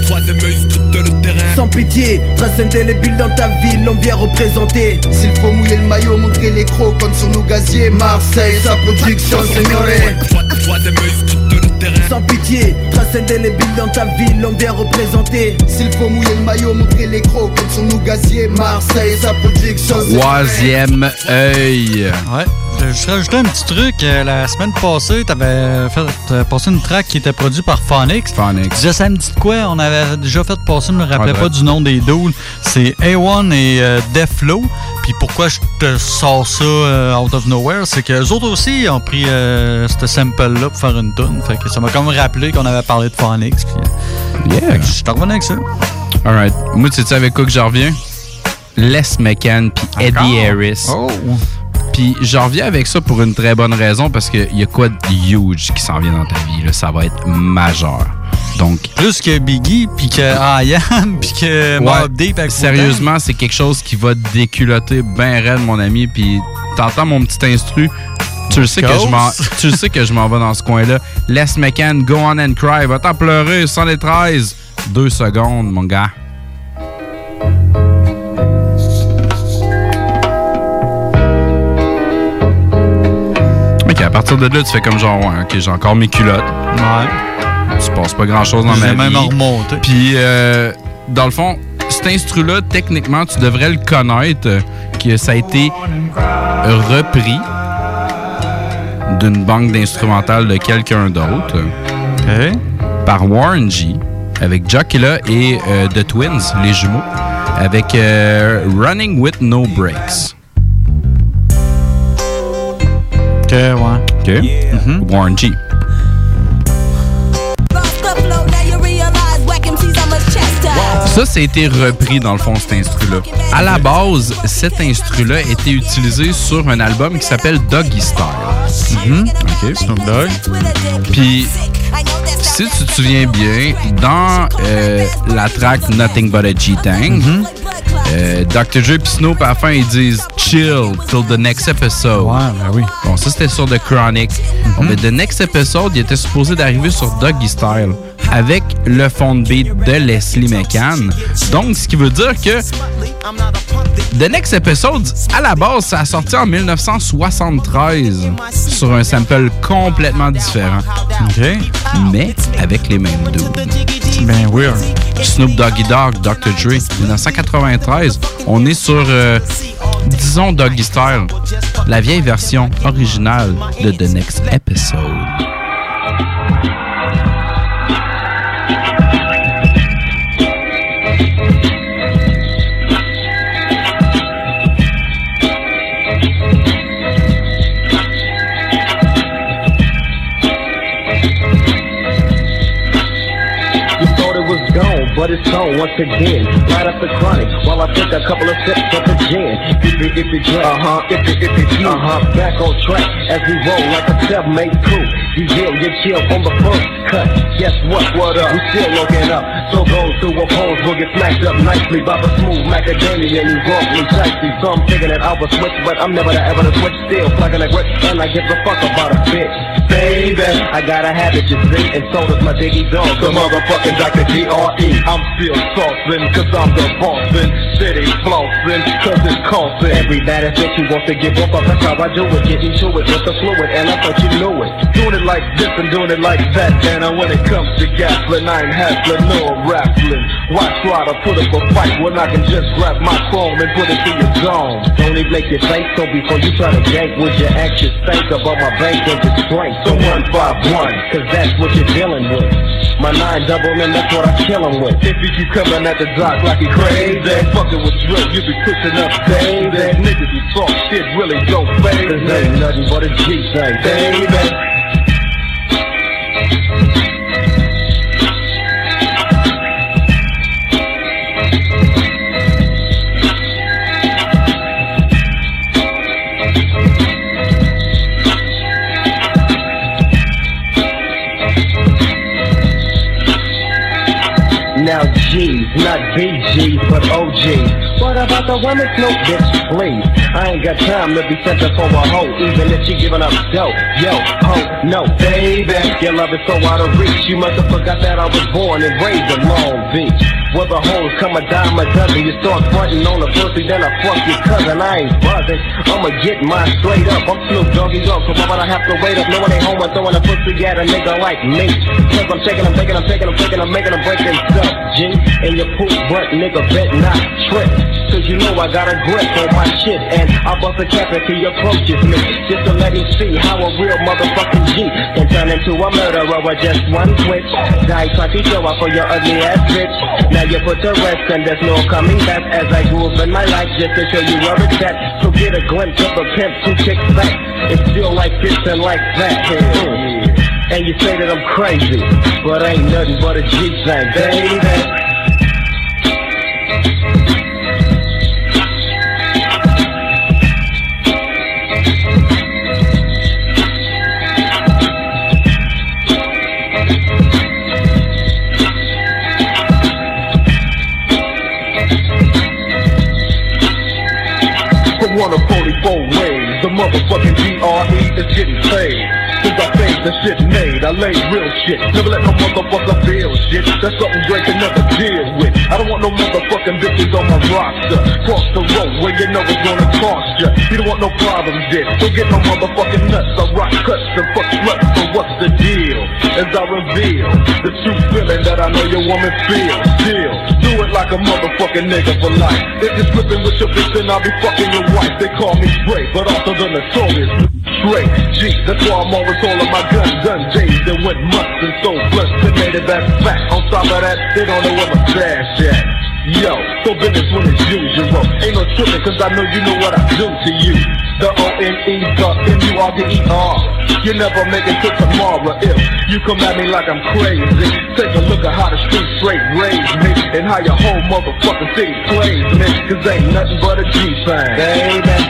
Sans pitié, transcender les billes dans ta ville, on vient représenter. S'il faut mouiller le maillot, montrer les crocs, compte sur nos gaziers. Marseille, sa production, signoré. sans pitié. Trace indélébile dans ta ville, l'homme bien représenté. S'il faut mouiller le maillot, montrer les crocs comme son nous gazier. Marseille, sa production. Troisième œil. Ouais. Je vais rajouter un petit truc. Euh, la semaine passée, t'avais fait euh, passer une track qui était produite par Phonics. Phonics. Déjà, ça me dit de quoi? On avait déjà fait passer, je me rappelais ouais, pas ouais. du nom des dudes. C'est A un et euh, Deflo. Puis pourquoi je te sors ça euh, out of nowhere, c'est qu'eux autres aussi ont pris euh, ce sample-là pour faire une tune. Fait que ça m'a comme rappelé qu'on avait parlé de Phonics. Puis, yeah. Fait que je suis revenu avec ça. Alright. Moi, tu sais avec quoi que je reviens? Les McCann puis Eddie Harris. Oh! Puis je reviens avec ça pour une très bonne raison, parce qu'il y a quoi de huge qui s'en vient dans ta vie. Là. Ça va être majeur. Donc, plus que Biggie, puis que I Am, puis que Mobb Deep. Sérieusement, c'est quelque chose qui va déculotter ben raide, mon ami. Puis t'entends mon petit instru, tu le sais que je m'en, tu le sais que je m'en vais dans ce coin-là. Les McCann, Go On and Cry, va t'en pleurer, cent treize. Deux secondes, mon gars. À partir de là, tu fais comme genre, ouais, ok, j'ai encore mes culottes. Ouais. Il se passe pas grand-chose dans j'ai ma même vie. remonté. Puis, euh, dans le fond, cet instru-là, techniquement, tu devrais le connaître, que ça a été repris d'une banque d'instrumentales de quelqu'un d'autre. Okay. Par Warren G, avec Jockilla et euh, The Twins, les jumeaux, avec euh, Running With No Brakes. OK, ouais. OK. Mm-hmm. Warren G. Ça, ça a été repris dans le fond, cet instru-là. À la base, cet instru-là était utilisé sur un album qui s'appelle Doggy Style. Mm-hmm. OK, Snoop Dogg. Puis, si tu te souviens bien, dans euh, la track Nothing But a G-Tang, mm-hmm. euh, docteur Dre et Snoop, à la fin, ils disent « Chill till the next episode ». Ouais, ben oui. Bon, ça, c'était sur The Chronic. Mm-hmm. Bon, mais The Next Episode, il était supposé d'arriver sur Doggy Style avec le fond de beat de Leslie McCann. Donc, ce qui veut dire que The Next Episode, à la base, ça a sorti en dix-neuf cent soixante-treize sur un sample complètement différent. OK. Mais avec les mêmes dudes. C'est bien weird. Snoop Doggy Dogg, docteur Dre, dix-neuf cent quatre-vingt-treize. On est sur, euh, disons, Doggy Style, la vieille version originale de The Next Episode. But it's on once again, right up the chronic, while I take a couple of sips of the gin. If it, if it drink, uh-huh, if it, if it's you, uh-huh, back on track, as we roll like a self-made crew. You hear, you chill on the first cut, guess what, what up, we still looking up. So go through a pose, we'll get smacked up nicely by the smooth macadamia and you roughly dicey. So I'm thinking that I will switch, but I'm never the ever to switch, still plugging a grip, and I give a fuck about a bitch. Baby, I got a habit, you see, and so does my diggy dog, the motherfucking Doctor G R E. I'm still saucin', cause I'm the bossin', city flossin', cause it's costin'. Every bad ass bitch you want to give up, that's how I do it, getting to it with the fluid, and I thought you knew it. Doing it like this and doing it like that, and when it comes to gaslin', I ain't hassling nor raffling. Why try to put up a fight when I can just grab my chrome and put it to your zone? Don't even make your face, so before you try to gank, would you anxious think about my bank and just strength? So one five one, cause that's what you're dealing with. My nine double and that's what I kill him with. If you keep coming at the dock like he crazy, fucking with drill, you be pushing up baby. Niggas who talk shit really don't fade. Cause ain't nothing but a G thing, baby. Now G's, not B G's, but O G's. What about the women? No, bitch, please. I ain't got time to be sent up for a hoe, even if she giving up dough. Yo, ho, no, baby. Your love is so out of reach. You must have forgot that I was born and raised in Long Beach. Where the hoes come a dime a dozen. You start frontin' on the pussy, then I fuck your cousin. I ain't buzzing, I'ma get mine straight up. I'm Snoop Doggy Dogg, so why would I have to wait up? No one ain't home, I'm throwing a pussy at a nigga like me. Cause I'm taking, I'm taking, I'm taking, I'm taking, I'm making them break themselves, G. And your poop butt nigga bet not trip. Cause you know I got a grip on my shit. And I bust a cap if he approaches me, just to let him see how a real motherfucking G can turn into a murderer with just one switch. Die twenty show up for your ugly ass bitch. Now you put to rest and there's no coming back. As I grew up in my life just to show you where it's at. So get a glimpse of a pimp who kicks back. It's still like this and like that. Mm. And you say that I'm crazy, but ain't nothing but a G thing, baby. One of forty-four ways, the motherfucking D R E is getting paid. Since I think the shit made, I lay real shit. Never let no motherfucker feel shit. That's something Drake can never deal with. I don't want no motherfucking bitches on my roster. Cross the road where you know it's gonna cost ya. You don't want no problems there. Don't get no motherfucking nuts. I rock cuts and fuck sluts. So what's the deal? As I reveal the true feeling that I know your woman feels. Still, do it like a motherfucking nigga for life. If you're slipping with your bitch, then I'll be fucking your wife. They call me Drake, but also the notorious Drake. G, that's why I'm always holding my gun. Gun days that went months and so blessed and made it back back. On top of that, they don't know where my stash at. Yo, so business when it's usual. Ain't no tripping, cause I know you know what I do to you. The O N E, the M U R D E R. You never make it to tomorrow if you come at me like I'm crazy. Take a look at how the street straight raised me and how your whole motherfucking city plays me. Cause ain't nothing but a G thing, baby.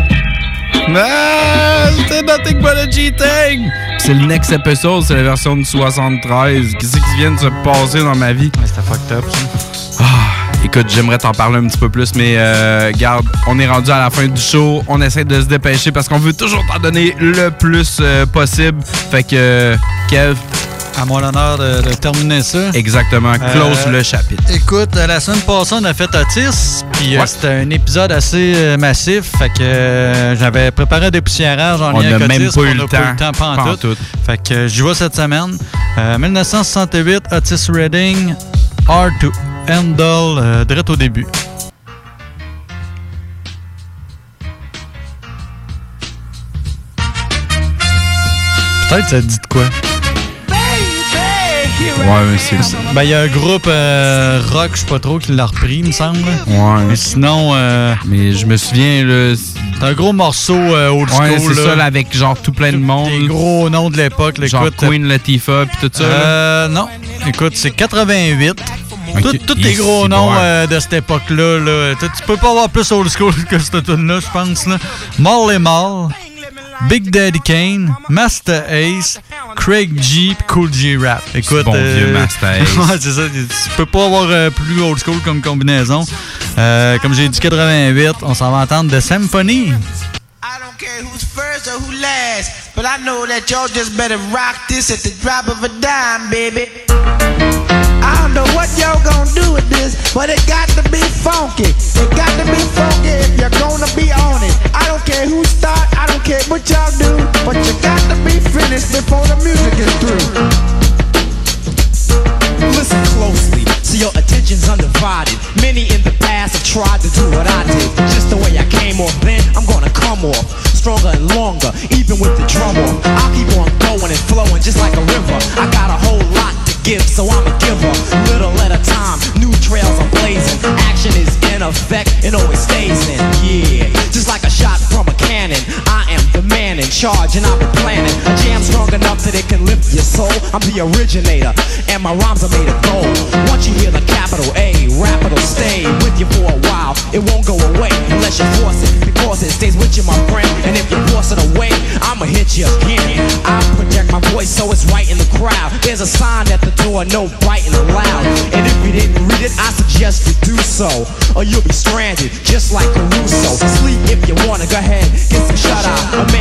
Ah, c'est nothing but a G-Thing! C'est le next episode, c'est la version de soixante-treize. Qu'est-ce qui vient de se passer dans ma vie? Ouais, c'était fucked up, ça. Ah, écoute, j'aimerais t'en parler un petit peu plus, mais euh, garde, on est rendu à la fin du show. On essaie de se dépêcher parce qu'on veut toujours t'en donner le plus euh, possible. Fait que, euh, Kev... À moi l'honneur de, de terminer ça. Exactement. Close euh, le chapitre. Écoute, la semaine passée, on a fait Otis, puis ouais. euh, c'était un épisode assez euh, massif. Fait que euh, j'avais préparé des poussiérages en lien avec Otis. On n'a même pas eu le temps. On n'a pas eu le temps, pas en tout. tout. Fait que euh, j'y vais cette semaine. Euh, dix-neuf cent soixante-huit, Otis Redding, Hard to Handle, euh, direct au début. Peut-être ça dit de quoi? Ouais, mais c'est... Ben, il y a un groupe euh, rock, je sais pas trop, qui l'a repris, il me semble. Ouais. Mais sinon... Euh, mais je me souviens, là... C'est un gros morceau euh, old school, ouais, c'est là. ça, là, avec genre tout plein de monde. Des gros noms de l'époque, là. Genre écoute, Queen Latifah, pis tout ça, euh, là. Non. Écoute, c'est quatre-vingt-huit. Okay. Tous les gros noms euh, de cette époque-là, là. Tu peux pas avoir plus old school que cette tune-là, je pense, là. Marley Marl, Big Daddy Kane, Master Ace, Craig G, Cool G Rap. Écoute, bon euh, vieux Master Ace. Ouais, c'est ça. Tu peux pas avoir euh, plus old school comme combinaison. Euh, comme j'ai dit, quatre-vingt-huit, on s'en va entendre The Symphony. I don't care who's first or who last, but I know that y'all just better rock this at the drop of a dime, baby. I don't know what y'all gonna do with this, but it got to be funky. It got to be funky if you're gonna be on it. I don't care who start, I don't care what y'all do, but you got to be finished before the music is through. Listen closely, so your attention's undivided. Many in the past have tried to do what I did. Just the way I came off then, I'm gonna come off stronger and longer, even with the drum off. I'll keep on going and flowing just like a river. I got a whole lot to give, so I'm a giver. Little at a time, new trails are blazing. Action is in effect and always stays in. Yeah, just like a shot from a cannon. I am the man in charge and I've been planning a jam strong enough that it can lift your soul. I'm the originator and my rhymes are made of gold. Once you hear the capital A, rap it'll stay with you for a while. It won't go away unless you force it, because it stays with you, my friend. And if you force it away, I'ma hit you again. I project my voice so it's right in the crowd. There's a sign at the door, no biting allowed. And if you didn't read it, I suggest you do so, or you'll be stranded just like Caruso. Sleep if you wanna, go ahead, get some shut eye. A man broke his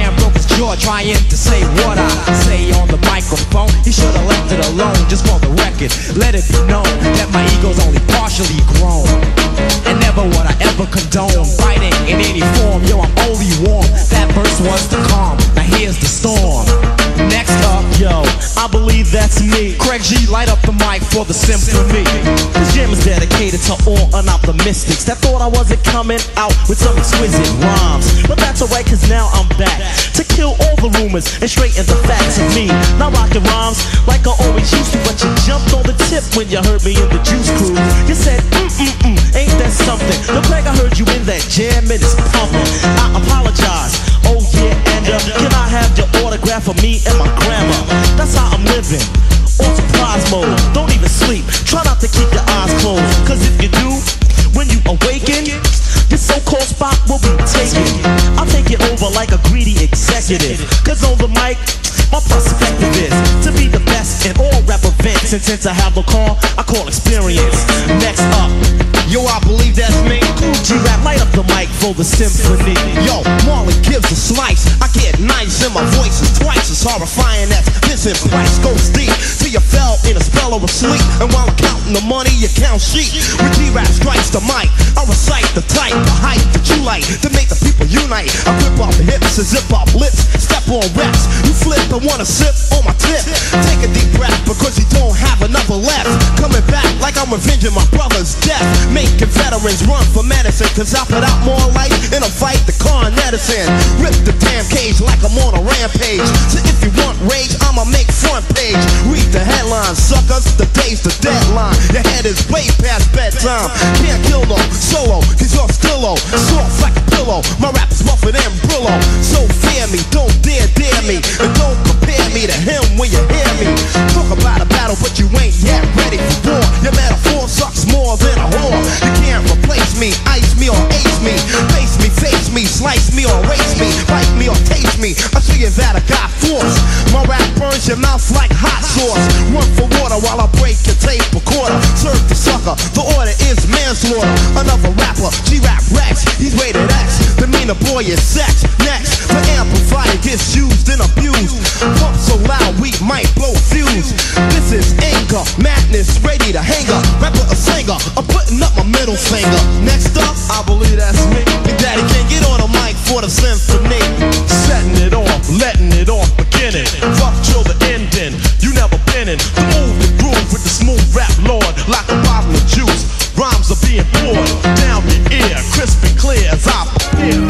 jaw trying to say what I say on the microphone. He should have left it alone, just for the record. Let it be known that my ego's only partially grown. And never would I ever condone fighting in any form. Yo, I'm only warm. That verse was the calm. Now here's the storm. Next up, yo, I believe that's me. Craig G, light up the mic for the symphony. This jam is dedicated to all unoptimistics that thought I wasn't coming out with some exquisite rhymes. But that's alright, cause now I'm back to kill all the rumors and straighten the facts of me. Now rockin' rhymes like I always used to, but you jumped on the tip when you heard me in the Juice Crew. You said, mm-mm-mm, ain't that something? Yo, Craig, I heard you in that jam and it's pumping. I apologize, oh yeah, and uh, can I have your autograph for me and my grandma? That's how I'm living, on surprise mode. Don't even sleep, try not to keep your eyes closed, cause if you do, when you awaken, this so-called spot will be taken. I'll take it over like a greedy executive, cause on the mic, my perspective is to be the best in all rap events. And since I have a call, I call experience. Next up, yo, I believe that's me. Cool G-Rap, light up the mic for the symphony. Yo, Marley gives a slice. I get nice and my voice is twice as horrifying as Vincent Price. Goes deep till you fell in a spell of sleep. And while I'm counting the money, you count sheep. When G-Rap strikes the mic, I recite the type, the hype that you like to make the people unite. I rip off the hips and zip off lips, step on reps. You flip and wanna sip on my tip. Take a deep breath because you don't have another left. Coming back like I'm revenging my brother's death. Making veterans run for medicine, cause I put out more life in a fight than Con Edison. Rip the damn cage like I'm on a rampage. So if you want rage, I'ma make front page. Read the headlines, suckers, the day's the deadline. Your head is way past bedtime. Can't kill no solo, cause you're still low. Soft like a pillow, my rap is rougher than Brillo. So fear me, don't dare dare me. And don't compare me to him when you hear me. Talk about a battle, but you ain't yet ready for war. Your metaphor sucks more than a whore. You can't replace me, ice me or ace me. Face me, face me, slice me or erase me. Bite me or taste me, I show you that I got force. My rap burns your mouth like hot sauce. Run for water while I break your tape recorder. Serve the sucker, the order is manslaughter. Another rapper, G-Rap Rex, he's rated X. The meaner boy is sex. Next, the amplifier gets used and abused. Pump so loud we might blow fuse. This is anger, madness, ready to hang up. Rapper or singer, I'm putting up my middle finger. Next up, I believe that's me. Big Daddy can get on a mic for the symphony. Setting it off, letting it off, beginning. Rough till the ending, you never been in. The move, the groove with the smooth rap lord. Like a bottle of juice, rhymes are being poured down your ear, crisp and clear as I appear.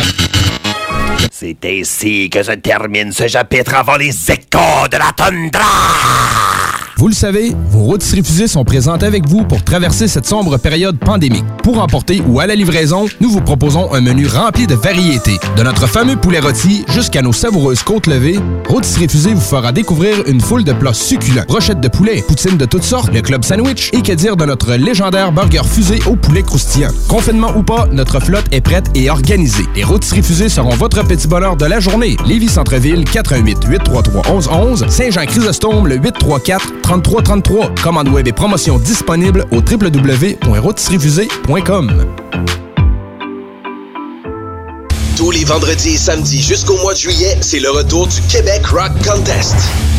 C'est ainsi que se termine ce chapitre avant les échos de la toundra. Vous le savez, vos rôtisseries fusées sont présentes avec vous pour traverser cette sombre période pandémique. Pour emporter ou à la livraison, nous vous proposons un menu rempli de variétés. De notre fameux poulet rôti jusqu'à nos savoureuses côtes levées, Rôtisseries fusées vous fera découvrir une foule de plats succulents. Brochettes de poulet, poutines de toutes sortes, le club sandwich et que dire de notre légendaire burger fusé au poulet croustillant. Confinement ou pas, notre flotte est prête et organisée. Les Rôtisseries fusées seront votre petit bonheur de la journée. Lévis Centre-Ville, quatre un huit, huit trois trois, un un un un. Saint-Jean-Chrysostome, le huit trois quatre, trente-trois trente-trois. Commande web et promotion disponible au w w w point rôtisserie fusée point com. Tous les vendredis et samedis jusqu'au mois de juillet, c'est le retour du Québec Rock Contest.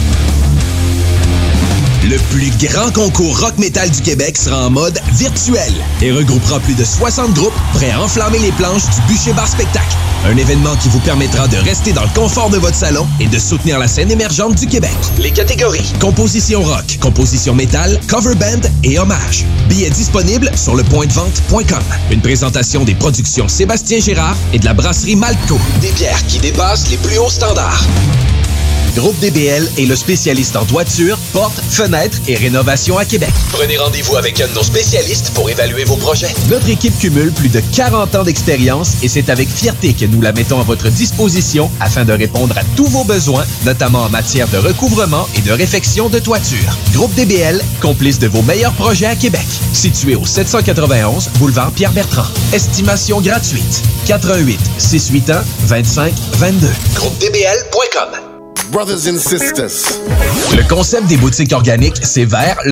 Le plus grand concours rock-metal du Québec sera en mode virtuel et regroupera plus de soixante groupes prêts à enflammer les planches du Bûcher Bar Spectacle. Un événement qui vous permettra de rester dans le confort de votre salon et de soutenir la scène émergente du Québec. Les catégories: composition rock, composition métal, cover band et hommage. Billets disponibles sur le point de vente point com. Une présentation des productions Sébastien Gérard et de la brasserie Malco. Des bières qui dépassent les plus hauts standards. Groupe D B L est le spécialiste en toiture, portes, fenêtres et rénovation à Québec. Prenez rendez-vous avec un de nos spécialistes pour évaluer vos projets. Notre équipe cumule plus de quarante ans d'expérience et c'est avec fierté que nous la mettons à votre disposition afin de répondre à tous vos besoins, notamment en matière de recouvrement et de réfection de toiture. Groupe D B L, complice de vos meilleurs projets à Québec. Situé au sept cent quatre-vingt-onze boulevard Pierre-Bertrand. Estimation gratuite. quatre un huit, six huit un, vingt-cinq vingt-deux. groupe d b l point com. Brothers and sisters. Le concept des boutiques organiques, c'est vert.